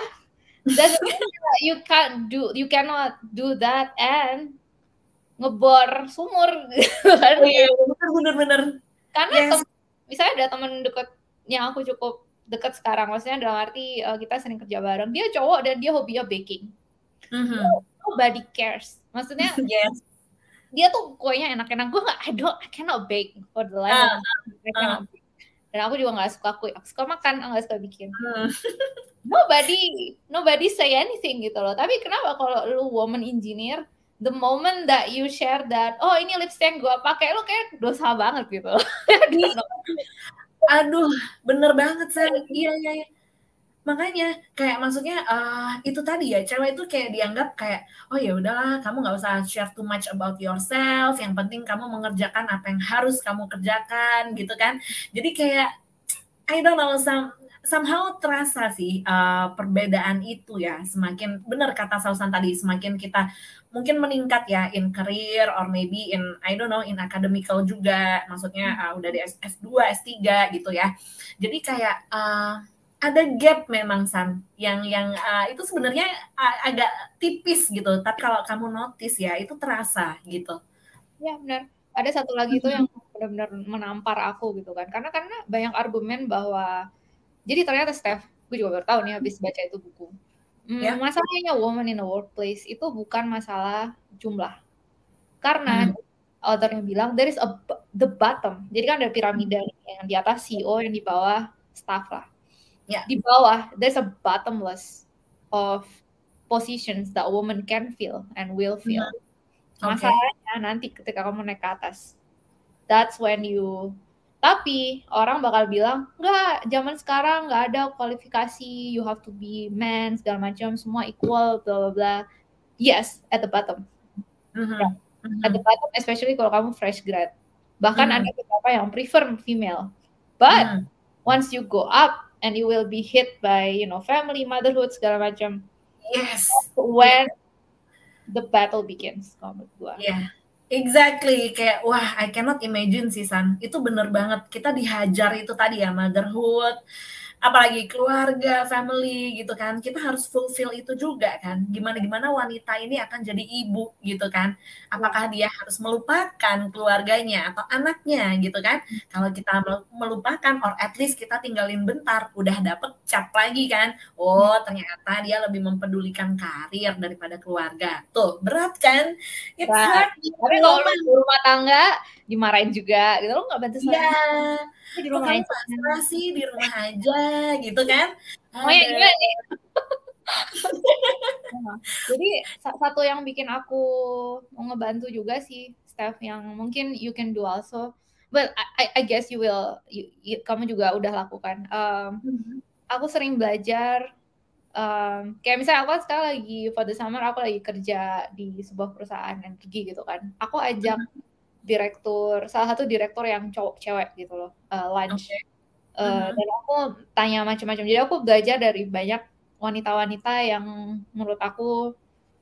you can't do, you cannot do that and ngebor sumur, kan? Iya, benar-benar. Karena yes. tem- misalnya ada teman dekat yang aku cukup dekat sekarang, maksudnya dalam arti uh, kita sering kerja bareng. Dia cowok dan dia hobinya baking. Mm-hmm. Nobody cares. Maksudnya yes. dia tuh kuenya enak-enak. Gue nggak, I don't, I cannot bake for the life uh, of me. I cannot uh. bake. Dan aku juga nggak suka kue, aku suka makan, aku nggak suka bikin. Hmm. Nobody, nobody say anything gitu loh. Tapi kenapa kalau lu woman engineer, the moment that you share that, oh ini lipstick yang gue pakai, lu kayak dosa banget gitu. Aduh, bener banget San. Iya iya. iya. Makanya kayak maksudnya uh, itu tadi ya, cewek itu kayak dianggap kayak, oh ya udahlah kamu nggak usah share too much about yourself, yang penting kamu mengerjakan apa yang harus kamu kerjakan gitu kan. Jadi kayak I don't know, some, somehow terasa sih uh, perbedaan itu ya, semakin benar kata Sausan tadi, semakin kita mungkin meningkat ya in career or maybe in I don't know in academical juga, maksudnya uh, udah di S dua S tiga gitu ya. Jadi kayak uh, ada gap memang San yang yang uh, itu sebenarnya uh, agak tipis gitu, tapi kalau kamu notice ya itu terasa gitu. Ya benar. Ada satu lagi itu yang benar-benar menampar aku gitu kan. Karena karena banyak argumen bahwa jadi ternyata Steph, gue juga baru tahu nih habis baca itu buku. Hmm, Ya. masalahnya woman in the workplace itu bukan masalah jumlah. Karena Hmm. authornya bilang there is a the bottom. Jadi kan ada piramida yang di atas C E O, yang di bawah staff lah. Ya. Di bawah there's a bottomless of positions that a woman can fill and will fill. Hmm. Okay. Masalahnya nanti ketika kamu naik ke atas, that's when you, tapi orang bakal bilang, enggak, zaman sekarang nggak ada kualifikasi, you have to be man, segala macam, semua equal, bla bla bla. Yes, at the bottom. Mm-hmm. Yeah. Mm-hmm. At the bottom, especially kalau kamu fresh grad. Bahkan mm-hmm. ada beberapa yang prefer female. But mm-hmm. once you go up and you will be hit by, you know, family, motherhood, segala macam. Yes. When yeah. the battle begins, kalau menurut gua. Yeah. Exactly, kayak wah I cannot imagine sih San, itu bener banget, kita dihajar itu tadi ya, motherhood, apalagi keluarga, family gitu kan, kita harus fulfill itu juga kan, gimana-gimana wanita ini akan jadi ibu gitu kan, apakah dia harus melupakan keluarganya atau anaknya gitu kan, kalau kita melupakan or at least kita tinggalin bentar, udah dapet cap lagi kan, oh ternyata dia lebih mempedulikan karir daripada keluarga, tuh berat kan, it's nah, hard. Tapi kalau lu di rumah tangga dimarahin juga gitu, lu nggak bantu suami. Iya. Di rumah kamu aja. pasrah sih di rumah aja gitu kan. Oh ya iya nih. Jadi satu yang bikin aku mau ngebantu juga sih, Steph, yang mungkin you can do also. But I, I guess you will, you, you, kamu juga udah lakukan. Um, mm-hmm. Aku sering belajar. Um, kayak misalnya aku sekarang lagi for the summer aku lagi kerja di sebuah perusahaan energi gitu kan. Aku ajak direktur, salah satu direktur yang cowok cewek gitu loh, uh, lunch. Okay. Uh, uh-huh. Dan aku tanya macam-macam. Jadi aku belajar dari banyak wanita-wanita yang menurut aku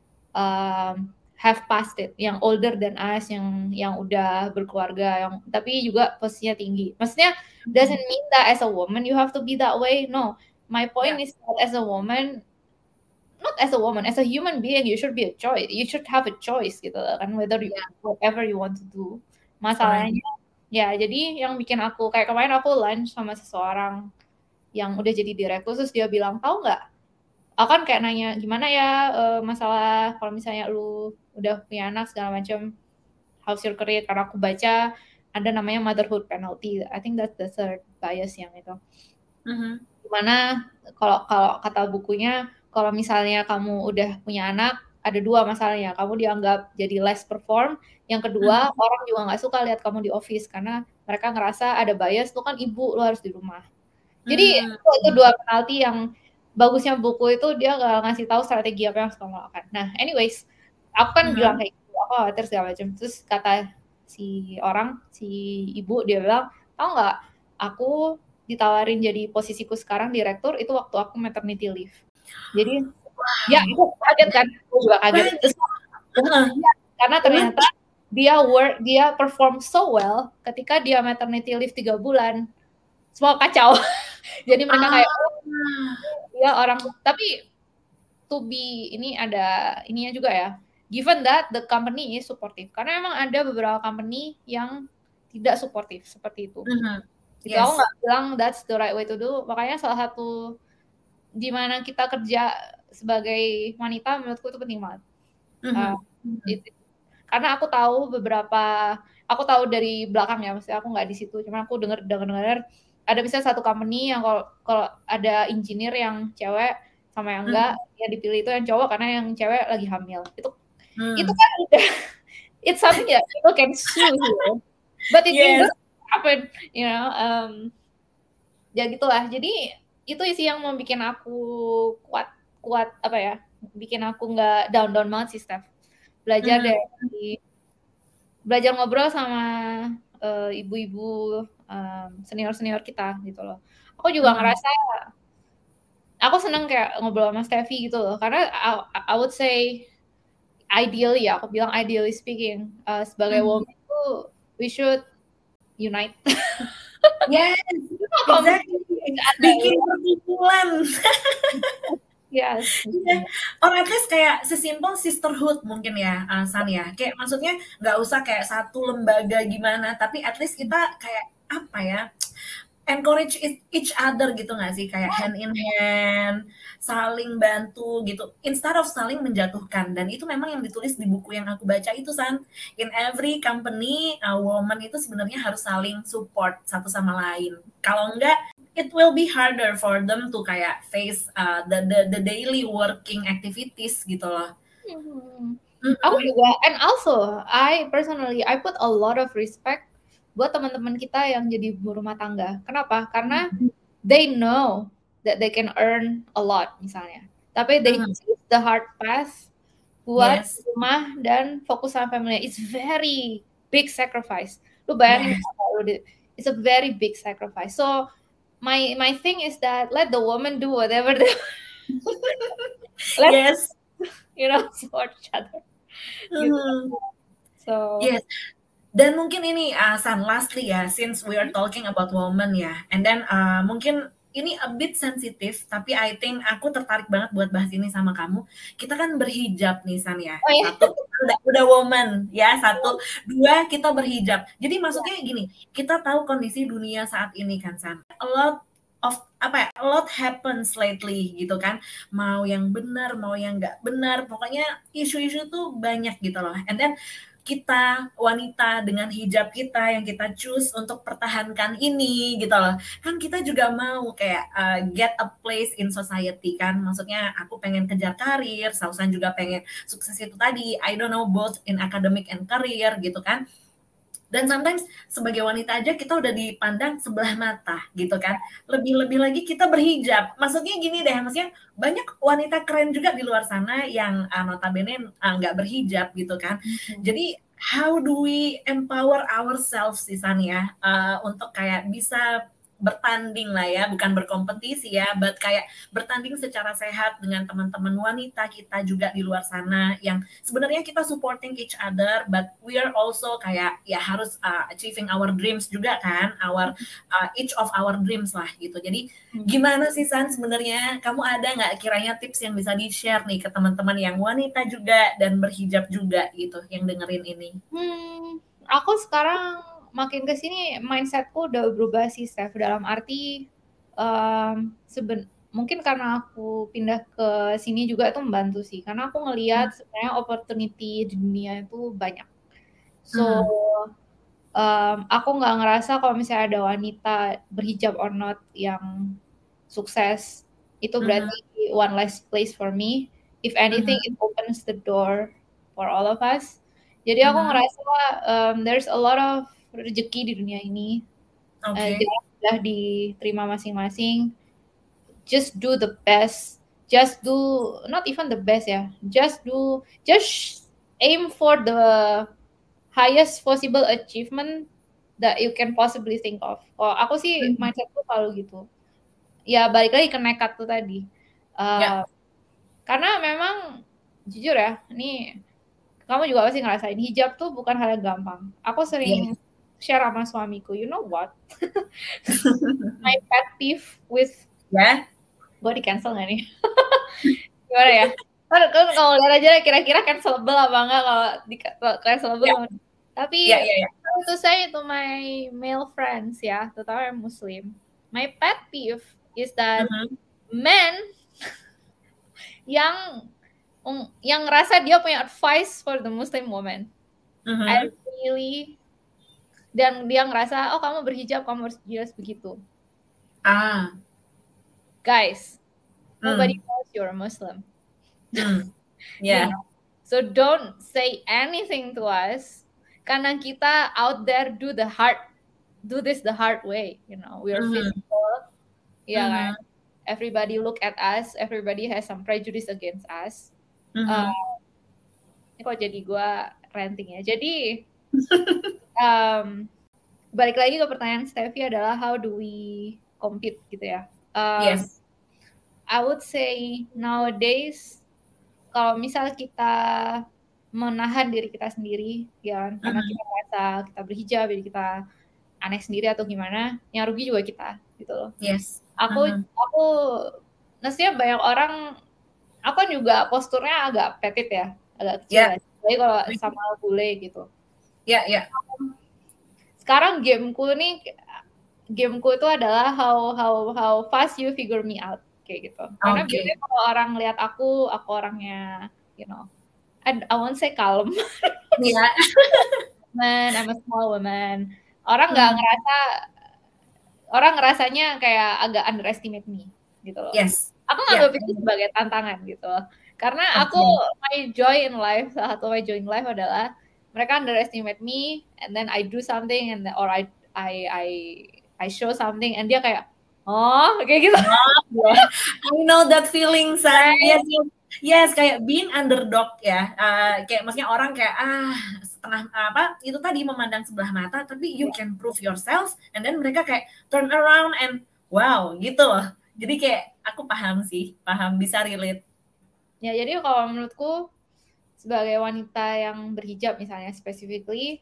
um, have passed it, yang older than us, yang yang udah berkeluarga, yang tapi juga posisinya tinggi. Maksudnya doesn't mean that as a woman you have to be that way. No. My point yeah. is that as a woman, not as a woman, as a human being, you should be a choice. You should have a choice gitu kan, whether you yeah. whatever you want to do. Masalahnya, right. ya jadi yang bikin aku kayak kemarin aku lunch sama seseorang yang udah jadi direktur, terus dia bilang, tahu nggak? Aku kan kayak nanya gimana ya uh, masalah kalau misalnya lu udah punya anak segala macam, how's your career? Karena aku baca ada namanya motherhood penalty. I think that's the third bias yang itu. Mm-hmm. Dimana kalau kalau kata bukunya, kalau misalnya kamu udah punya anak, ada dua masalahnya. Kamu dianggap jadi less perform. Yang kedua, hmm. orang juga nggak suka lihat kamu di office karena mereka ngerasa ada bias, lu kan ibu, lu harus di rumah. Jadi hmm. itu, itu dua penalti yang bagusnya buku itu dia nggak ngasih tahu strategi apa yang harus kamu lakukan. Nah, anyways, aku kan hmm. bilang kayak gitu, aku khawatir segala macam. Terus kata si orang, si ibu, dia bilang, tau nggak, aku ditawarin jadi posisiku sekarang direktur itu waktu aku maternity leave. Jadi wow. ya aku kaget kan, aku juga kaget. Terus, karena ternyata dia work, dia perform so well ketika dia maternity leave tiga bulan, semua kacau. Jadi mereka kayak oh, ya orang, tapi to be ini ada ininya juga ya. Given that the company is supportive, karena memang ada beberapa company yang tidak supportive seperti itu. Mm-hmm. Gitu, yes. Aku nggak bilang that's the right way to do. Makanya salah satu di mana kita kerja sebagai wanita menurutku itu penting banget. Mm-hmm. Uh, it, karena aku tahu beberapa, aku tahu dari belakang ya, maksudnya aku nggak di situ, cuma aku dengar dengar dengar ada misalnya satu company yang kalau kalau ada engineer yang cewek sama yang enggak, mm-hmm. yang dipilih itu yang cowok karena yang cewek lagi hamil. Itu mm. itu kan udah it's something that people can sue you, but it yes. doesn't happen, you know. Um, ya gitulah. Jadi itu sih yang mau bikin aku kuat kuat apa ya, bikin aku nggak down down banget sih Steph. Belajar Mhm. dari belajar ngobrol sama uh, ibu-ibu um, senior-senior kita gitu loh. Aku juga Mhm. ngerasa aku seneng kayak ngobrol sama Steffi gitu loh, karena I, I would say ideally ya, aku bilang ideally speaking, uh, sebagai Mhm. woman itu we should unite. Yes, exactly. Bikin perkumpulan. Yes. Iya, or at least kayak sesimpel sisterhood mungkin ya, uh, San ya. Kayak maksudnya nggak usah kayak satu lembaga gimana, tapi at least kita kayak apa ya, encourage each other gitu nggak sih, kayak hand in hand, saling bantu gitu, instead of saling menjatuhkan. Dan itu memang yang ditulis di buku yang aku baca itu, San. In every company, a woman itu sebenarnya harus saling support satu sama lain. Kalau enggak, it will be harder for them to kayak face uh, the, the the daily working activities gitu loh. Hmm. Mm-mm. Aku juga, and also I personally I put a lot of respect buat teman-teman kita yang jadi ibu rumah tangga. Kenapa? Karena they know that they can earn a lot misalnya, tapi they Mm-hmm. choose the hard path buat Yes. rumah dan fokus sama family. It's very big sacrifice. Lu bayangin, yes. It's a very big sacrifice. So my my thing is that let the woman do whatever they let, yes. You know, support each other. Gitu. Mm-hmm. So yes. Dan mungkin ini uh, San, lastly ya, since we are talking about women ya, and then uh, mungkin ini a bit sensitif, tapi I think aku tertarik banget buat bahas ini sama kamu. Kita kan berhijab nih, San ya. oh, ya. Satu, kita udah, udah woman ya, satu. Dua, kita berhijab. Jadi maksudnya gini, kita tahu kondisi dunia saat ini kan, San. A lot of apa ya, a lot happens lately gitu kan. Mau yang benar, mau yang nggak benar, pokoknya isu-isu tuh banyak gitu loh. And then kita wanita dengan hijab kita yang kita choose untuk pertahankan ini gitu loh, kan kita juga mau kayak uh, get a place in society kan, maksudnya aku pengen kejar karir, Sausan juga pengen sukses itu tadi, I don't know, both in academic and career gitu kan. Dan sometimes sebagai wanita aja kita udah dipandang sebelah mata gitu kan, lebih-lebih lagi kita berhijab. Maksudnya gini deh, maksudnya banyak wanita keren juga di luar sana yang uh, notabene uh, nggak berhijab gitu kan. Mm-hmm. Jadi how do we empower ourselves sih San ya, uh, untuk kayak bisa bertanding lah ya, bukan berkompetisi ya, but kayak bertanding secara sehat dengan teman-teman wanita kita juga di luar sana yang sebenarnya kita supporting each other, but we are also kayak ya harus uh, achieving our dreams juga kan, our uh, each of our dreams lah gitu. Jadi gimana sih San sebenarnya, kamu ada nggak kiranya tips yang bisa di-share nih ke teman-teman yang wanita juga dan berhijab juga gitu yang dengerin ini? Hmm, aku sekarang makin kesini mindsetku udah berubah sih, Steph. Dalam arti um, seben mungkin karena aku pindah ke sini juga itu membantu sih, karena aku ngelihat hmm. sebenarnya opportunity di dunia itu banyak. So hmm. um, aku nggak ngerasa kalau misalnya ada wanita berhijab or not yang sukses itu berarti hmm. one less place for me. If anything, hmm. it opens the door for all of us. Jadi aku uh-huh. ngerasa um, there's a lot of rezeki di dunia ini. Okay. Uh, jadi sudah diterima masing-masing. Just do the best. Just do, not even the best ya. Just do, just aim for the highest possible achievement that you can possibly think of. Oh, aku sih mm-hmm. mindsetku selalu gitu. Ya balik lagi ke nekat tuh tadi. Uh, yeah. Karena memang jujur ya, ini kamu juga pasti ngerasain hijab tuh bukan hal yang gampang. Aku sering yeah. share sama suamiku, you know what? My pet peeve with ya, yeah. gue di cancel nggak nih? Gimana ya? Kan kalau lihat aja kira-kira cancelable apa enggak, kalau di cancelable. Yeah. Tapi yeah, yeah, yeah. itu saya itu my male friends ya, terutama yang Muslim. My pet peeve is that uh-huh. men yang Um, yang ngerasa dia punya advice for the Muslim woman. Uh-huh. I really, dan dia ngerasa, oh kamu berhijab, kamu harus jelas begitu. Ah, guys, mm. nobody knows you're a Muslim. Mm. Yeah. You know? So don't say anything to us, karena kita out there do the hard, do this the hard way. You know, we are uh-huh. physical, ya yeah, uh-huh. kan. everybody look at us, everybody has some prejudice against us. Mhm. Uh, ini kok jadi gue ranting ya. Jadi um, balik lagi ke pertanyaan Steffi adalah how do we compete gitu ya. Um, Yes. I would say nowadays kalau misal kita menahan diri kita sendiri ya kan, karena Mhm. kita merasa kita berhijab jadi kita aneh sendiri atau gimana, yang rugi juga kita gitu loh. Yes. Aku Mhm. aku maksudnya banyak orang, aku kan juga posturnya agak petit ya, agak kecil Ya. ya. Jadi kalau Mhm. sama bule gitu. Ya, ya. Sekarang gameku nih, gameku itu adalah how how how fast you figure me out kayak gitu. Karena Oke. biasanya kalau orang lihat aku, aku orangnya, you know, I, I won't say calm. Iya. Man, I'm a small woman. Orang nggak Mhm. ngerasa, orang ngerasanya kayak agak underestimate me gitu loh. Yes. Aku Ya. nganggap itu sebagai tantangan gitu. Karena aku, Oke. my joy in life, salah satu my joy in life adalah mereka underestimate me, and then I do something, and then, or I I I I show something, and dia kayak, oh, kayak gitu. Oh, yeah. I know that feeling, San. Right? Yes, yes. Yes, kayak being underdog ya. Uh, kayak maksudnya orang kayak ah setengah apa itu tadi memandang sebelah mata, tapi you can prove yourself, and then mereka kayak turn around and wow gitu loh. Jadi kayak aku paham sih, paham, bisa relate. Ya, jadi kalau menurutku sebagai wanita yang berhijab misalnya specifically,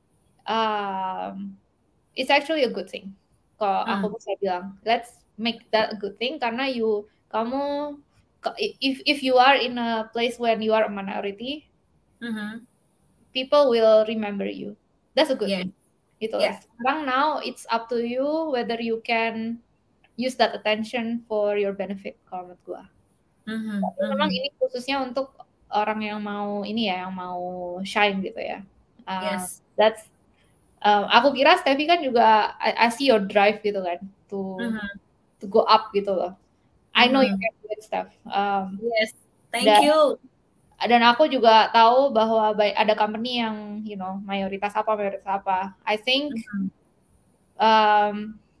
um, it's actually a good thing. Kalau Hmm. aku bisa bilang, let's make that a good thing karena you, kamu, if if you are in a place when you are a minority, Mm-hmm. people will remember you. That's a good Yeah. thing. Gitu. Yeah. Sekarang now it's up to you whether you can use that attention for your benefit kalau menurut gua. Mm-hmm. Tapi memang ini khususnya untuk orang yang mau ini ya, yang mau shine gitu ya. Uh, Yes. That's um, aku kira Steffi kan juga I, I see your drive gitu kan to Mm-hmm. to go up gitu loh. I know you Mm-hmm. can do it, Steph. Um, Yes. Thank dan, you. Dan aku juga tahu bahwa ada company yang you know mayoritas apa mayoritas apa. I think Mm-hmm. um,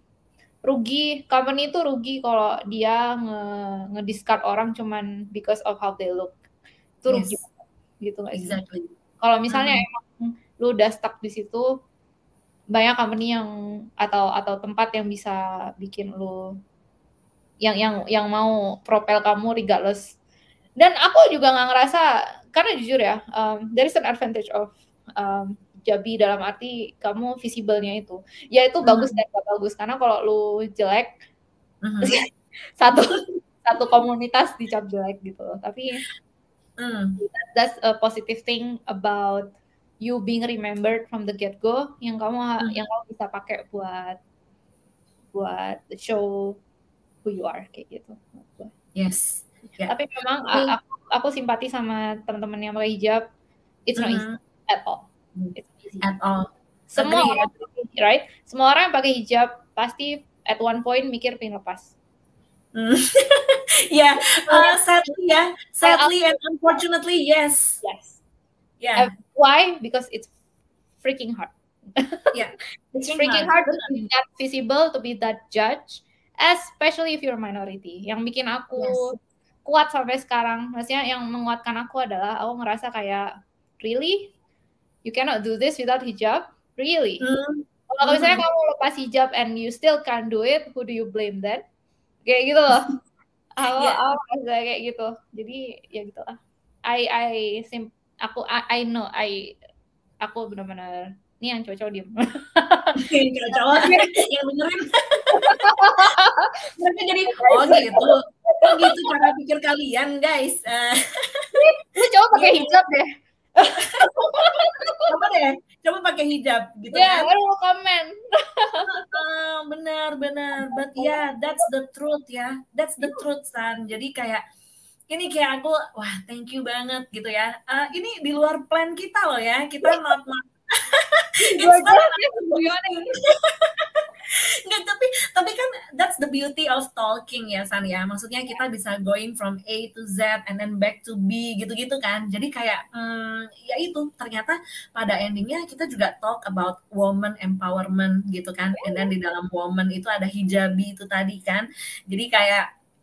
rugi, company itu rugi kalau dia nge, nge-discard orang cuman because of how they look. Itu rugi Yes. gitu nggak sih? Exactly. Kalau misalnya Mm-hmm. emang lu udah stuck di situ, banyak company yang atau atau tempat yang bisa bikin lu yang yang yang mau propel kamu regardless. Dan aku juga nggak ngerasa, karena jujur ya, um, there is an advantage of um, Jabi dalam arti kamu visible-nya itu. Ya itu bagus Mm-hmm. dan gak bagus. Karena kalau lu jelek, Mm-hmm. satu satu komunitas dicap jelek gitu loh. Tapi mm. that's a positive thing about you being remembered from the get-go, yang kamu Mm-hmm. yang kamu bisa pakai buat buat show who you are kayak gitu. Yes. Yeah. Tapi memang Okay. aku, aku simpati sama teman-teman yang pakai hijab. It's not Mm-hmm. easy at all. It's easy. At all. Semua Agree. orang, right? Semua orang yang pakai hijab pasti at one point mikir pengen lepas. Mm. Yeah, uh, sadly, yeah, sadly and unfortunately, yes. Yes. Yeah. Uh, why? Because it's freaking hard. Yeah. It's freaking hard, hard to be that visible, to be that judge, especially if you're a minority. Yang bikin aku yes. kuat sampai sekarang, maksudnya yang menguatkan aku adalah aku ngerasa kayak, really? You cannot do this without hijab? Really? Mm. Kalau misalnya mm-hmm. kamu lepas hijab and you still can't do it, who do you blame then? Kayak gitu loh. Aku, yeah. aku merasa kayak gitu. Jadi ya gitu lah. I I sim aku I, I know I aku benar-benar ini yang cowok-cowok diem. Cowok-cowok yang benerin. Mereka jadi oh gitu. Oh gitu cara pikir kalian guys. Uh, Lu coba pakai hijab deh. Coba deh, coba pakai hijab gitu yeah, kan. Ya, baru komen. uh, benar benar, but yeah, that's the truth ya. That's the truth, San. Jadi kayak ini kayak aku, wah thank you banget gitu ya. Uh, ini di luar plan kita loh ya. Kita not not. Nggak, tapi tapi kan that's the beauty of talking ya San ya, maksudnya kita bisa going from A to Z and then back to B gitu-gitu kan, jadi kayak hmm, ya itu ternyata pada endingnya kita juga talk about woman empowerment gitu kan, and then di dalam woman itu ada hijabi itu tadi kan, jadi kayak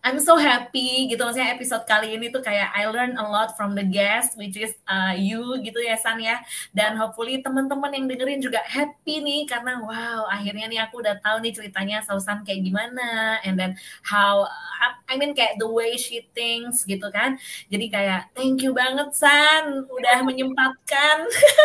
I'm so happy gitu, maksudnya episode kali ini tuh kayak I learn a lot from the guest which is uh, you gitu ya San ya, dan hopefully teman-teman yang dengerin juga happy nih karena wow akhirnya nih aku udah tahu nih ceritanya Sausan kayak gimana, and then how I mean kayak the way she thinks gitu kan. Jadi kayak thank you banget San udah menyempatkan.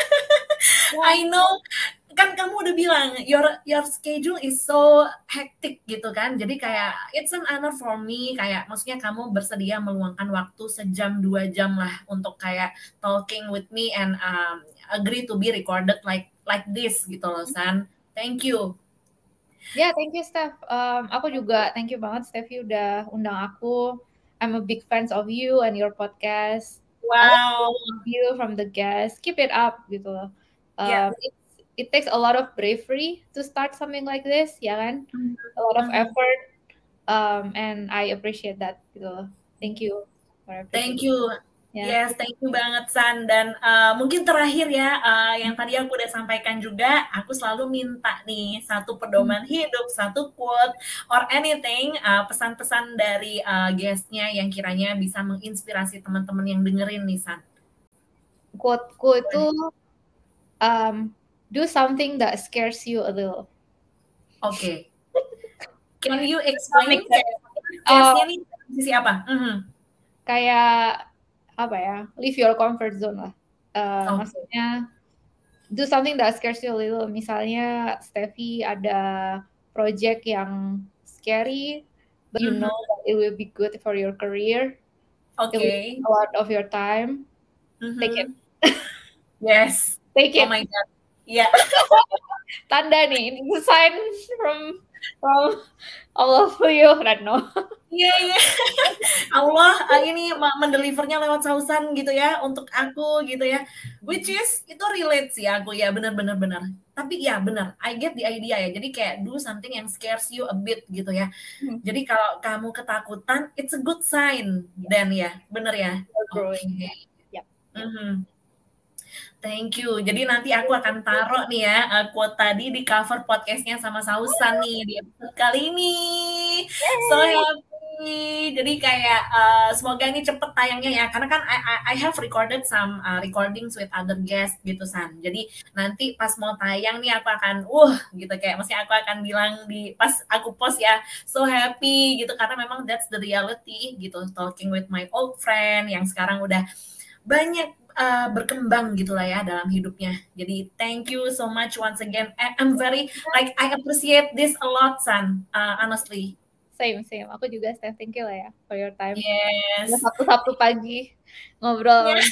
I know kan kamu udah bilang your your schedule is so hectic gitu kan, jadi kayak it's an honor for me, kayak maksudnya kamu bersedia meluangkan waktu sejam dua jam lah untuk kayak talking with me and um, agree to be recorded like like this gitu loh San. Thank you. Ya, yeah, thank you Steph. Um, aku juga thank you banget Steffi udah undang aku. I'm a big fans of you and your podcast. Wow. You from the guest, keep it up gitu loh. Um, Yeah. it, it takes a lot of bravery to start something like this, ya kan? Mm-hmm. A lot of effort, um, and I appreciate that gitu loh. Thank you. Thank you. Yeah. Yes, thank you banget San. Dan uh, mungkin terakhir ya, uh, yang tadi aku udah sampaikan juga, aku selalu minta nih satu pedoman hmm. hidup, satu quote or anything, uh, pesan-pesan dari uh, guestnya yang kiranya bisa menginspirasi teman-teman yang dengerin nih San. Quote-ku itu um, do something that scares you a little. Oke. Okay. Can you explain guestnya nih sisi apa? Mm-hmm. Kayak apa ya, leave your comfort zone lah. Uh, oh. Maksudnya do something that scares you a little. Misalnya Steffi ada project yang scary, but mm-hmm. you know that it will be good for your career. Okay. A lot of your time. Mm-hmm. Take it. Yes. Take it. Oh my God. Yeah. Tanda nih, ini sign from from all of you, Retno. Iya, yeah, iya. Yeah. Allah ini mendelivernya lewat Sausan gitu ya untuk aku gitu ya. Which is itu relate sih aku ya, benar-benar benar. Tapi ya benar, I get the idea ya. Jadi kayak do something yang scares you a bit gitu ya. Hmm. Jadi kalau kamu ketakutan, it's a good sign. Yeah. Dan ya, benar ya. Oke. Okay. Yeah. Mm-hmm. Thank you. Jadi nanti aku akan taruh nih ya uh, quote tadi di cover podcastnya sama Sausan nih di episode kali ini. Yay. So happy. Jadi kayak uh, semoga ini cepet tayangnya ya. Karena kan I, I have recorded some uh, recordings with other guests gitu San. Jadi nanti pas mau tayang nih aku akan uh gitu kayak maksudnya aku akan bilang di pas aku post ya so happy gitu karena memang that's the reality gitu, talking with my old friend yang sekarang udah banyak Uh, berkembang gitulah ya dalam hidupnya. Jadi thank you so much once again. I'm very like I appreciate this a lot, San. Uh, honestly. Same same. Aku juga Steph, thank you lah ya for your time. Yes. Sabtu-sabtu pagi ngobrol. Yes.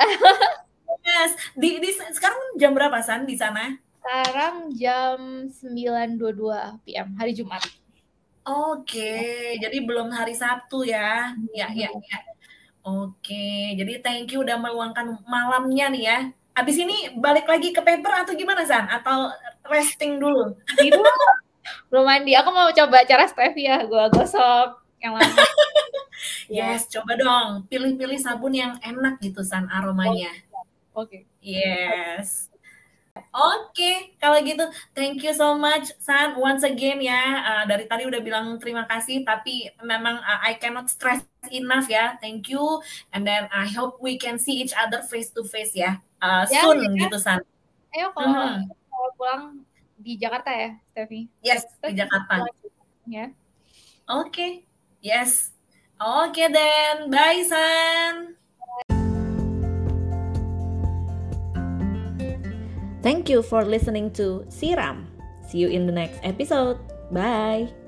Yes. Di, di sekarang jam berapa San di sana? Sekarang jam sembilan dua puluh dua P M hari Jumat. Oke, okay. Jadi belum hari Sabtu ya. Hmm. Ya ya ya. Oke, jadi thank you udah meluangkan malamnya nih ya. Abis ini balik lagi ke paper atau gimana San? Atau resting dulu? Tidur. Belum mandi. Aku mau coba cara Steffi ya. Gue gosok yang lama. Yes, coba dong. Pilih-pilih sabun yang enak gitu San aromanya. Oke. Okay. Yes. Oke, okay, kalau gitu thank you so much San once again ya. Uh, dari tadi udah bilang terima kasih tapi memang uh, I cannot stress enough ya. Thank you and then I hope we can see each other face to face ya. Uh, ya soon ya. Gitu San. Ayo kalau hmm. kalau pulang di Jakarta ya, Steffi. Yes, Steffi, di Jakarta. Ya. Oke. Okay. Yes. Oke okay, then. Bye San. Thank you for listening to Siram. See you in the next episode. Bye.